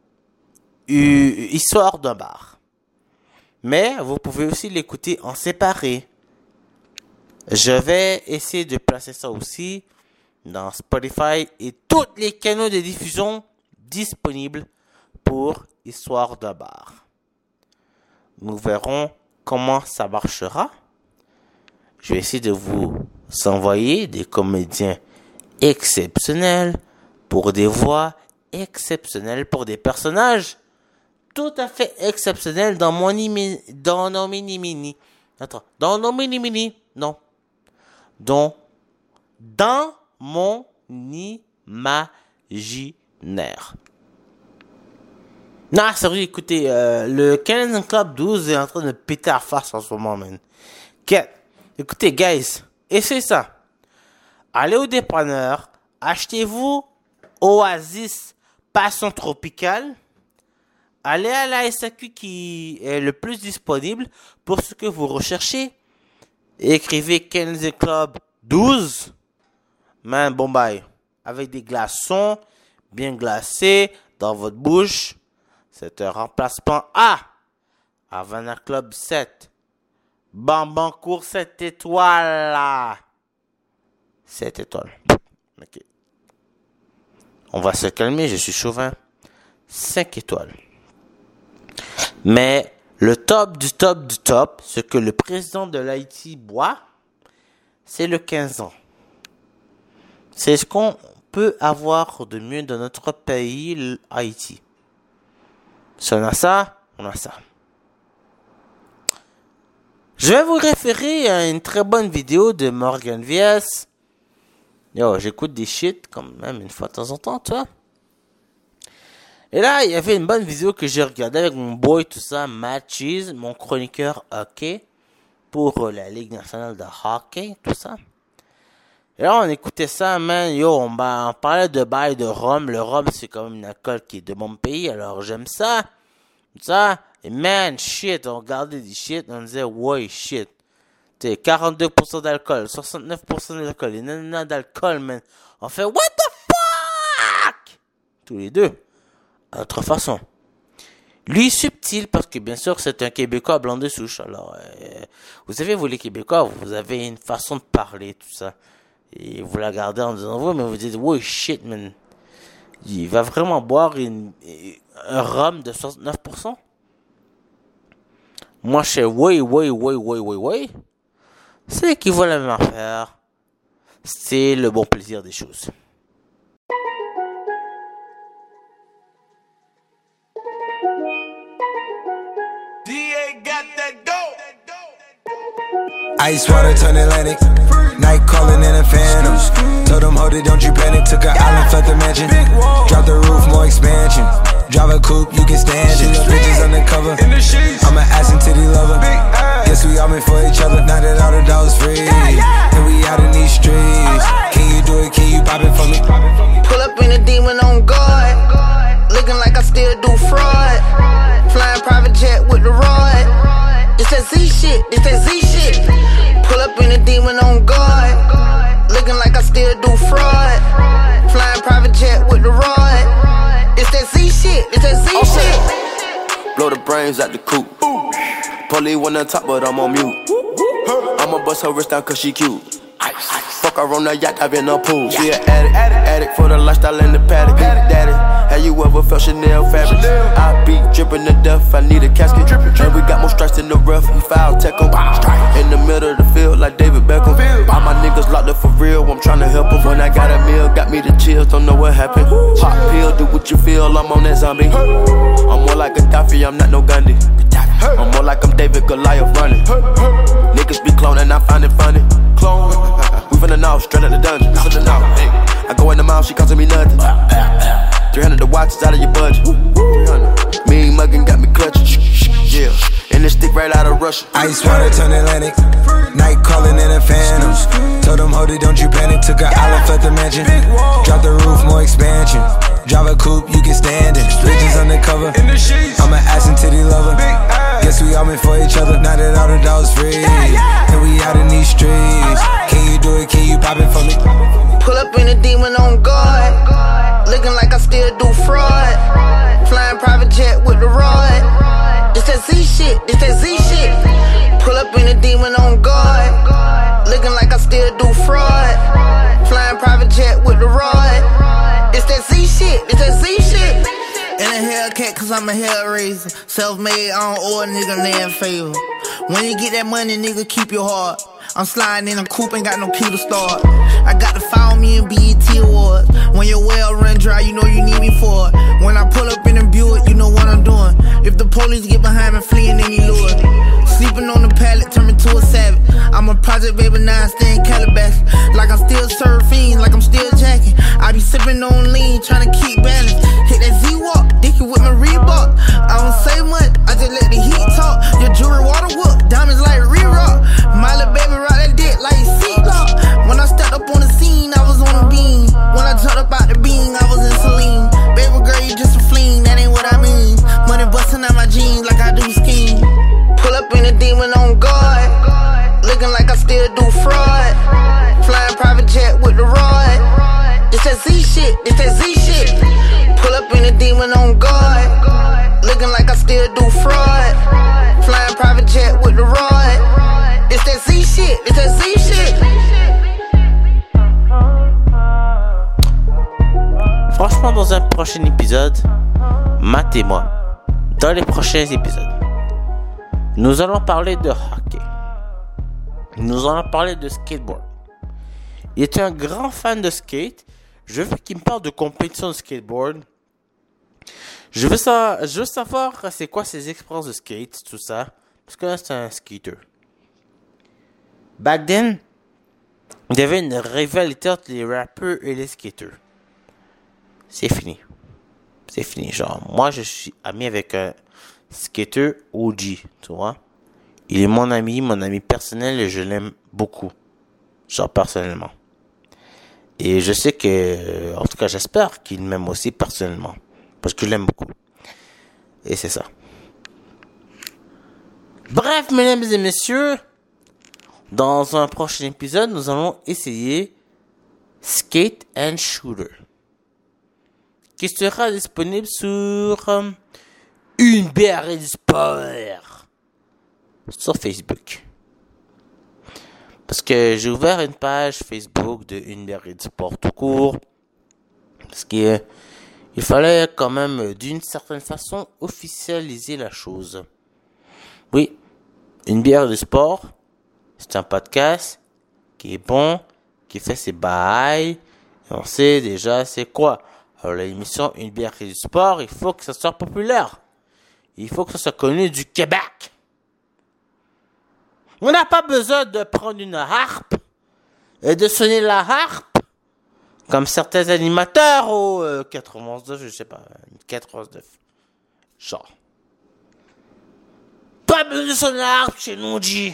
Histoire d'un bar. Mais vous pouvez aussi l'écouter en séparé. Je vais essayer de placer ça aussi dans Spotify et tous les canaux de diffusion disponibles pour Histoire d'un bar. Nous verrons comment ça marchera. Je vais essayer de vous envoyer des comédiens exceptionnels pour des voix exceptionnelles, pour des personnages tout à fait exceptionnels dans mon dans nos mini-mini. Attends, dans nos mini-mini, non. Dans mon imaginaire. Non, sérieux, écoutez, le Canadian Club 12 est en train de péter à face en ce moment, man. Écoutez, guys, essayez ça. Allez au dépanneur, achetez-vous Oasis Passion Tropicale. Allez à la SAQ qui est le plus disponible pour ce que vous recherchez. Écrivez Canadian Club 12. Man, bon bye. Avec des glaçons bien glacés dans votre bouche. C'est un remplacement A. Havana Club 7. Bambancourt 7 étoiles là. 7 étoiles. Ok. On va se calmer, je suis chauvin. 5 étoiles. Mais le top du top du top, ce que le président de l'Haïti boit, c'est le 15 ans. C'est ce qu'on peut avoir de mieux dans notre pays, Haïti. Si on a ça, on a ça. Je vais vous référer à une très bonne vidéo de Morgan Vies. Yo, j'écoute des shit quand même une fois de temps en temps, tu vois. Et là, il y avait une bonne vidéo que j'ai regardée avec mon boy, tout ça, Matt Cheese, mon chroniqueur hockey, pour la Ligue nationale de hockey, tout ça. Et là, on écoutait ça, man, yo, on parlait de bail de rhum. Le rhum, c'est quand même une alcool qui est de mon pays, alors j'aime ça, tout ça. Et man, shit, on regardait des shit, on disait, ouais, shit. Tu sais, 42% d'alcool, 69% d'alcool, et nanana d'alcool, man. On fait, what the fuck? Tous les deux. À notre façon. Lui, subtil, parce que bien sûr, c'est un Québécois blanc de souche. Alors, vous savez, vous les Québécois, vous avez une façon de parler, tout ça. Et vous la gardez en disant, vous, mais vous dites, ouais, shit, man. Il va vraiment boire un rhum de 69%? Moi, je sais, ouais. C'est qui vaut la même affaire. C'est le bon plaisir des choses. Ice water turn Atlantic. Night calling in a phantom. Told them, hold it, don't you panic. Took an island, left the mansion. Drop the roof, more expansion. Drive a coupe, you can stand it. Bitches undercover. I'm an ass and titty lover. Guess we all meant for each other. Now that all the dogs free, and we out in these streets. Can you do it? Can you pop it for me? Pull up in a demon on guard. Looking like I still do fraud. Flying private jet with the rod. It's that Z shit, it's that Z shit. Pull up in a demon on guard. Looking like I still do fraud. Flying private jet with the rod. It's that Z shit, it's that Z shit. Blow the brains out the coop. Polly wanna talk, but I'm on mute. I'ma bust her wrist down cause she cute. Fuck her on the yacht, I've been a pool. She an addict for the lifestyle and the paddock. Daddy, have you ever felt Chanel fabric? I be dripping to death, I need a casket. And we got more strikes in the rough, we foul tech 'em. In the middle of the field like David Beckham. All my niggas locked up for real, I'm tryna help 'em. When I got a meal, got me the chills, don't know what happened. Pop pill, do what you feel, I'm on that zombie. I'm more like Gaddafi, I'm not no Gandhi. I'm more like I'm David Goliath running. Niggas be cloning, I find it funny. Clone, we finna know, straight out the dungeon. I go in the mouth, she costing me nothing. 300 the watch is out of your budget. Mean muggin' got me clutching. Yeah, and this stick right out of Russia. Ice water turn Atlantic. Night calling in a phantom. Told them, hold it, don't you panic. Took an olive at the mansion. Drop the roof, more expansion. Drive a coupe, you can stand it. Bridges undercover. I'm an ass and titty lover. Guess we all meant for each other. Now that all the dogs free, and we out in these streets. Can you do it? Can you pop it for me? Pull up in a demon on guard. Looking like I still do fraud. Flying private jet with the rod. This that Z shit, this that Z shit. Pull up in a demon on guard. Looking like I still do fraud. Flying private jet with the rod. This that Z shit, this that Z shit. In a Hellcat cause I'm a hellraiser. Self-made, I don't owe a nigga land favor. When you get that money, nigga, keep your heart. I'm sliding in a coupe, ain't got no key to start. I got to follow me in BET Awards. When your well run dry, you know you need me for it. When I pull up in a Buick, you know what I'm doing. If the police get behind me, fleeing any lure. Sleeping on the pallet, turn me to a savage. I'm a project baby, now I stay in Calabash. Like I'm still surfing, like I'm still jacking. I be sipping on lean, trying to keep balance. Hit that Z-Walk, dicky with my Reebok. I don't say much, I just let the heat talk. Your jewelry water whoop, diamonds like re-rock. My little baby ride that dick like seatlock. When I stepped up on the scene, I was on a beam. When I jumped up out the beam, I was in Celine. Baby girl, you just a fleen, that ain't what I mean. Money busting out my jeans like I do skiing. Pull up in a demon on guard. Looking like I still do fraud. Flying private jet with the rod. This that Z shit, this that Z shit. Pull up in a demon on guard. Looking like I still do fraud. Flying private jet with the rod. This that Z shit, this that Z shit. Franchement, dans un prochain épisode, matez-moi. Dans les prochains épisodes, nous allons parler de hockey. Nous allons parler de skateboard. Il est un grand fan de skate. Je veux qu'il me parle de compétition de skateboard. Je veux savoir c'est quoi ses expériences de skate, tout ça. Parce que là, c'est un skater. Back then, il y avait une rivalité entre les rappeurs et les skaters. C'est fini. C'est fini. Genre, moi, je suis ami avec un skater OG, tu vois. Il est mon ami personnel et je l'aime beaucoup. Genre, personnellement. Et je sais que, en tout cas, j'espère qu'il m'aime aussi personnellement. Parce que je l'aime beaucoup. Et c'est ça. Bref, mesdames et messieurs, dans un prochain épisode, nous allons essayer Skate and Shooter, qui sera disponible sur Une bière et du sport sur Facebook. Parce que j'ai ouvert une page Facebook de Une bière et du sport tout court. Parce que il fallait quand même, d'une certaine façon, officialiser la chose. Oui, Une bière et du sport, c'est un podcast qui est bon, qui fait ses bails. Et on sait déjà c'est quoi. Alors l'émission Une bière et du sport, il faut que ça soit populaire. Il faut que ça soit connu du Québec. On n'a pas besoin de prendre une harpe et de sonner la harpe comme certains animateurs au 99, je sais pas, 99. Genre. Pas besoin de sonner la harpe chez nous, on dit.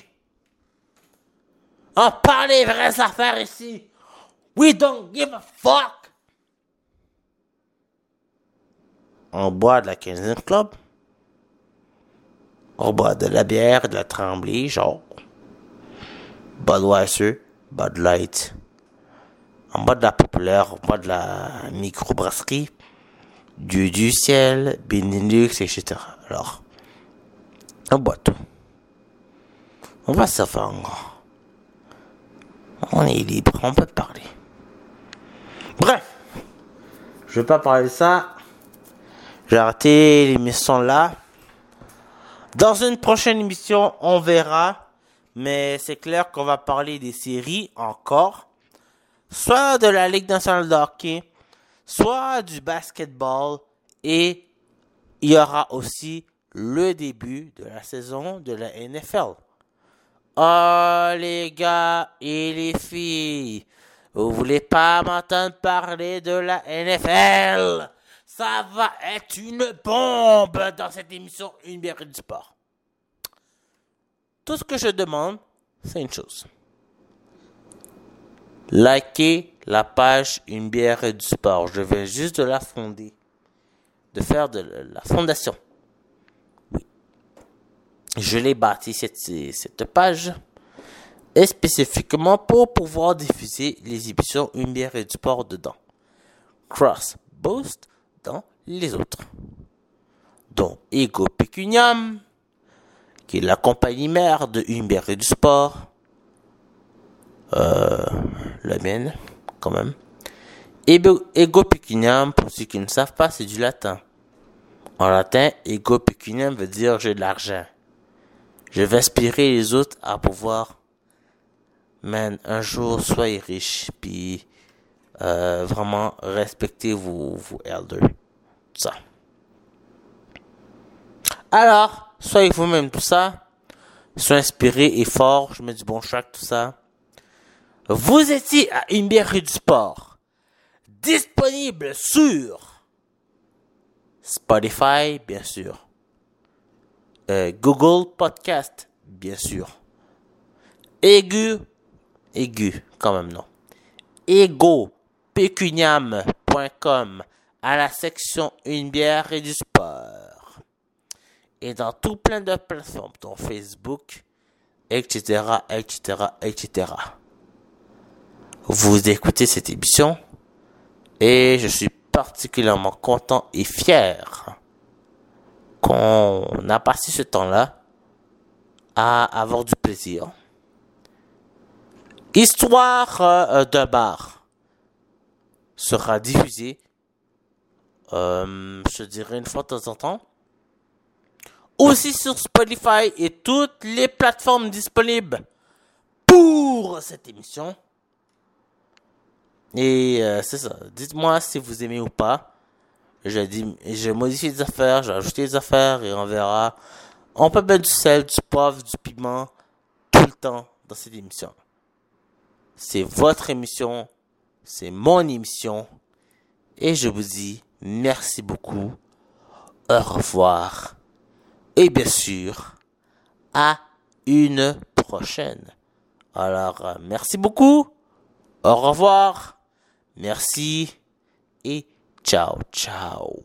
On parle des vraies affaires ici. We don't give a fuck. On boit de la 15e Club. On boit de la bière, de la Tremblay, genre. Budweiser, Bud Light. On boit de la populaire, on boit de la microbrasserie. Du ciel, Benelux, etc. Alors, on boit tout. On va se faire en grand. On est libre, on peut parler. Bref, je vais pas parler de ça. J'ai arrêté l'émission là. Dans une prochaine émission, on verra. Mais c'est clair qu'on va parler des séries encore. Soit de la Ligue nationale de hockey, soit du basketball. Et il y aura aussi le début de la saison de la NFL. Oh les gars et les filles, vous voulez pas m'entendre parler de la NFL? Ça va être une bombe dans cette émission Une bière et du sport. Tout ce que je demande, c'est une chose. Likez la page Une bière et du sport. Je viens juste de la fonder. De faire de la fondation. Oui. Je l'ai bâti cette page. Et spécifiquement pour pouvoir diffuser les émissions Une bière et du sport dedans. Cross Boost dans les autres. Dont Ego Pecuniam, qui est la compagnie mère de Une bière et du sport. La mienne, quand même. Ego Pecuniam, pour ceux qui ne savent pas, c'est du latin. En latin, Ego Pecuniam veut dire j'ai de l'argent. Je vais inspirer les autres à pouvoir, un jour, soyez riches, puis vraiment respectez vos elders. Tout ça. Alors, soyez vous-même tout ça. Soyez inspirés et forts. Je mets du bon track, tout ça. Vous étiez à Une bière et du sport. Disponible sur Spotify, bien sûr. Google Podcast, bien sûr. Aigu, quand même non. egopecuniam.com à la section Une bière et du sport. Et dans tout plein de plateformes, dont Facebook, etc., etc. Vous écoutez cette émission et je suis particulièrement content et fier qu'on a passé ce temps-là à avoir du plaisir. Histoire d'un bar sera diffusée, je dirais une fois de temps en temps. Aussi sur Spotify et toutes les plateformes disponibles pour cette émission. Et c'est ça. Dites-moi si vous aimez ou pas. J'ai modifié des affaires, j'ai ajouté des affaires et on verra. On peut mettre du sel, du poivre, du piment tout le temps dans cette émission. C'est votre émission, c'est mon émission. Et je vous dis merci beaucoup. Au revoir. Et bien sûr, à une prochaine. Alors, merci beaucoup. Au revoir. Merci. Et ciao, ciao.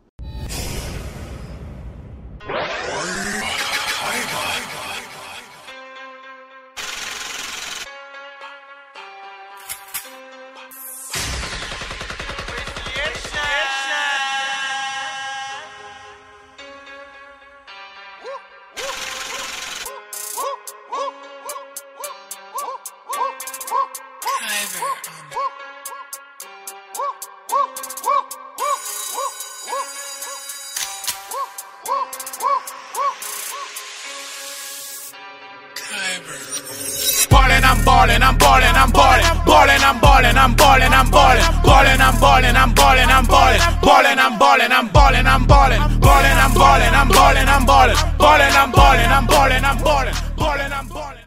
I'm ballin', I'm ballin', I'm ballin', ballin', I'm ballin', I'm ballin', I'm ballin', ballin', I'm ballin', I'm ballin', I'm ballin', ballin', I'm ballin', I'm ballin', I'm ballin', ballin', I'm ballin', I'm ballin', I'm ballin', ballin', I'm ballin', I'm ballin', I'm ballin', ballin', I'm ballin'.